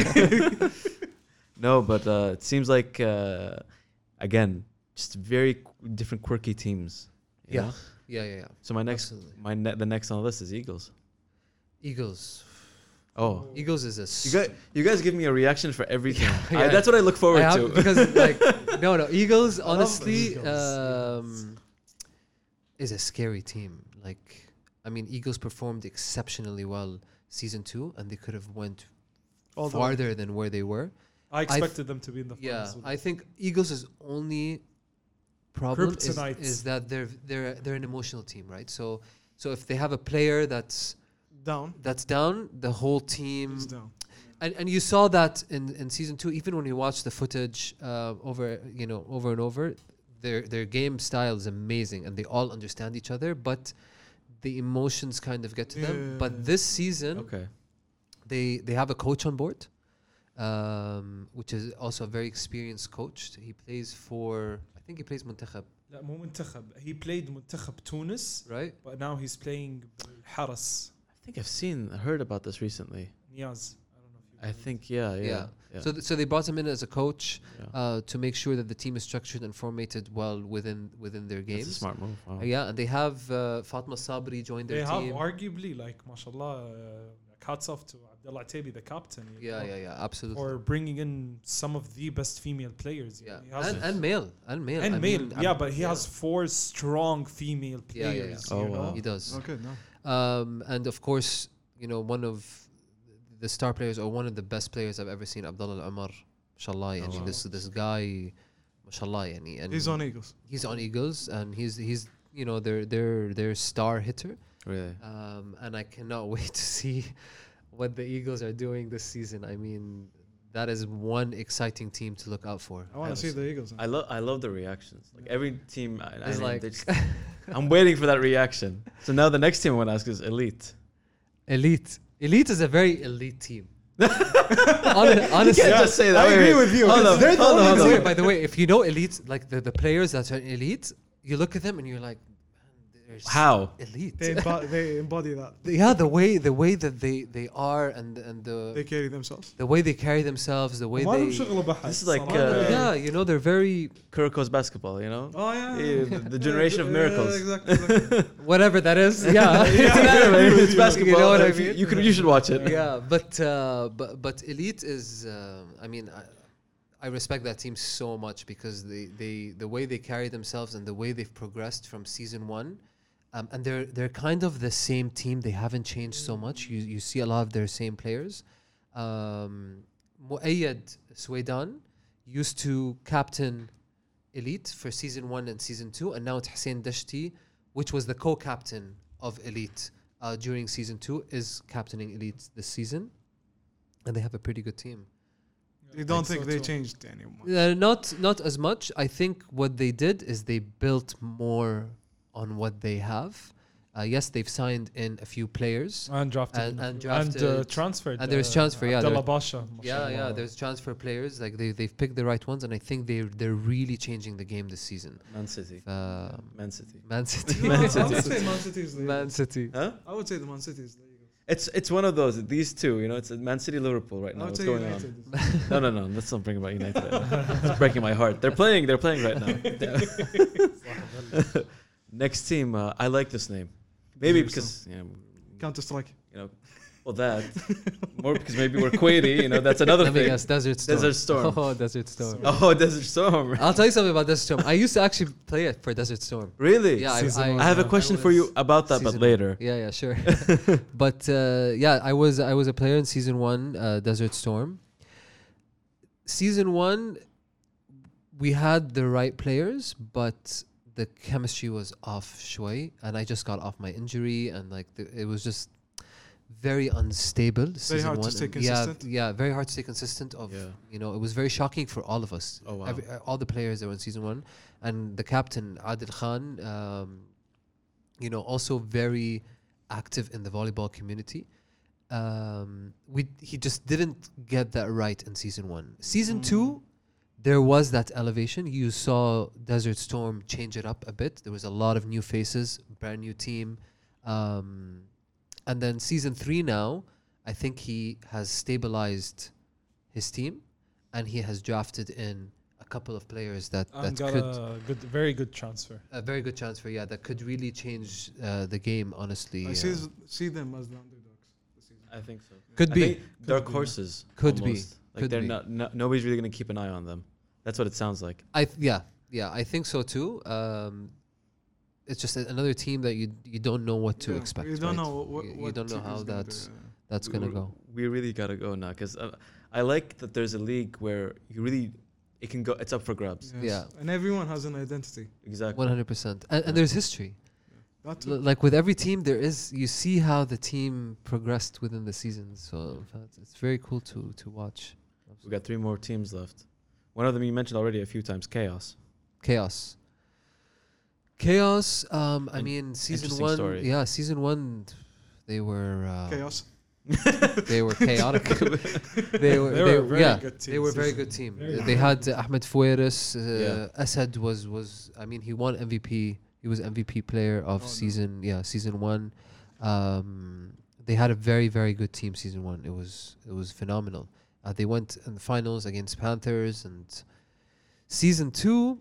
No, but it seems like again, just very different, quirky teams. you Yeah. know? Yeah. So my next, Absolutely. the next on the list is Eagles. Eagles. Oh, Eagles is a. you guys give me a reaction for everything. Yeah. That's what I look forward I have, to. because like no Eagles love honestly Eagles. is a scary team. Like I mean, Eagles performed exceptionally well season 2, and they could have went All the way. farther than where they were. I expected them to be in the Yeah, finals. I think Eagles' only problem Kryptonite. is that they're an emotional team, right? So if they have a player that's down, the whole team. It's down. And you saw that in season 2, even when you watch the footage over and over, their game style is amazing, and they all understand each other, but the emotions kind of get to them. Yeah. But this season, Okay. they have a coach on board, which is also a very experienced coach. He plays for, I think he plays Muntakhab, لا مو منتخب. He played منتخب تونس, right? but now he's playing بالحرس. I think I've heard about this recently. Niaz. I don't know if you I think, yeah. So they brought him in as a coach Yeah. to make sure that the team is structured and formatted well within their That's a games. smart move. Wow. Yeah, and they have Fatma Sabri join they their have team. arguably, like, mashallah, hats off to Abdullah Tabi, the captain. you know, Yeah, absolutely. For bringing in some of the best female players. you know. He has and male. and I male. mean, Yeah, but he has 4 strong female Yeah. players. Oh, you know? wow. He does. Okay, no. And of course, one of the star players or one of the best players I've ever seen, Abdullah Al-Amar, mashallah. Yani, wow. this guy, mashallah. Yani, and He's on Eagles. He's on Eagles, and he's their star hitter. Really? And I cannot wait to see what the Eagles are doing this season. I mean, that is one exciting team to look out for. I want to see the Eagles. I love the reactions. Like every team, It's like I'm waiting for that reaction. So now the next team I want to ask is Elite. Elite. Elite is a very elite team. Honestly, You can't just say that. I agree with you. Hold on, They're the hold on, only hold on. By the way, if you know elite, like the players that are elite, you look at them and you're like, man, they're How? elite. They embody that. Yeah, the way that they are and They carry themselves. the way they carry themselves, the way ما لهم they شغل بحث This is like, صراحة. yeah, you know, they're very Kuroko's basketball, you know? Oh yeah. The generation of miracles. Exactly. whatever that is. Yeah, It's an anime. It's basketball. You know what I If mean? You should watch it. yeah, but elite is. I mean, I respect that team so much because the way they carry themselves and the way they've progressed from season one, and they're kind of the same team. They haven't changed so much. You see a lot of their same players. Muayyad Swaydan used to captain Elite for season 1 and season 2, and now it's Hussein Dashti, which was the co-captain of Elite during season 2, is captaining Elite this season, and they have a pretty good team. You don't so think they too. changed anymore? Not as much. I think what they did is they built more on what they have. Yes, they've signed in a few players and drafted and drafted transferred. and there's transfer, yeah, Abdallah there- Basha. yeah, there's transfer players. Like they've picked the right ones, and I think they're really changing the game this season. Man City. Man City. Man City. No, Man I City. would say Man City is the Man Eagles. City. Huh? I would say the Man City is the Eagles. It's one of those. These two, you know, it's Man City, Liverpool right I now. would What's say going United. on? No. Let's not bring about United. Right now. It's breaking my heart. They're playing right now. Next team, I like this name. Maybe because Counter Strike. well that more because maybe we're Quaity. You know, that's another Let me thing. guess, Desert Storm. Desert Storm. Oh, Desert Storm. Oh, Desert Storm. I'll tell you something about Desert Storm. I used to actually play it for Desert Storm. Really? Yeah, Season I have a Yeah. question for you about that, but Season later. Yeah, sure. But yeah, I was a player in season 1, Desert Storm. Season 1, we had the right players, but the chemistry was off shway, and I just got off my injury, and like it was just very unstable. Very hard to stay consistent. Yeah, very hard to stay consistent. Yeah. You know, it was very shocking for all of us. Oh, wow. All the players that were in season 1, and the captain Adil Khan, you know, also very active in the volleyball community. He just didn't get that right in season 1. Season 2, there was that elevation. You saw Desert Storm change it up a bit. There was a lot of new faces, brand new team. And then season 3 now, I think he has stabilized his team, and he has drafted in a couple of players that And got could a very good transfer. a very good transfer, yeah, that could really change the game. Honestly, I see them as the underdogs this season. I think so. could I be. think dark horses. Could be. almost. Like Could they're be. not. Nobody's really gonna keep an eye on them. That's what it sounds like. Yeah, I think so too. It's just another team that you don't know what to Yeah, expect. You don't right? know what You don't know team how is gonna that's gonna go. We really gotta go now because I like that there's a league where it can go. It's up for grabs. do. Yeah. And everyone has an identity. Exactly. 100%. And there's history. That too. Like with every team, you see how the team progressed within the season. So it's very cool to watch. We got 3 more teams left. One of them you mentioned already a few times. Chaos. Chaos. I mean, season interesting 1. story. Yeah, season 1, they were Chaos. They were chaotic. they were They were a very yeah, good team they were a very season. good team. Very They had Ahmed Foueris. Yeah. Asad was. I mean, he won MVP. He was MVP player of season 1. They had a very, very good team season 1. It was phenomenal. They went in the finals against Panthers, and season 2.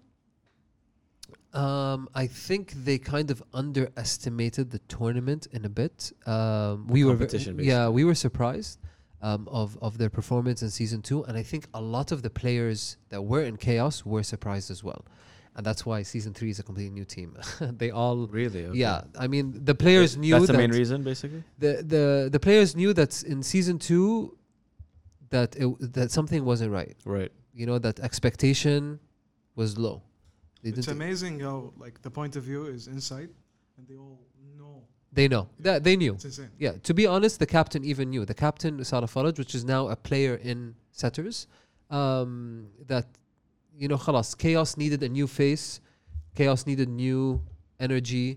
I think they kind of underestimated the tournament in a bit. We were Competition, we were surprised of their performance in season 2, and I think a lot of the players that were in Chaos were surprised as well, and that's why season 3 is a completely new team. They all Really? Okay. yeah. I mean, the players knew That's the that main reason, basically. the players knew that in season 2 that something wasn't right. Right. You know, that expectation was low. They It's didn't amazing how like the point of view is inside, and they all know They know. They knew. It's insane. Yeah, to be honest, the captain even knew. The captain, Salah Faraj, which is now a player in Setters, that, you know, khalas, Chaos needed a new face. Chaos needed new energy,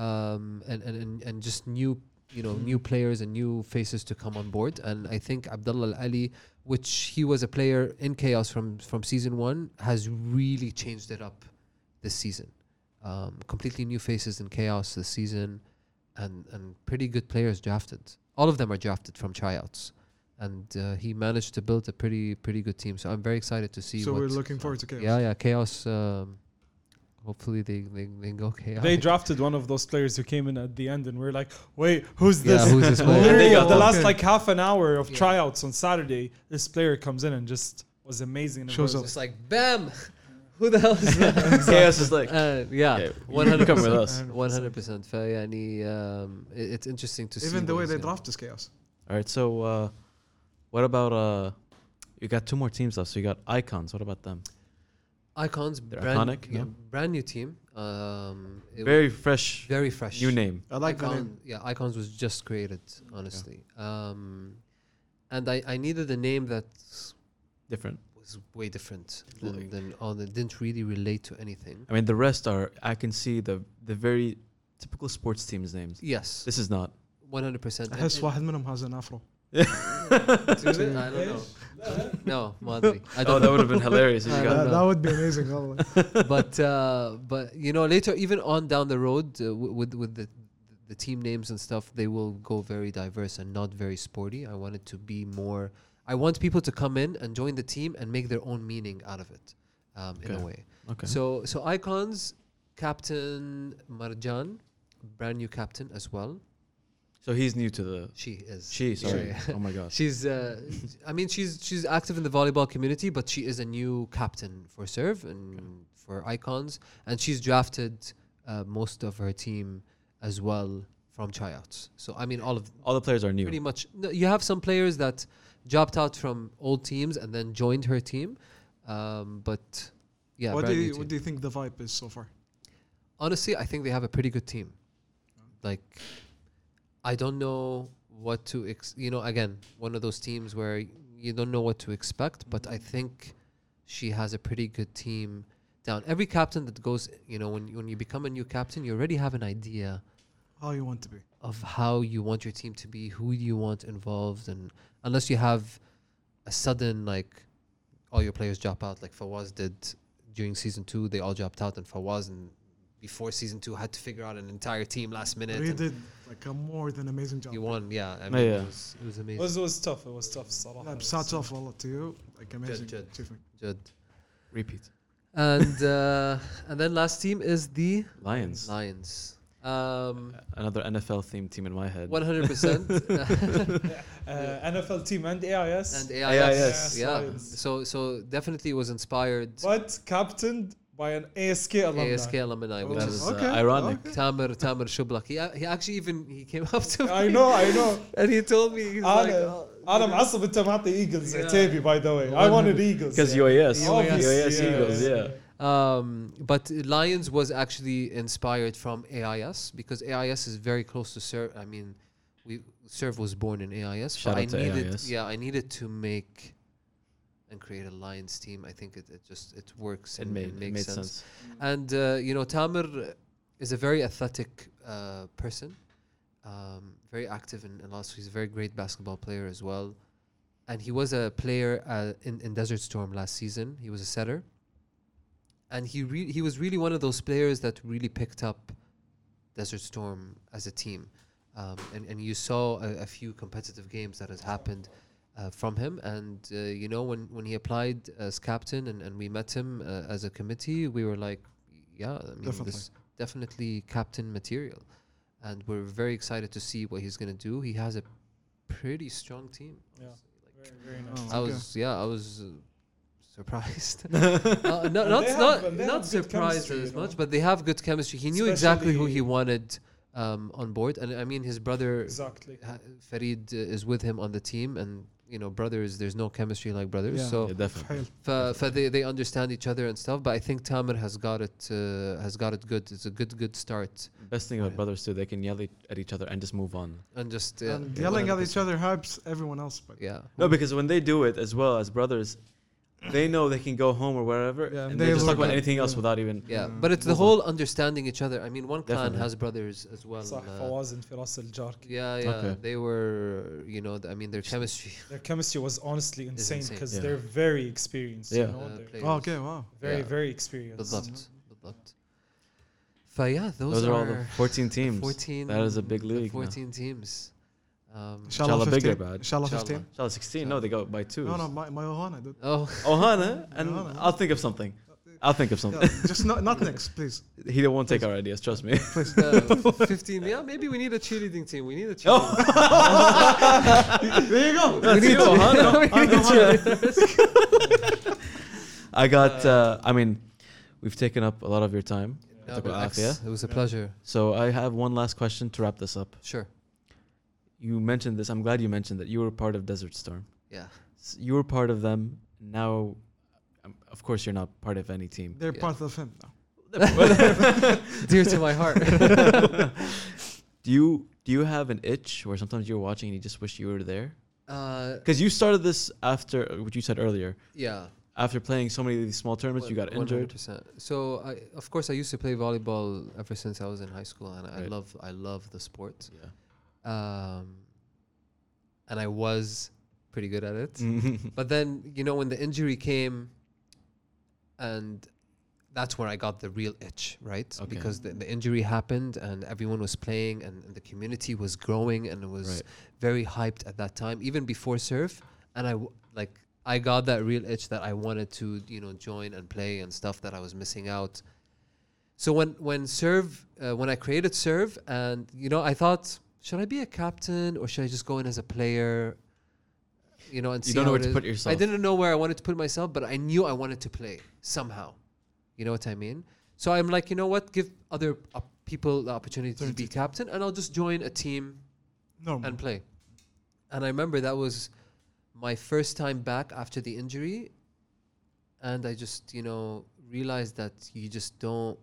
and just new, you know, new players and new faces to come on board. And I think Abdullah Al-Ali, which he was a player in Chaos from season 1, has really changed it up this season. Completely new faces in Chaos this season. And pretty good players drafted. All of them are drafted from tryouts, and he managed to build a pretty good team. So I'm very excited to see. So we're looking forward to Chaos. Yeah, Chaos. Hopefully they go Chaos. They drafted one of those players who came in at the end, and we're like, wait, who's this? Yeah, who's this player? Literally, They got the them. last like half an hour of Yeah. tryouts on Saturday, this player comes in and just was amazing. And Shows it up. was It's like bam. Who the hell is that? Chaos is like, Yeah, you come with us. 100%. It's interesting to see. Even the what way he's they gonna- draft is chaos. All right, so what about you got 2 more teams left. So you got Icons. What about them? Icons, They're brand, iconic, yeah, no? brand new team. It Very fresh, very fresh. new name. I like the name. Yeah, Icons was just created, honestly. And I needed a name that Different. was way different than all that didn't really relate to anything. I mean, the rest are. I can see the very typical sports teams names. Yes, This is not. 100%. أحس واحد منهم has an afro. I don't know. No, Madri. I Oh, don't that know. would have been hilarious if you I got don't know. That would be amazing. والله. But you know, later, even on down the road, with the team names and stuff, they will go very diverse and not very sporty. I want it to be more. I want people to come in and join the team and make their own meaning out of it, in a Okay. way. Okay. So Icons, Captain Marjan, brand new captain as well. So he's new to the. She is. Sorry. Yeah. Oh my gosh. She's I mean she's active in the volleyball community, but she is a new captain for Serve and for Icons, and she's drafted most of her team as well from tryouts. So I mean All the players are new. pretty much no, you have some players that dropped out from old teams and then joined her team, but yeah. What brand new team. do you think the vibe is so far? Honestly, I think they have a pretty good team. Like, I don't know what to, you know, again, one of those teams where you don't know what to expect, but I think she has a pretty good team down. Every captain that goes, you know, when you become a new captain, you already have an idea How you want to be? of how you want your team to be, who you want involved, and unless you have a sudden, like, all your players drop out, like Fawaz did during season 2, they all dropped out, and Fawaz and before season 2 had to figure out an entire team last minute. He and did like a more than amazing job. he won, yeah. I mean, yeah. it was amazing. It was tough. It was tough. صراحة. لا, بس off والله to you. Like amazing. Jud. achievement. Good. Repeat. And then last team is the Lions. Lions. Another NFL themed team in my head. 100%. NFL team and AIS. And AIS. Yes, Yeah. Lions. So definitely was inspired. But captained by an ASK alumni. ASK alumni, which That is is Okay. ironic. Okay. Tamer Shublak. He actually even he came up to me I know. and he told me he's like, أنا معصب أنت معطي Eagles Yeah. عتيبي by the way. I wanted Eagles. Because yeah. UAS. Obviously, UAS Eagles, yeah. But Lions was actually inspired from AIS because AIS is very close to Serve. I mean, Serve was born in AIS. Shout but out to AIS. I needed to make and create a Lions team. I think it works. It and made makes sense. And you know, Tamer is a very athletic person, very active in lots. He's a very great basketball player as well, and he was a player in Desert Storm last season. He was a setter, and he was really one of those players that really picked up Desert Storm as a team, and you saw a few competitive games that has happened. From him, and you know, when he applied as captain and we met him as a committee, we were like, yeah, I mean, Definitely. this definitely captain material, and we're very excited to see what he's gonna do. He has a pretty strong team. Yeah. Like, Very Oh, nice. okay. I was surprised. They have Not good surprised chemistry, as you know. much, but they have good chemistry. He knew exactly who he Especially- wanted on board, and I mean, his brother Exactly. Farid is with him on the team, and brothers, there's no chemistry like brothers. Yeah. So Yeah, definitely. they understand each other and stuff. But I think Tamer has got it good. It's a good start. Best thing about brothers too, they can yell at each other and just move on. And just And yelling at each 100%. other helps everyone else. But Yeah. No, because when they do it as well as brothers, they know they can go home or wherever, Yeah, and and they they just talk look about at- anything else yeah. without even. Yeah, Yeah. but it's the Move on. whole understanding each other. I mean, one clan Definitely. has brothers as well. صح فواز and فراس الجار. Yeah, Okay. they were, I mean, their chemistry. Their chemistry was honestly insane insane. because Yeah. they're very experienced. Yeah. You know, they're players. Oh, okay, wow. very Yeah. very experienced. بالضبط. فيا those Those are all the are 14 teams. 14. That is a big the league now. 14 teams. Inshallah bigger, 15. bad. Inshallah Inshallah. 15. Inshallah 16. No, they go by twos. No, my Ohana, dude. Oh, Ohana, and Ohana. I'll think of something. I'll think of something. Yeah, just not next, please. He won't take our ideas, trust me. 15. Yeah, maybe we need a cheerleading team. We need a cheerleading team. There you go. That's need you, to- Ohana. we need a cheerleaders. I got, I mean, we've taken up a lot of your time. No, Took but our X, afia. it was a pleasure. So I have one last question to wrap this up. Sure. You mentioned this. I'm glad you mentioned that you were part of Desert Storm. Yeah. You were part of them. Now, of course, you're not part of any team. They're Yeah. part of him now. Dear to my heart. Do you have an itch where sometimes you're watching and you just wish you were there? Uh, Because you started this after what you said earlier. yeah. After playing so many of these small tournaments, you got injured. 100%. So of course I used to play volleyball ever since I was in high school, and Right. I love the sport. Yeah. And I was pretty good at it. Mm-hmm. But then, when the injury came, and that's where I got the real itch, right? Okay. Because the injury happened and everyone was playing and the community was growing and it was Right. very hyped at that time, even before surf. And I got that real itch that I wanted to, join and play and stuff that I was missing out. So when I created Serve, and I thought, should I be a captain or should I just go in as a player? And You see don't know how where it to is. put yourself. I didn't know where I wanted to put myself, but I knew I wanted to play somehow. You know what I mean? So I'm like, you know what? Give other people the opportunity to be captain, and I'll just join a team Normal. and play. And I remember that was my first time back after the injury, and I just realized that you just don't.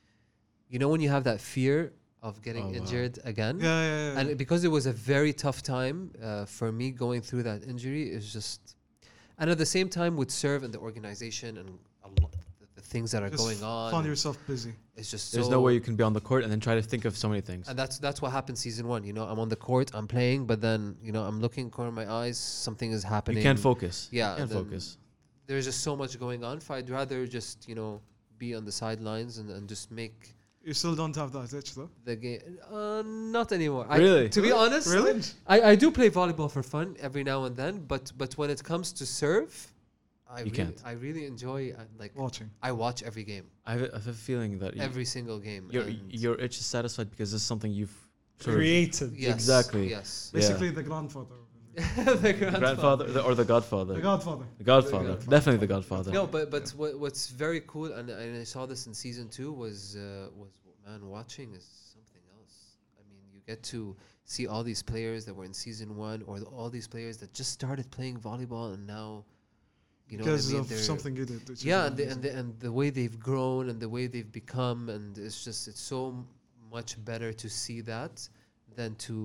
When you have that fear of getting Oh, wow. injured again. Yeah. And because it was a very tough time for me going through that injury, it's just, and at the same time with Serve and the organization and the things that are Just going on, Find yourself busy. it's just There's no way you can be on the court and then try to think of so many things. and that's what happened season 1. I'm on the court, I'm playing, but then I'm looking corner of my eyes, something is happening. You can't focus. Yeah, You can't then focus. There's just so much going on. I'd rather just be on the sidelines and just make You still don't have that itch though. the game. Not anymore. Really? To be honest, Really? I do play volleyball for fun every now and then, but when it comes to serve, can't. I really enjoy Watching. I watch every game, I have a feeling that every single game. and your itch is satisfied because this is something you've sort of- Created. yes, exactly. Yes, Basically, the grandfather. the grandfather or the godfather. The godfather. The Godfather. Godfather. Definitely the Godfather. No, but what's very cool, and I saw this in season 2 was man, watching is something else. I mean, you get to see all these players that were in season 1, or all these players that just started playing volleyball, and now, Because what I mean? of They're- something you did. which is yeah, amazing. and the way they've grown and the way they've become, and it's so much better to see that than to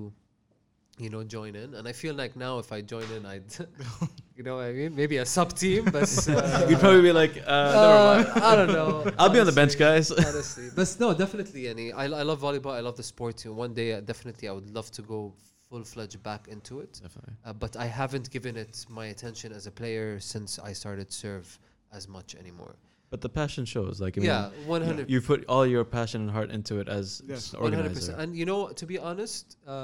join in. And I feel like now if I join in, I'd what I mean, maybe a sub team, but You'd probably be like, never mind. I don't know. I'll be on the bench, guys. Honestly, but no, definitely. I love volleyball. I love the sport too. One day, definitely, I would love to go full-fledged back into it. Definitely. But I haven't given it my attention as a player since I started serve as much anymore. But the passion shows. Like, I mean, Yeah, 100. you put all your passion and heart into it as Yes. just an 100%. organizer. And to be honest,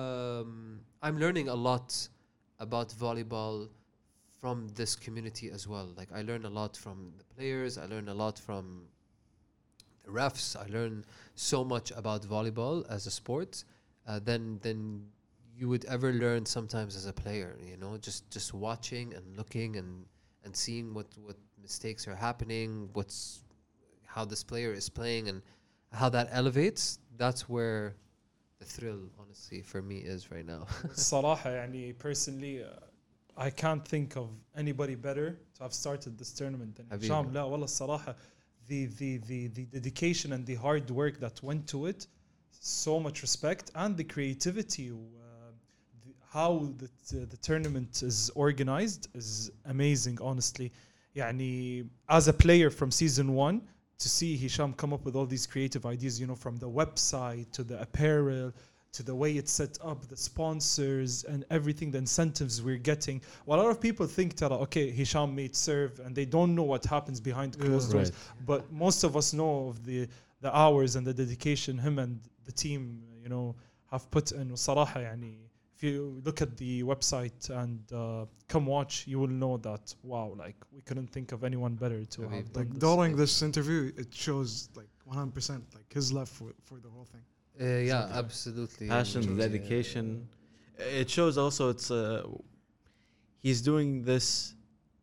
I'm learning a lot about volleyball from this community as well. Like, I learn a lot from the players. I learn a lot from the refs. I learn so much about volleyball as a sport than you would ever learn sometimes as a player. Just watching and looking and seeing what mistakes are happening, how this player is playing, and how that elevates. That's where the thrill, honestly, for me is right now. الصراحة يعني personally I can't think of anybody better to have started this tournament than Habib. Hisham. لا والله الصراحة the dedication and the hard work that went to it, so much respect, and the creativity. How the tournament is organized is amazing, honestly. يعني, as a player from season 1, to see Hisham come up with all these creative ideas, you know, from the website to the apparel to the way it's set up, the sponsors and everything, the incentives we're getting. Well, a lot of people think that, okay, Hisham made serve and they don't know what happens behind closed doors. But most of us know of the hours and the dedication him and the team, you know, have put in. وصراحة يعني, if you look at the website and come watch, you will know that, wow, like we couldn't think of anyone better to have done Like this. during this interview, it shows like 100% like his love for the whole thing. Yeah, absolutely. Passion, And, dedication. It shows also it's he's doing this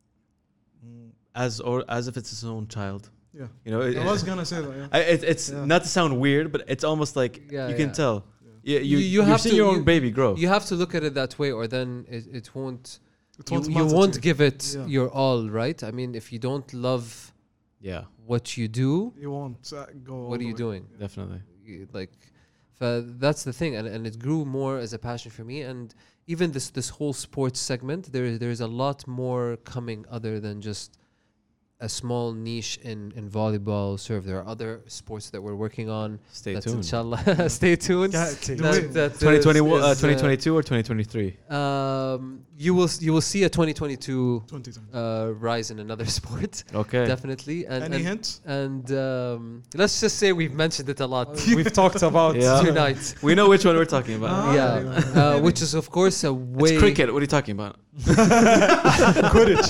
as if it's his own child. Yeah. You know, I was gonna say that. Yeah. it's not to sound weird, but it's almost like Yeah, you can yeah. tell. Yeah. You're have seeing to- your own you- baby grow. You have to look at it that way, or then it won't. It You, won't you matter won't to give it Yeah. your all, right? I mean, if you don't love Yeah, what you do, You won't go. all what are the you way. doing? definitely. Like, that's the thing, and it grew more as a passion for me. And even this whole sports segment, there's a lot more coming other than just a small niche in volleyball serve. There are other sports that we're working on. Stay That's tuned. inshallah. Stay tuned. Yeah, That 2021, is, 2022 or 2023? You will see a 2022 2020. rise in another sport, Okay. definitely. And Any hints? and let's just say we've mentioned it a lot We've talked about Yeah. tonight. We know which one we're talking about. Yeah, which is of course a way. It's cricket. What are you talking about? Quidditch,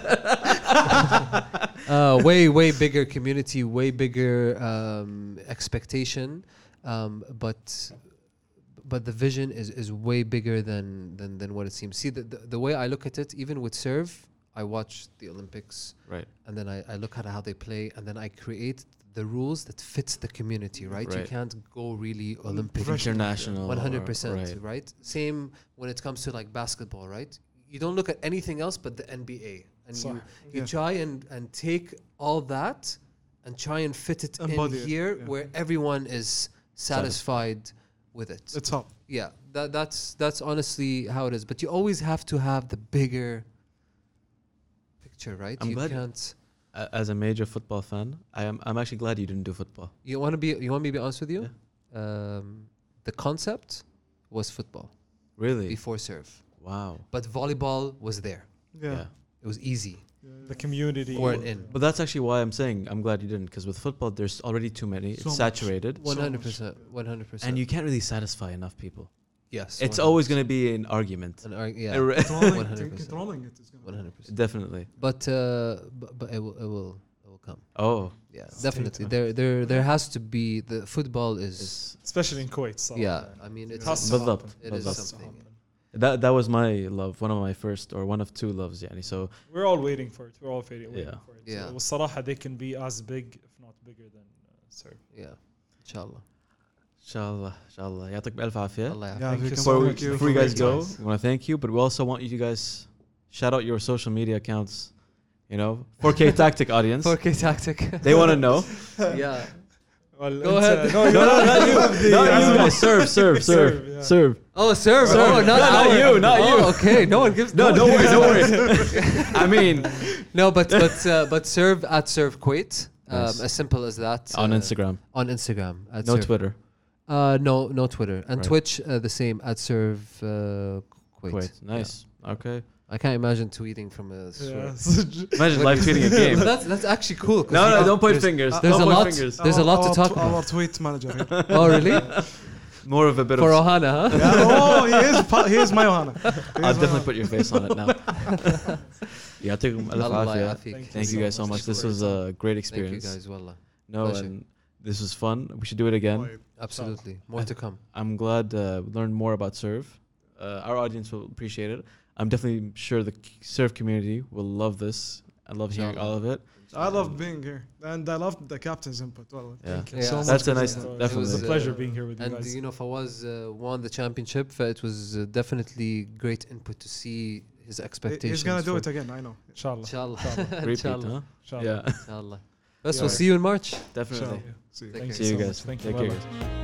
huh? Way bigger community, way bigger expectation, but the vision is way bigger than what it seems. See, the way I look at it, even with serve, I watch the Olympics, Right. and then I look at how they play, and then I create the rules that fits the community, right? You Right. can't go really Olympic. International. 100%, Right. right? Same when it comes to like basketball, right? You don't look at anything else but the NBA, and صح. you Yeah. try and take all that and try and fit it Embody in it, here yeah. where everyone is satisfied with it. It's hot. Yeah, that's honestly how it is. But you always have to have the bigger picture, right? I'm you glad- can't. As a major football fan, I'm actually glad you didn't do football. You want me to be honest with you? The concept was football Really? before serve. Wow. But volleyball was there. Yeah. It was easy. The community. For and in. But that's actually why I'm saying I'm glad you didn't, because with football there's already too many. So It's much. saturated, 100%. 100%. and you can't really satisfy enough people. yes. It's always going to be an argument. yeah. Controlling 100%. controlling it is gonna. 100%. Definitely. But it will come. Oh, Yeah, Stay definitely. tuned. There has to be the football is. it's, Especially in Kuwait. صراحة. Yeah, I mean it's Has to بالضبط. happen. it is بالضبط. Has to something. happen. that was my love, one of my first or one of two loves. Yani. So We're all waiting for it. We're all waiting Yeah. for it. Yeah. والصراحة they can be as big, if not bigger than serve. Yeah, inshallah. inshallah. يعطيك بألف عافية. Allah Yeah, يعافيك. we can Before, thank you before you for guys being go, guys. we want to thank you, but we also want you to guys shout out your social media accounts. You know, 4K Tactic audience. 4K tactic. They want to know. Yeah. Well, Go ahead. No, No, not you. Not you guys. Serve. Serve, yeah. Serve. Oh, serve. Oh, not not our- you, not oh, you. Okay, no one gives. No, don't worry, don't worry. I mean, No, but serve at serve Kuwait. Nice. As simple as that. on Instagram, On Instagram. At no serve. Twitter. No Twitter and Right. Twitch. The same at serve Kuwait. Kuwait. Nice. Okay. I can't imagine tweeting from a. Yeah. Imagine live tweeting a game. But that's actually cool. 'cause No, you no, know, don't point there's- fingers. There's Don't a point lot. fingers. There's a lot to talk Our about. tweet manager. here. Oh, really? More of a bit For of. Ohana, huh? Yeah, oh, he is my Ohana. I'll definitely put your face on it now. يعطيكم ألف Allah عافية. يعافيك. Thank you guys so much. This was a great Thank you experience. guys, wallah. No, Pleasure. and this was fun. We should do it again. Absolutely. More to come. I'm glad we learned more about Serve. Our audience will appreciate it. I'm definitely sure the Serve community will love this. I love hearing Inshallah. all of it. I love being here, and I love the captain's input. Well, Yeah. thank you Yeah. so much. That's a for nice, that. It definitely. was, It's a pleasure being here with you And guys. you know, Fawaz won the championship. It was definitely great input to see his expectations. He's gonna do for- it again. I know. Inshallah. Inshallah. Repeat, Inshallah. huh? Inshallah. Yeah, Inshallah. Best, Yeah. we'll see you in March. definitely. Inshallah. See you. Take Thank care. See you so guys. much. Thank you. Take care, Bye-bye. guys.